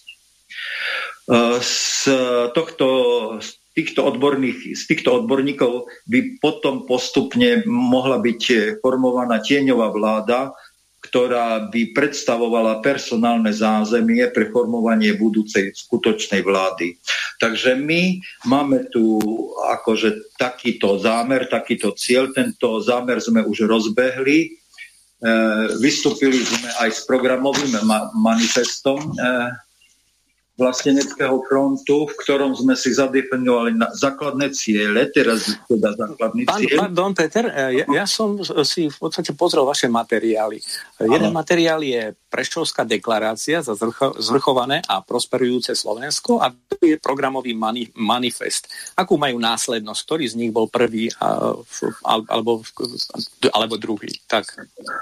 Z tohto, z týchto odborných, z týchto odborníkov by potom postupne mohla byť formovaná tieňová vláda, ktorá by predstavovala personálne zázemie pre formovanie budúcej skutočnej vlády. Takže my máme tu akože takýto zámer, takýto cieľ. Tento zámer sme už rozbehli. E, vystúpili sme aj s programovým ma- manifestom e, Vlasteneckého frontu, v ktorom sme si zadefinovali na základné ciele, teraz teda základný
Pán,
cieľ.
Pardon, Peter, ja, ja som si v podstate pozrel vaše materiály. Jeden ano. Materiál je Prešovská deklarácia za zvrcho, zvrchované a prosperujúce Slovensko a to je programový mani, manifest. Akú majú následnosť? Ktorý z nich bol prvý a, alebo, alebo druhý? Tak.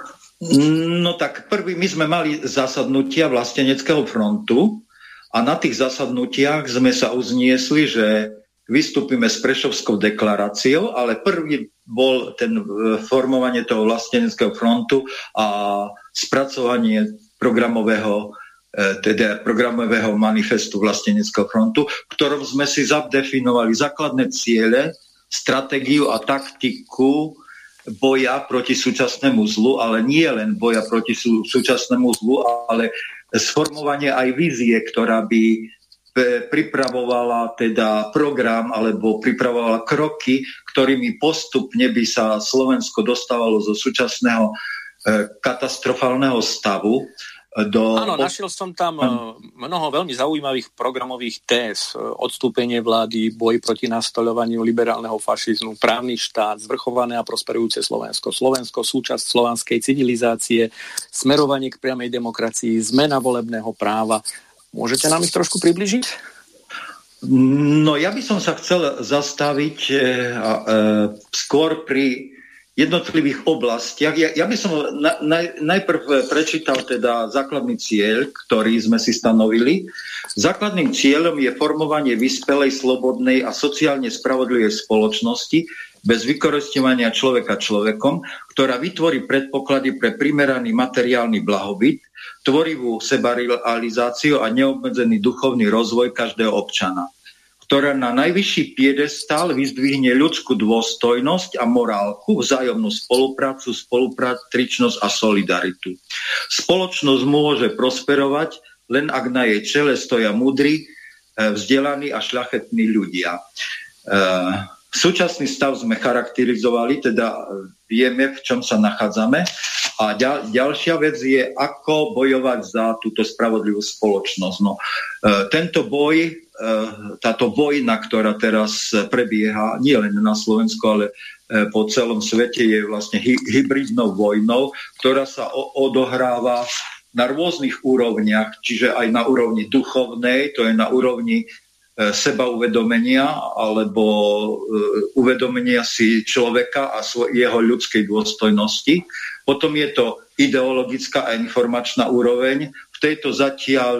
No tak prvý, my sme mali zasadnutia Vlasteneckého frontu, a na tých zasadnutiach sme sa uzniesli, že vystúpime s Prešovskou deklaráciou, ale prvý bol ten formovanie toho vlasteneckého frontu a spracovanie programového, teda programového manifestu Vlasteneckého frontu, v ktorom sme si zadefinovali základné ciele, stratégiu a taktiku boja proti súčasnému zlu, ale nie len boja proti sú, súčasnému zlu, ale sformovanie aj vízie, ktorá by pripravovala teda program alebo pripravovala kroky, ktorými postupne by sa Slovensko dostávalo zo súčasného katastrofálneho stavu do...
Áno, našiel som tam mnoho veľmi zaujímavých programových téz. Odstúpenie vlády, boj proti nastoľovaniu liberálneho fašizmu, právny štát, zvrchované a prosperujúce Slovensko, Slovensko, súčasť slovanskej civilizácie, smerovanie k priamej demokracii, zmena volebného práva. Môžete nám ich trošku približiť?
No, ja by som sa chcel zastaviť e, e, skôr pri jednotlivých oblastiach. Ja, ja by som na, naj, najprv prečítal teda základný cieľ, ktorý sme si stanovili. Základným cieľom je formovanie vyspelej, slobodnej a sociálne spravodlivej spoločnosti bez vykorisťovania človeka človekom, ktorá vytvorí predpoklady pre primeraný materiálny blahobyt, tvorivú sebarealizáciu a neobmedzený duchovný rozvoj každého občana, ktorá na najvyšší piedestál vyzdvihne ľudskú dôstojnosť a morálku, vzájomnú spoluprácu, spolupatričnosť a solidaritu. Spoločnosť môže prosperovať, len ak na jej čele stoja múdri, vzdelaní a šľachetní ľudia. Súčasný stav sme charakterizovali, teda vieme, v čom sa nachádzame. A ďal, ďalšia vec je, ako bojovať za túto spravodlivú spoločnosť. No, e, tento boj, e, táto vojna, ktorá teraz prebieha nie len na Slovensku, ale e, po celom svete, je vlastne hy, hybridnou vojnou, ktorá sa o, odohráva na rôznych úrovniach, čiže aj na úrovni duchovnej, to je na úrovni seba uvedomenia alebo uvedomenia si človeka a jeho ľudskej dôstojnosti. Potom je to ideologická a informačná úroveň. V tejto zatiaľ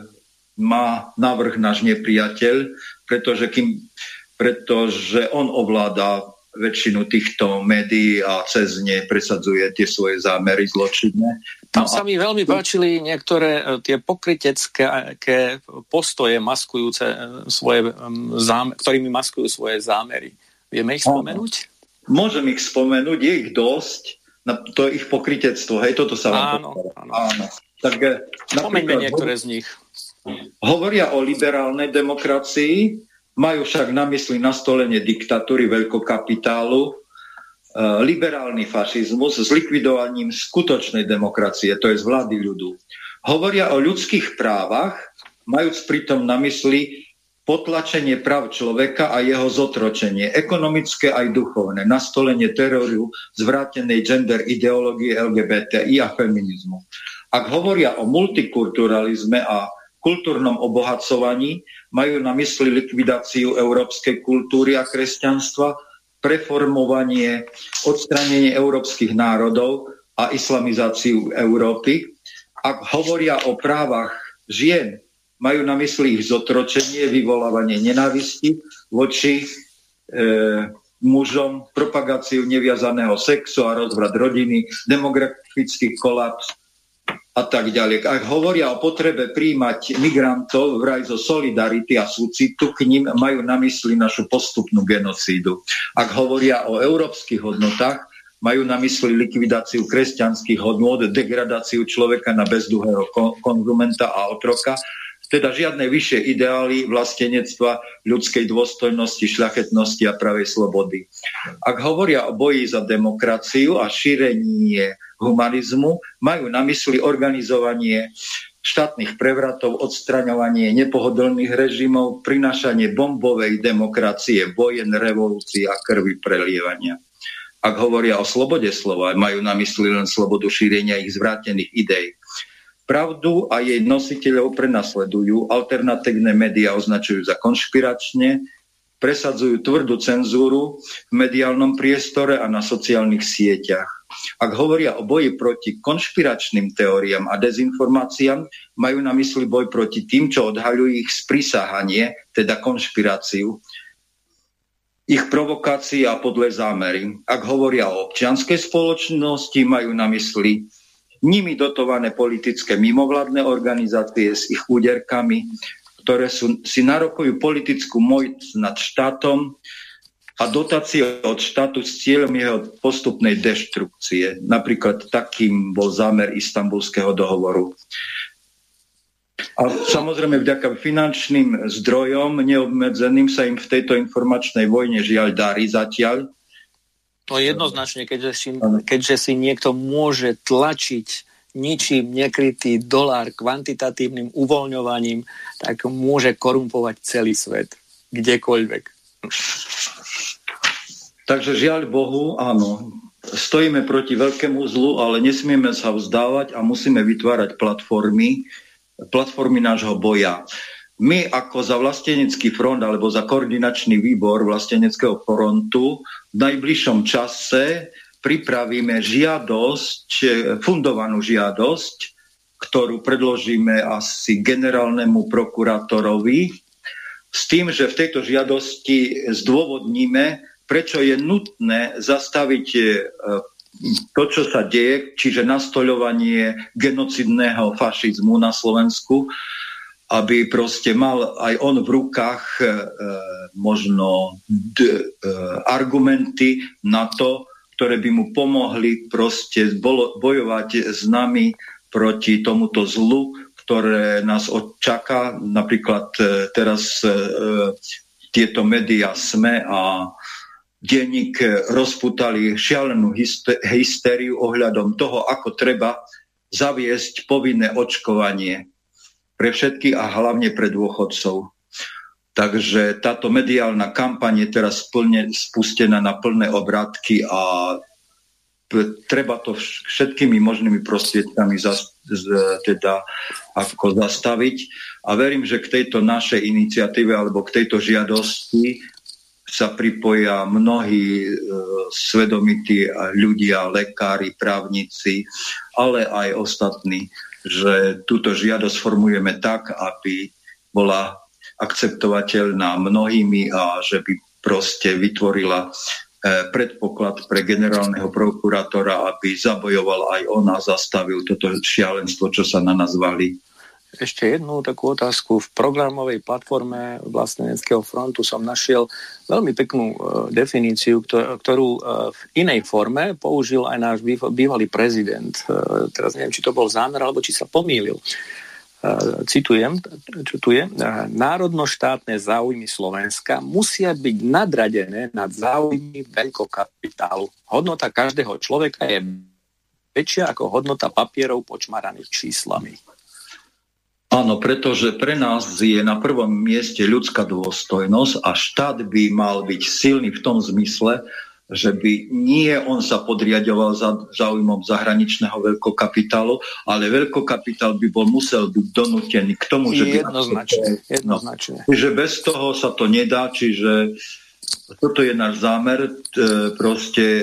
má návrh náš nepriateľ, pretože, kým, pretože on ovláda väčšinu týchto médií a cez ne presadzuje tie svoje zámery zločinné.
Tam sa mi veľmi páčili niektoré tie pokrytecké postoje maskujúce svoje zámery, ktorými maskujú svoje zámery. Vieme ich spomenúť?
Môžem ich spomenúť, je ich dosť. To je ich pokrytectvo, hej, toto sa vám
áno, áno.
áno. Tak,
spomeňme niektoré z nich.
Hovoria o liberálnej demokracii, majú však na mysli nastolenie diktatúry veľkokapitálu, liberálny fašizmus s likvidovaním skutočnej demokracie, to je z vlády ľudu. Hovoria o ľudských právach, majúc pritom na mysli potlačenie práv človeka a jeho zotročenie, ekonomické aj duchovné, nastolenie teroru, zvrátenej gender ideológie el gé bé té í a feminizmu. Ak hovoria o multikulturalizme a kultúrnom obohacovaní, majú na mysli likvidáciu európskej kultúry a kresťanstva, preformovanie, odstránenie európskych národov a islamizáciu Európy. Ak hovoria o právach žien, majú na mysli ich zotročenie, vyvolávanie nenávisti voči e, mužom, propagáciu neviazaného sexu a rozvrat rodiny, demografický kolaps a tak ďalej. Ak hovoria o potrebe príjmať migrantov vraj zo solidarity a súcitu, k ním majú na mysli našu postupnú genocídu. Ak hovoria o európskych hodnotách, majú na mysli likvidáciu kresťanských hodnôt, degradáciu človeka na bezduhého konzumenta a otroka, teda žiadne vyššie ideály vlastenectva, ľudskej dôstojnosti, šľachetnosti a pravej slobody. Ak hovoria o boji za demokraciu a šírenie humanizmu, majú na mysli organizovanie štátnych prevratov, odstraňovanie nepohodlných režimov, prinášanie bombovej demokracie, vojen, revolúcií a krvi prelievania. Ak hovoria o slobode slova, majú na mysli len slobodu šírenia ich zvrátených idej. Pravdu a jej nositeľov prenasledujú, alternatívne médiá označujú za konšpiračne, presadzujú tvrdú cenzúru v mediálnom priestore a na sociálnych sieťach. Ak hovoria o boji proti konšpiračným teóriám a dezinformáciám, majú na mysli boj proti tým, čo odhaľujú ich sprisahanie, teda konšpiráciu, ich provokácie a podlé zámery. Ak hovoria o občianskej spoločnosti, majú na mysli nimi dotované politické mimovládne organizácie s ich úderkami, ktoré sú, si narokujú politickú moc nad štátom a dotácie od štátu s cieľom jeho postupnej deštrukcie. Napríklad takým bol zámer Istanbulského dohovoru. A samozrejme vďaka finančným zdrojom neobmedzeným sa im v tejto informačnej vojne žiaľ darí zatiaľ.
To jednoznačne, keďže si, keďže si niekto môže tlačiť ničím nekrytý dolár kvantitatívnym uvoľňovaním, tak môže korumpovať celý svet, kdekoľvek.
Takže žiaľ Bohu, áno, stojíme proti veľkému zlu, ale nesmieme sa vzdávať a musíme vytvárať platformy, platformy nášho boja. My ako za vlastenecký front alebo za koordinačný výbor vlasteneckého frontu v najbližšom čase pripravíme žiadosť, fundovanú žiadosť, ktorú predložíme asi generálnemu prokurátorovi, s tým, že v tejto žiadosti zdôvodníme, prečo je nutné zastaviť to, čo sa deje, čiže nastoľovanie genocidného fašizmu na Slovensku, aby proste mal aj on v rukách e, možno d, e, argumenty na to, ktoré by mu pomohli proste bolo, bojovať s nami proti tomuto zlu, ktoré nás odčaká. Napríklad e, teraz e, tieto médiá SME a denník rozputali šialenú hystériu ohľadom toho, ako treba zaviesť povinné očkovanie pre všetkých a hlavne pre dôchodcov. Takže táto mediálna kampaň je teraz plne spustená na plné obrátky a treba to všetkými možnými prostriedkami zas, z, teda ako zastaviť. A verím, že k tejto našej iniciatíve alebo k tejto žiadosti sa pripoja mnohí e, svedomití ľudia, lekári, právnici, ale aj ostatní, že túto žiadosť formujeme tak, aby bola akceptovateľná mnohými a že by proste vytvorila e, predpoklad pre generálneho prokurátora, aby zabojoval aj on a zastavil toto šialenstvo, čo sa na nás valí.
Ešte jednu takú otázku. V programovej platforme Vlasteneckého frontu som našiel veľmi peknú uh, definíciu, ktorú, ktorú uh, v inej forme použil aj náš bývalý prezident. Uh, teraz neviem, či to bol zámer, alebo či sa pomýlil. Uh, citujem, čo tu je. Uh, národno-štátne záujmy Slovenska musia byť nadradené nad záujmy veľkokapitálu. Hodnota každého človeka je väčšia ako hodnota papierov počmaraných číslami.
Áno, pretože pre nás je na prvom mieste ľudská dôstojnosť a štát by mal byť silný v tom zmysle, že by nie on sa podriaďoval za záujmom zahraničného veľkokapitálu, ale veľkokapitál by bol musel byť donútený k tomu, že by...
Jednoznačne, jednoznačne.
No, čiže bez toho sa to nedá, čiže toto je náš zámer, proste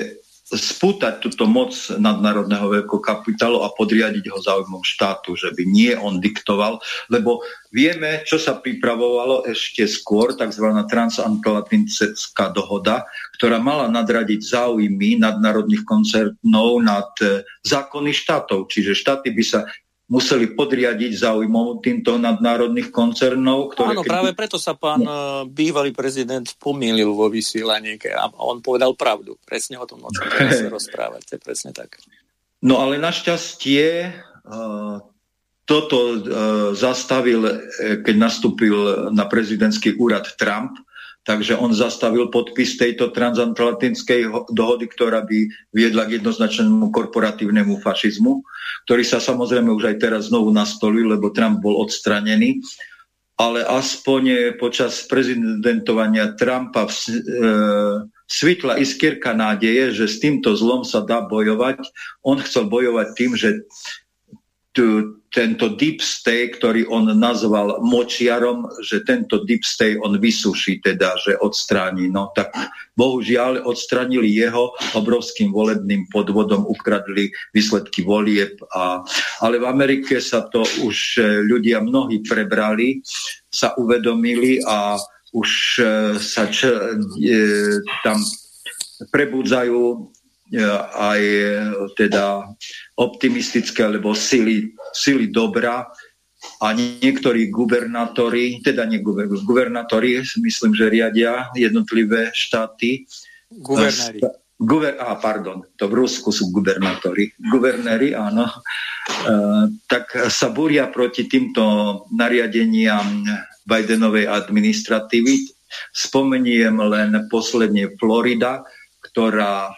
spútať túto moc nadnárodného veľkokapitálu a podriadiť ho záujmom štátu, že by nie on diktoval, lebo vieme, čo sa pripravovalo ešte skôr, tzv. Transatlantická dohoda, ktorá mala nadradiť záujmy nadnárodných koncernov nad zákony štátov, čiže štáty by sa museli podriadiť záujmom týmto nadnárodných koncernov. Ktoré
Áno,
keď...
práve preto sa pán no. bývalý prezident pomýlil vo vysielaní a on povedal pravdu. Presne o tom, o čom teraz sa rozprávate. Presne tak.
No ale našťastie uh, toto uh, zastavil, keď nastúpil na prezidentský úrad Trump, takže on zastavil podpis tejto transatlantickej dohody, ktorá by viedla k jednoznačnému korporatívnemu fašizmu, ktorý sa samozrejme už aj teraz znovu nastolil, lebo Trump bol odstranený. Ale aspoň počas prezidentovania Trumpa v, e, svitla iskierka nádeje, že s týmto zlom sa dá bojovať. On chcel bojovať tým, že tu, tento deep state, ktorý on nazval močiarom, že tento deep state on vysuší, teda, že odstráni. No tak bohužiaľ odstránili jeho obrovským volebným podvodom, ukradli výsledky volieb. A, ale v Amerike sa to už ľudia mnohí prebrali, sa uvedomili a už sa č, e, tam prebudzajú aj teda optimistické alebo sily, sily dobra a niektorí gubernátori, teda nie gubernátori, myslím, že riadia jednotlivé štáty.
Guvernéri.
Guver, á, pardon, to v Rusku sú gubernátori. Guvernéri, áno. E, tak sa búria proti týmto nariadeniam Bidenovej administratívy. Spomeniem len posledne Florida, ktorá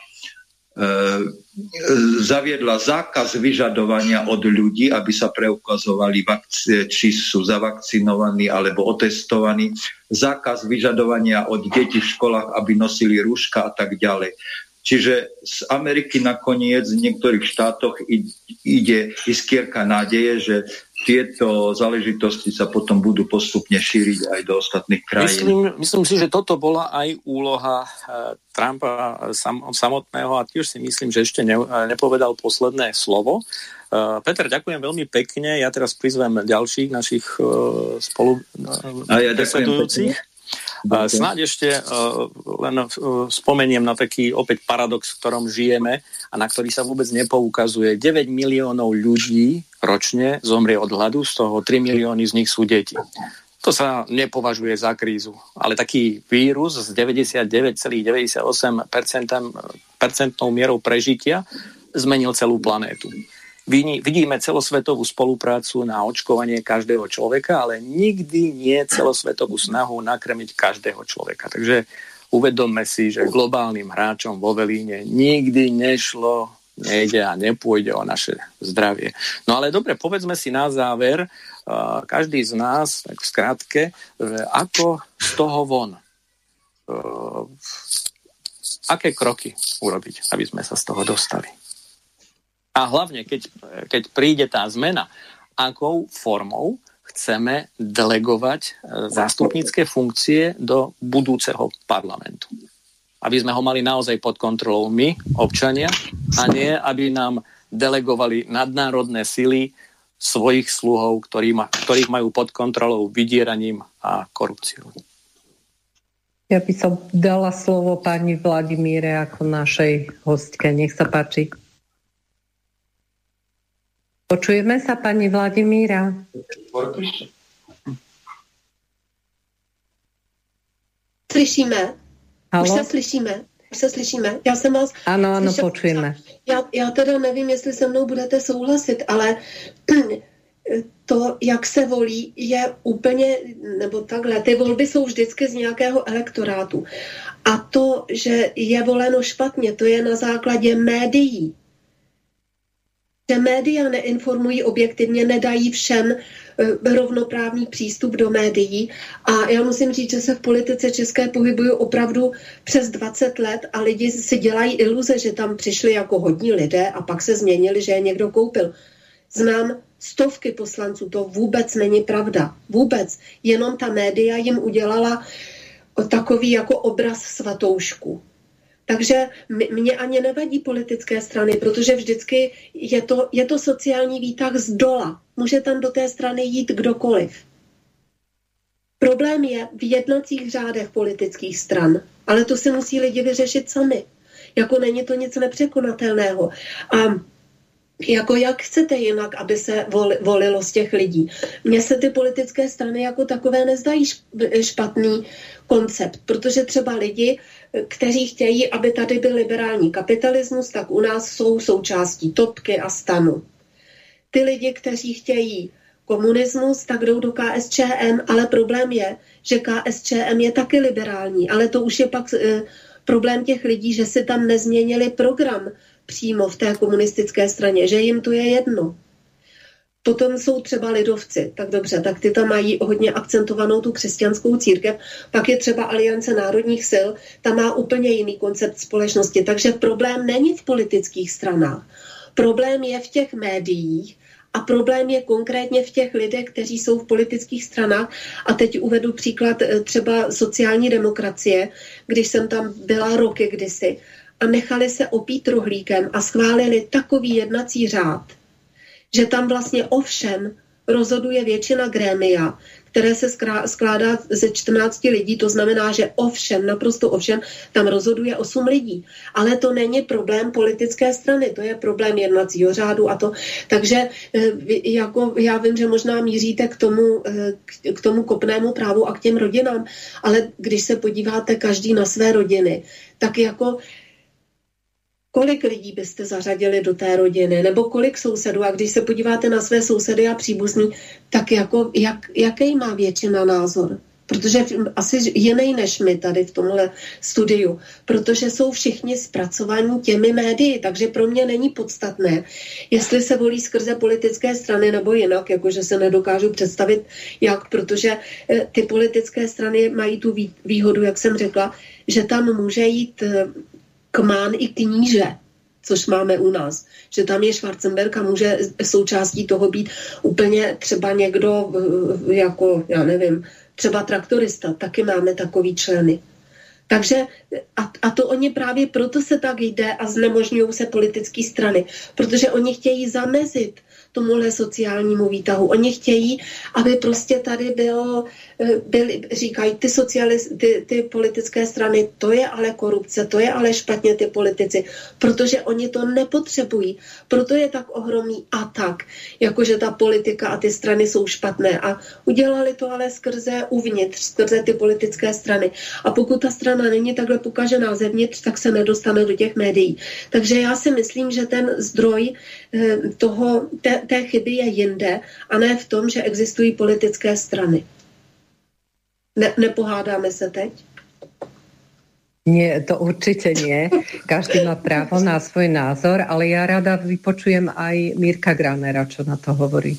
zaviedla zákaz vyžadovania od ľudí, aby sa preukazovali, vakci- či sú zavakcinovaní alebo otestovaní, zákaz vyžadovania od detí v školách, aby nosili rúška a tak ďalej. Čiže z Ameriky nakoniec v niektorých štátoch ide iskierka nádeje, že tieto záležitosti sa potom budú postupne šíriť aj do ostatných krajín.
Myslím, myslím si, že toto bola aj úloha Trumpa sam, samotného a tiež si myslím, že ešte ne, nepovedal posledné slovo. Peter, ďakujem veľmi pekne. Ja teraz prizvem ďalších našich spolu
a ja ďakujem.
Snáď ešte uh, len uh, spomeniem na taký opäť paradox, v ktorom žijeme a na ktorý sa vôbec nepoukazuje. deväť miliónov ľudí ročne zomrie od hladu, z toho tri milióny z nich sú deti. To sa nepovažuje za krízu, ale taký vírus s deväťdesiatdeväť celá deväťdesiatosem percent mierou prežitia zmenil celú planétu. Vidíme celosvetovú spoluprácu na očkovanie každého človeka, ale nikdy nie celosvetovú snahu nakrmiť každého človeka. Takže uvedomme si, že globálnym hráčom vo Velíne nikdy nešlo, nejde a nepôjde o naše zdravie. No ale dobre, povedzme si na záver, každý z nás, tak v skratke, ako z toho von? Aké kroky urobiť, aby sme sa z toho dostali? A hlavne, keď, keď príde tá zmena, akou formou chceme delegovať zástupnícke funkcie do budúceho parlamentu. Aby sme ho mali naozaj pod kontrolou my, občania, a nie, aby nám delegovali nadnárodné sily svojich sluhov, ktorí ma, ktorých majú pod kontrolou vydieraním a korupciou.
Ja by som dala slovo pani Vladimíre ako našej hostke. Nech sa páči. Počujeme sa, pani Vladimíra?
Slyšíme.
Halo?
Už se slyšíme. Už se slyšíme. Já jsem vás...
Ano, ano, počujeme.
Já, já teda nevím, jestli se mnou budete souhlasit, ale to, jak se volí, je úplně, nebo takhle, ty volby jsou vždycky z nějakého elektorátu. A to, že je voleno špatně, to je na základě médií. Že média neinformují objektivně, nedají všem rovnoprávný přístup do médií. A já musím říct, že se v politice české pohybují opravdu přes dvacet let a lidi si dělají iluze, že tam přišli jako hodní lidé a pak se změnili, že je někdo koupil. Znám stovky poslanců, to vůbec není pravda. Vůbec. Jenom ta média jim udělala takový jako obraz svatoušku. Takže mě ani nevadí politické strany, protože vždycky je to, je to sociální výtah z dola. Může tam do té strany jít kdokoliv. Problém je v jednacích řádech politických stran, ale to si musí lidi vyřešit sami. Jako není to nic nepřekonatelného. A jako jak chcete jinak, aby se volilo z těch lidí? Mně se ty politické strany jako takové nezdají špatný koncept, protože třeba lidi, kteří chtějí, aby tady byl liberální kapitalismus, tak u nás jsou součástí Topky a Stanu. Ty lidi, kteří chtějí komunismus, tak jdou do K S Č M, ale problém je, že K S Č M je taky liberální, ale to už je pak e, problém těch lidí, že si tam nezměnili program přímo v té komunistické straně, že jim to je jedno. Potom jsou třeba lidovci, tak dobře, tak ty tam mají hodně akcentovanou tu křesťanskou církev, pak je třeba Aliance národních sil, ta má úplně jiný koncept společnosti, takže problém není v politických stranách. Problém je v těch médiích a problém je konkrétně v těch lidech, kteří jsou v politických stranách. A teď uvedu příklad třeba sociální demokracie, když jsem tam byla roky kdysi a nechali se opít rohlíkem a schválili takový jednací řád, že tam vlastně o všem rozhoduje většina grémia, které se skládá ze čtrnácti lidí, to znamená, že o všem, naprosto o všem, tam rozhoduje osm lidí. Ale to není problém politické strany, to je problém jednacího řádu a to. Takže jako já vím, že možná míříte k tomu, k tomu kopnému právu a k těm rodinám, ale když se podíváte každý na své rodiny, tak jako kolik lidí byste zařadili do té rodiny, nebo kolik sousedů, a když se podíváte na své sousedy a příbuzní, tak jako, jak, jaký má většina názor? Protože asi jiný než my tady v tomhle studiu, protože jsou všichni zpracovaní těmi médii, takže pro mě není podstatné, jestli se volí skrze politické strany nebo jinak, jakože se nedokážu představit jak, protože ty politické strany mají tu výhodu, jak jsem řekla, že tam může jít kmán i kníže, což máme u nás. Že tam je Schwarzenberg a může součástí toho být úplně třeba někdo jako, já nevím, třeba traktorista. Taky máme takový členy. Takže a, a to oni právě proto se tak jde a znemožňují se politické strany, protože oni chtějí zamezit tomuhle sociálnímu výtahu. Oni chtějí, aby prostě tady bylo, byly, říkají ty, socialist, ty, ty politické strany, to je ale korupce, to je ale špatně ty politici, protože oni to nepotřebují. Proto je tak ohromný atak, jakože ta politika a ty strany jsou špatné. A udělali to ale skrze uvnitř, skrze ty politické strany. A pokud ta strana není takhle pokažená zevnitř, tak se nedostane do těch médií. Takže já si myslím, že ten zdroj toho, té, té chyby je jinde a ne v tom, že existují politické strany. Ne, nepohádáme se teď?
Nie, to určite nie. Každý má právo na svoj názor, ale ja rada vypočujem aj Mirka Granera, čo na to hovorí.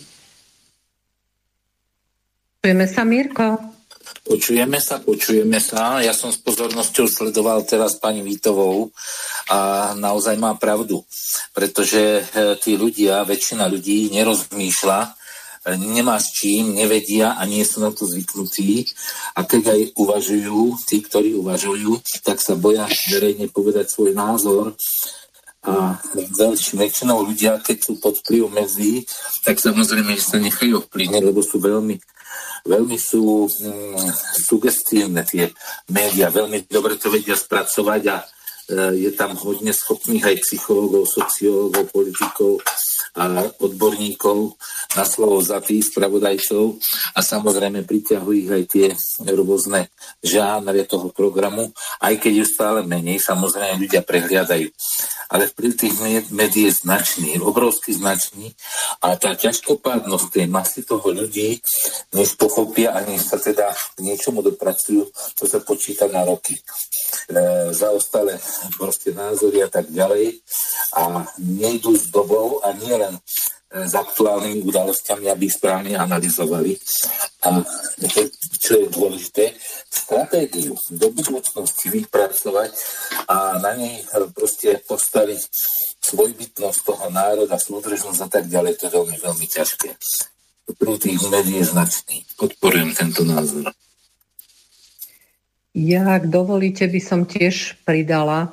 Počujeme sa, Mirko?
Počujeme sa, počujeme sa. Ja som s pozornosťou sledoval teraz pani Vítovou a naozaj má pravdu, pretože tí ľudia, väčšina ľudí nerozmýšľa, nemá s čím, nevedia a nie sú na to zvyknutí a keď aj uvažujú, tí, ktorí uvažujú, tak sa boja verejne povedať svoj názor a väčšinou ľudia, keď sú pod vplyvom médií, tak samozrejme, že sa nechajú vplyvniť, lebo sú veľmi Veľmi sú mm, sugestívne tie médiá, veľmi dobre to vedia spracovať a e, je tam hodne schopných aj psychológov, sociológov, politikov a odborníkov na slovo za tých spravodajcov a samozrejme priťahujú ich aj tie rôzne žánre toho programu, aj keď je stále menej, samozrejme ľudia prehliadajú. Ale vplyv tých médií je značný, obrovský značný a tá ťažkopádnosť tej masy toho ľudí, než pochopia a než sa teda k niečomu dopracujú, to sa počíta na roky. E, zaostale proste názory a tak ďalej a nejdú s dobou a nie len s aktuálnymi udalosťami, aby ich správne analyzovali. A čo je dôležité, stratégiu do budúcnosti vypracovať a na nej proste postaviť svojbytnosť toho národa, súdržnosť a tak ďalej, to je veľmi, veľmi ťažké. Pri tých médií je značný. Podporujem tento názor.
Ja, ak dovolíte, by som tiež pridala,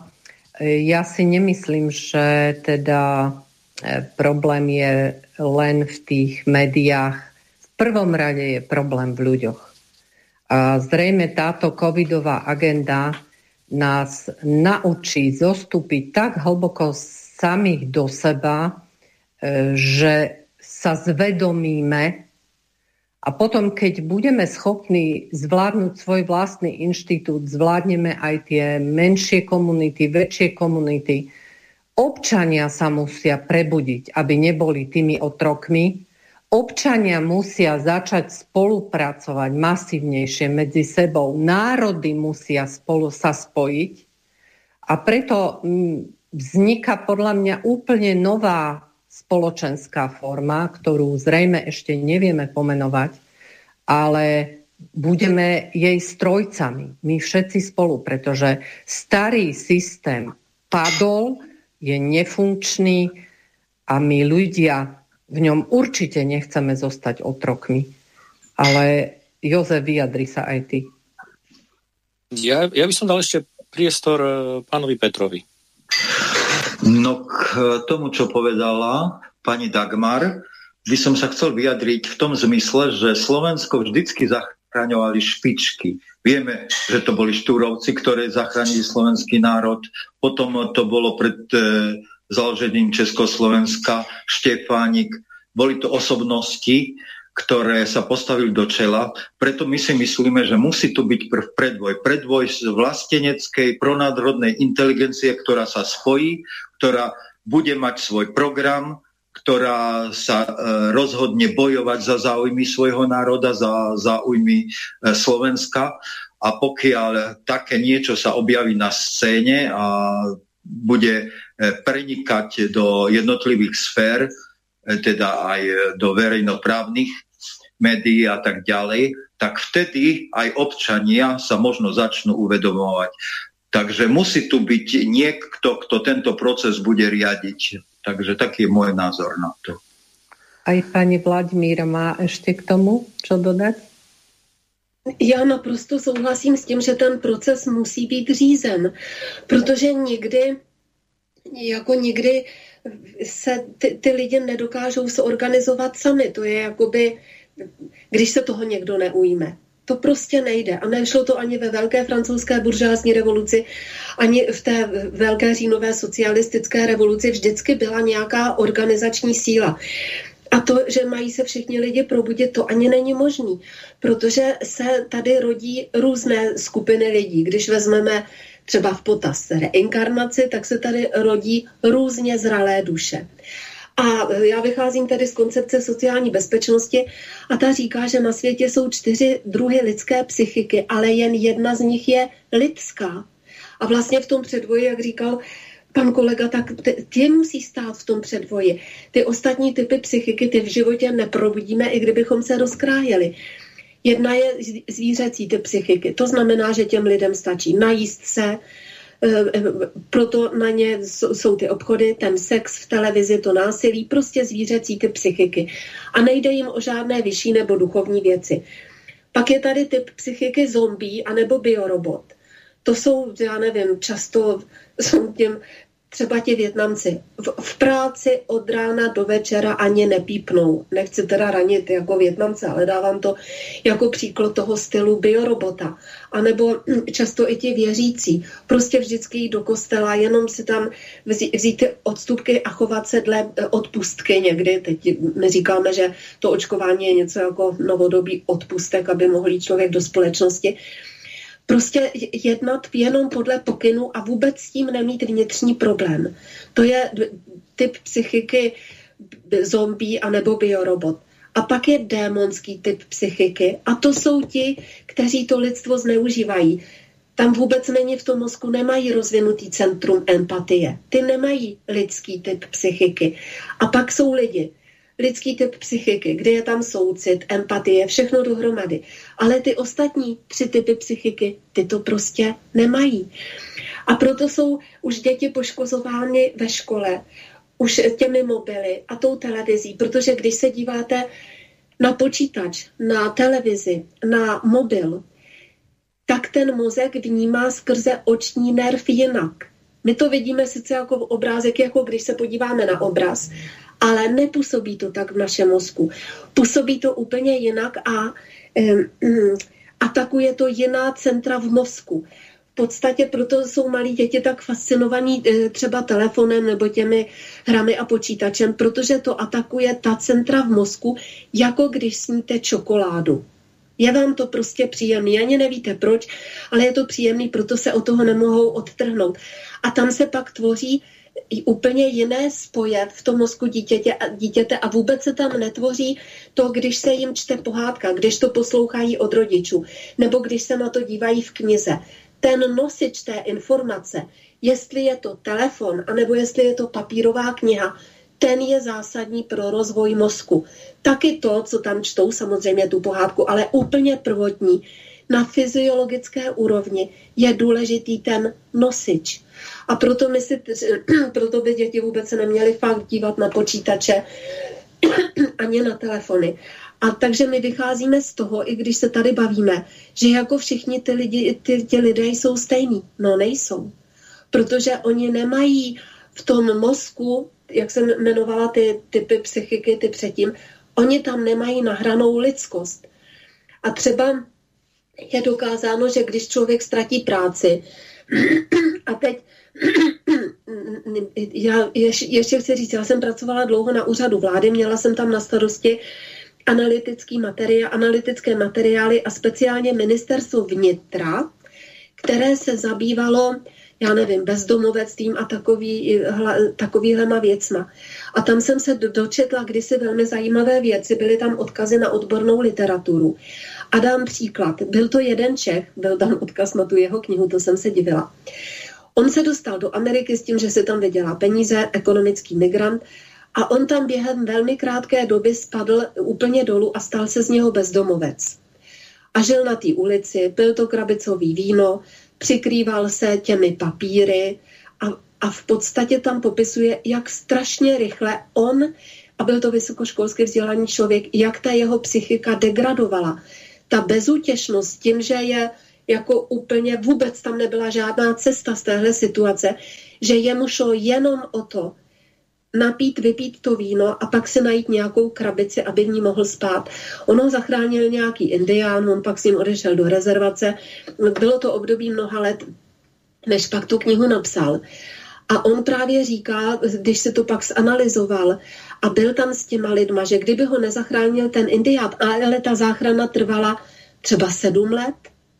Ja si nemyslím, že teda problém je len v tých médiách. V prvom rade je problém v ľuďoch. A zrejme táto covidová agenda nás naučí zostúpiť tak hlboko samých do seba, že sa zvedomíme a potom, keď budeme schopní zvládnuť svoj vlastný inštitút, zvládneme aj tie menšie komunity, väčšie komunity. Občania sa musia prebudiť, aby neboli tými otrokmi. Občania musia začať spolupracovať masívnejšie medzi sebou. Národy musia spolu sa spojiť. A preto vzniká podľa mňa úplne nová spoločenská forma, ktorú zrejme ešte nevieme pomenovať, ale budeme jej strojcami. My všetci spolu, pretože starý systém padol, je nefunkčný a my ľudia v ňom určite nechceme zostať otrokmi. Ale Jozef, vyjadri sa aj ty.
Ja, ja by som dal ešte priestor pánovi Petrovi.
No k tomu, čo povedala pani Dagmar, by som sa chcel vyjadriť v tom zmysle, že Slovensko vždycky zachraňovali špičky. Vieme, že to boli Štúrovci, ktoré zachránili slovenský národ. Potom to bolo pred založením Československa, Štefánik. Boli to osobnosti, ktoré sa postavili do čela. Preto my si myslíme, že musí tu byť prv predvoj. Predvoj z vlasteneckej pronárodnej inteligencie, ktorá sa spojí, ktorá bude mať svoj program, ktorá sa e, rozhodne bojovať za záujmy svojho národa, za záujmy e, Slovenska. A pokiaľ také niečo sa objaví na scéne a bude prenikať do jednotlivých sfér, teda aj do verejnoprávnych médií a tak ďalej, tak vtedy aj občania sa možno začnú uvedomovať. Takže musí tu byť niekto, kto tento proces bude riadiť. Takže taký je môj názor na to.
Aj pani Vladimíra má ešte k tomu čo dodať?
Já naprosto souhlasím s tím, že ten proces musí být řízen, protože někdy, jako někdy se ty, ty lidi nedokážou se organizovat sami. To je jakoby, když se toho někdo neujme. To prostě nejde. A nešlo to ani ve velké francouzské buržoazní revoluci, ani v té velké říjnové socialistické revoluci. Vždycky byla nějaká organizační síla. A to, že mají se všichni lidi probudit, to ani není možný, protože se tady rodí různé skupiny lidí. Když vezmeme třeba v potaz reinkarnaci, tak se tady rodí různě zralé duše. A já vycházím tady z koncepce sociální bezpečnosti a ta říká, že na světě jsou čtyři druhy lidské psychiky, ale jen jedna z nich je lidská. A vlastně v tom předvoji, jak říkal pan kolega, tak ty, ty musí stát v tom předvoji. Ty ostatní typy psychiky, ty v životě neprobudíme, i kdybychom se rozkrájeli. Jedna je zvířecí typ psychiky. To znamená, že těm lidem stačí najíst se, proto na ně jsou ty obchody, ten sex v televizi, to násilí, prostě zvířecí typ psychiky. A nejde jim o žádné vyšší nebo duchovní věci. Pak je tady typ psychiky zombie anebo biorobot. To jsou, já nevím, často jsou těm třeba ti Vietnamci. V, v práci od rána do večera ani nepípnou. Nechci teda ranit jako Vietnamce, ale dávám to jako příklad toho stylu biorobota. A nebo často i ti věřící. Prostě vždycky jít do kostela, jenom si tam vzít, vzít ty odstupky a chovat se dle odpustky někdy. Teď my říkáme, že to očkování je něco jako novodobý odpustek, aby mohl jít člověk do společnosti. Prostě jednat jenom podle pokynu a vůbec s tím nemít vnitřní problém. To je typ psychiky zombie anebo biorobot. A pak je démonský typ psychiky. A to jsou ti, kteří to lidstvo zneužívají. Tam vůbec není v tom mozku, nemají rozvinutý centrum empatie. Ty nemají lidský typ psychiky. A pak jsou lidi. Lidský typ psychiky, kde je tam soucit, empatie, všechno dohromady. Ale ty ostatní tři typy psychiky, ty to prostě nemají. A proto jsou už děti poškozovány ve škole, už těmi mobily a tou televizí, protože když se díváte na počítač, na televizi, na mobil, tak ten mozek vnímá skrze oční nerv jinak. My to vidíme sice jako obrázek, jako když se podíváme na obraz, ale nepůsobí to tak v našem mozku. Působí to úplně jinak a um, atakuje to jiná centra v mozku. V podstatě proto jsou malí děti tak fascinovaní třeba telefonem nebo těmi hrami a počítačem, protože to atakuje ta centra v mozku, jako když sníte čokoládu. Je vám to prostě příjemný, ani nevíte proč, ale je to příjemný, proto se od toho nemohou odtrhnout. A tam se pak tvoří úplně jiné spoje v tom mozku dítěte, dítěte a vůbec se tam netvoří to, když se jim čte pohádka, když to poslouchají od rodičů, nebo když se na to dívají v knize. Ten nosič té informace, jestli je to telefon, anebo jestli je to papírová kniha, ten je zásadní pro rozvoj mozku. Taky to, co tam čtou, samozřejmě tu pohádku, ale úplně prvotní, na fyziologické úrovni je důležitý ten nosič. A proto, my si, proto by děti vůbec se neměly fakt dívat na počítače ani na telefony. A takže my vycházíme z toho, i když se tady bavíme, že jako všichni ty, lidi, ty, ty lidé jsou stejní. No nejsou. Protože oni nemají v tom mozku, jak jsem jmenovala ty typy psychiky, ty předtím, oni tam nemají nahranou lidskost. A třeba je dokázáno, že když člověk ztratí práci, a teď já ještě, ještě chci říct, já jsem pracovala dlouho na úřadu vlády, měla jsem tam na starosti analytický materiál, analytické materiály a speciálně ministerstvo vnitra, které se zabývalo, já nevím, bezdomovectvím a takový, hla, takovýhlema věcma. A tam jsem se dočetla kdysi velmi zajímavé věci, byly tam odkazy na odbornou literaturu. A dám příklad. Byl to jeden Čech, byl tam odkaz na tu jeho knihu, to jsem se divila. On se dostal do Ameriky s tím, že si tam vydělá peníze, ekonomický migrant, a on tam během velmi krátké doby spadl úplně dolů a stal se z něho bezdomovec. A žil na té ulici, pil to krabicový víno, přikrýval se těmi papíry a, a v podstatě tam popisuje, jak strašně rychle on, a byl to vysokoškolsky vzdělaný člověk, jak ta jeho psychika degradovala. Ta bezútěšnost tím, že je jako úplně vůbec tam nebyla žádná cesta z téhle situace, že jemu šlo jenom o to, napít, vypít to víno a pak si najít nějakou krabici, aby v ní mohl spát. On ho zachránil nějaký indián, on pak s ním odešel do rezervace. Bylo to období mnoha let, než pak tu knihu napsal. A on právě říká, když se to pak zanalyzoval a byl tam s těma lidma, že kdyby ho nezachránil ten indián, ale ta záchrana trvala třeba sedm let,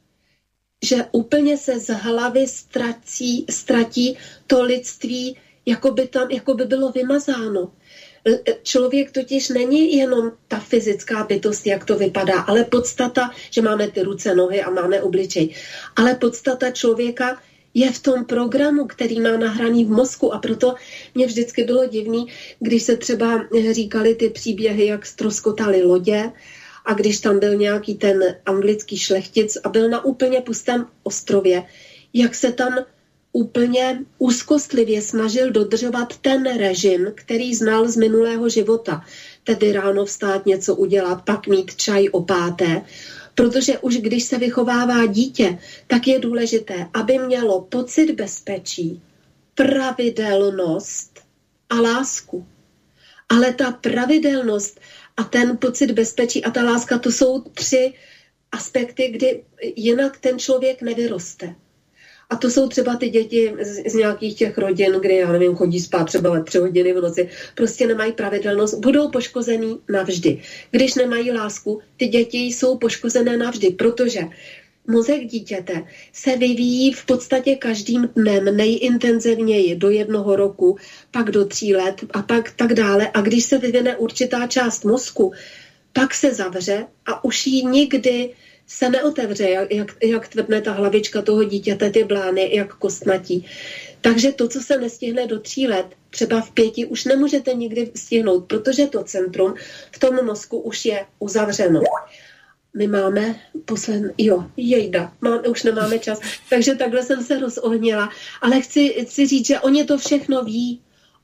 že úplně se z hlavy ztratí, ztratí to lidství, jako by tam jako by bylo vymazáno. Člověk totiž není jenom ta fyzická bytost, jak to vypadá, ale podstata, že máme ty ruce, nohy a máme obličej. Ale podstata člověka je v tom programu, který má nahraný v mozku, a proto mě vždycky bylo divný, když se třeba říkali ty příběhy, jak ztroskotaly lodě, a když tam byl nějaký ten anglický šlechtic a byl na úplně pustém ostrově, jak se tam úplně úzkostlivě snažil dodržovat ten režim, který znal z minulého života. Tedy ráno vstát, něco udělat, pak mít čaj o páté. Protože už když se vychovává dítě, tak je důležité, aby mělo pocit bezpečí, pravidelnost a lásku. Ale ta pravidelnost a ten pocit bezpečí a ta láska, to jsou tři aspekty, kdy jinak ten člověk nevyroste. A to jsou třeba ty děti z, z nějakých těch rodin, kde, já nevím, chodí spát třeba tři hodiny v noci, prostě nemají pravidelnost, budou poškozený navždy. Když nemají lásku, ty děti jsou poškozené navždy, protože mozek dítěte se vyvíjí v podstatě každým dnem nejintenzivněji do jednoho roku, pak do tří let a pak tak dále. A když se vyvine určitá část mozku, pak se zavře a už ji nikdy se neotevře, jak, jak, jak tvrdne ta hlavička toho dítěte, ty blány, jak kostnatí. Takže to, co se nestihne do tří let, třeba v pěti, už nemůžete nikdy stihnout, protože to centrum v tom mozku už je uzavřeno. My máme poslední, jo, jejda, máme, už nemáme čas, takže takhle jsem se rozohnila, ale chci, chci říct, že oni to všechno ví.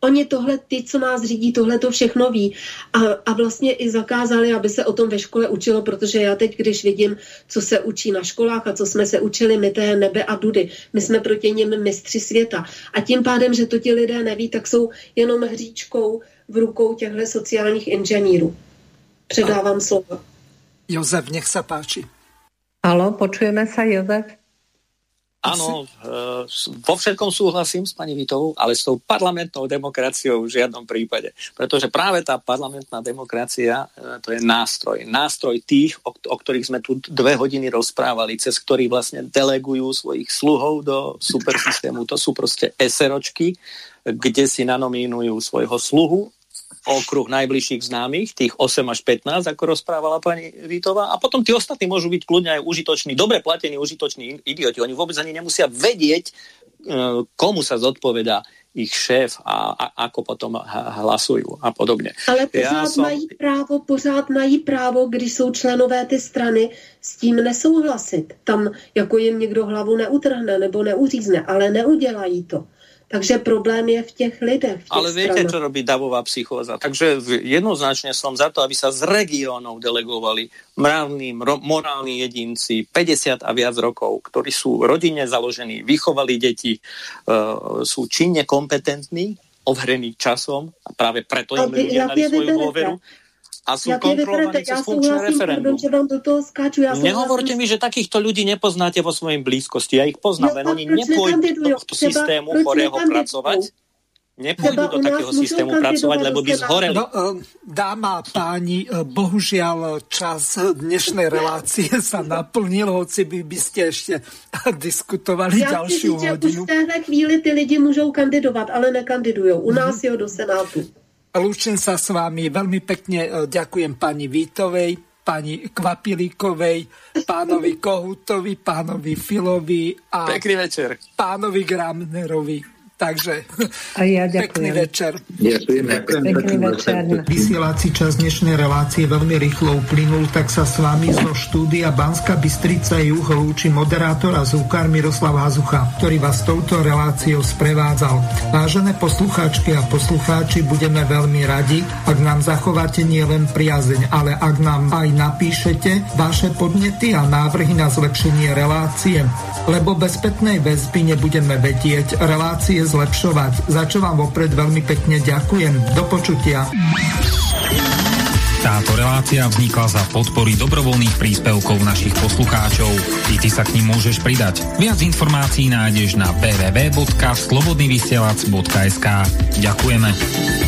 Oni tohle, ty, co nás řídí, tohle to všechno ví a, a vlastně i zakázali, aby se o tom ve škole učilo, protože já teď, když vidím, co se učí na školách a co jsme se učili my, té Nebe a Dudy, my jsme proti nim mistři světa. A tím pádem, že to ti lidé neví, tak jsou jenom hříčkou v rukou těchto sociálních inženýrů. Předávám slovo.
Jozef, nech sa páči.
Haló, počujeme sa, Jozef?
Áno, vo všetkom súhlasím s pani Vitovou, ale s tou parlamentnou demokraciou v žiadnom prípade. Pretože práve tá parlamentná demokracia, to je nástroj. Nástroj tých, o, o ktorých sme tu dve hodiny rozprávali, cez ktorých vlastne delegujú svojich sluhov do supersystému. To sú proste eseročky, kde si nanomínujú svojho sluhu, okruh najbližších známych, tých osem až pätnásť, ako rozprávala pani Vítová, a potom tí ostatní môžu byť kľudne aj užitoční, dobre platení užitoční idioti. Oni vôbec ani nemusia vedieť, komu sa zodpovedá ich šéf a, a ako potom hlasujú a podobne.
Ale pořád
ja som...
mají právo, pořád mají právo, když jsou členové ty strany, s tím nesouhlasit. Tam jako jim někdo hlavu neutrhne nebo neuřízne, ale neudělají to. Takže problém je v těch lidech. V těch
Ale viete,
stranách.
čo robí davová psychóza. Takže jednoznačne som za to, aby sa z regiónov delegovali mravní, ro- morálni jedinci, päťdesiat a viac rokov, ktorí sú rodine založení, vychovali deti, uh, sú činne kompetentní, overení časom a práve preto im ľudia dali svoju dôveru. A sú kontrolovaní cez funkčné referendum. Nehovorte mi, že takýchto ľudí nepoznáte vo svojej blízkosti. Ja ich poznám, len oni nepôjdu do tohto systému chorého pracovať. Nepôjdu do takého systému pracovať, lebo by zhoreli.
No, dáma a páni, bohužiaľ čas dnešnej relácie sa naplnil, hoci by, by ste ešte diskutovali
Já
ďalšiu
chci říct,
hodinu.
Už v téhle chvíli ty lidi můžou kandidovat, ale nekandidujou. U nás jo do Senátu.
Lúčim sa s vami, veľmi pekne ďakujem pani Vítovej, pani Kvapilíkovej, pánovi Kohutovi, pánovi Filovi a
Pekný večer.
pánovi Gramnerovi. Takže
a ja
pekný večer.
Ďakujeme. Pekný večer.
Vysielací čas dnešnej relácie veľmi rýchlo uplynul, tak sa s vami zo štúdia Banská Bystrica juh lúči moderátor a zvukár Miroslav Hazucha, ktorý vás touto reláciou sprevádzal. Vážené poslucháčky a poslucháči, budeme veľmi radi, ak nám zachováte nielen priazeň, ale ak nám aj napíšete vaše podnety a návrhy na zlepšenie relácie, lebo bez spätnej väzby nebudeme vedieť relácie zlepšovať, za čo vám vopred veľmi pekne ďakujem. Do počutia.
Táto relácia vznikla za podpory dobrovoľných príspevkov našich poslucháčov. I ty sa k nim môžeš pridať. Viac informácií nájdeš na w w w bodka slobodnyvysielac bodka es ka. Ďakujeme.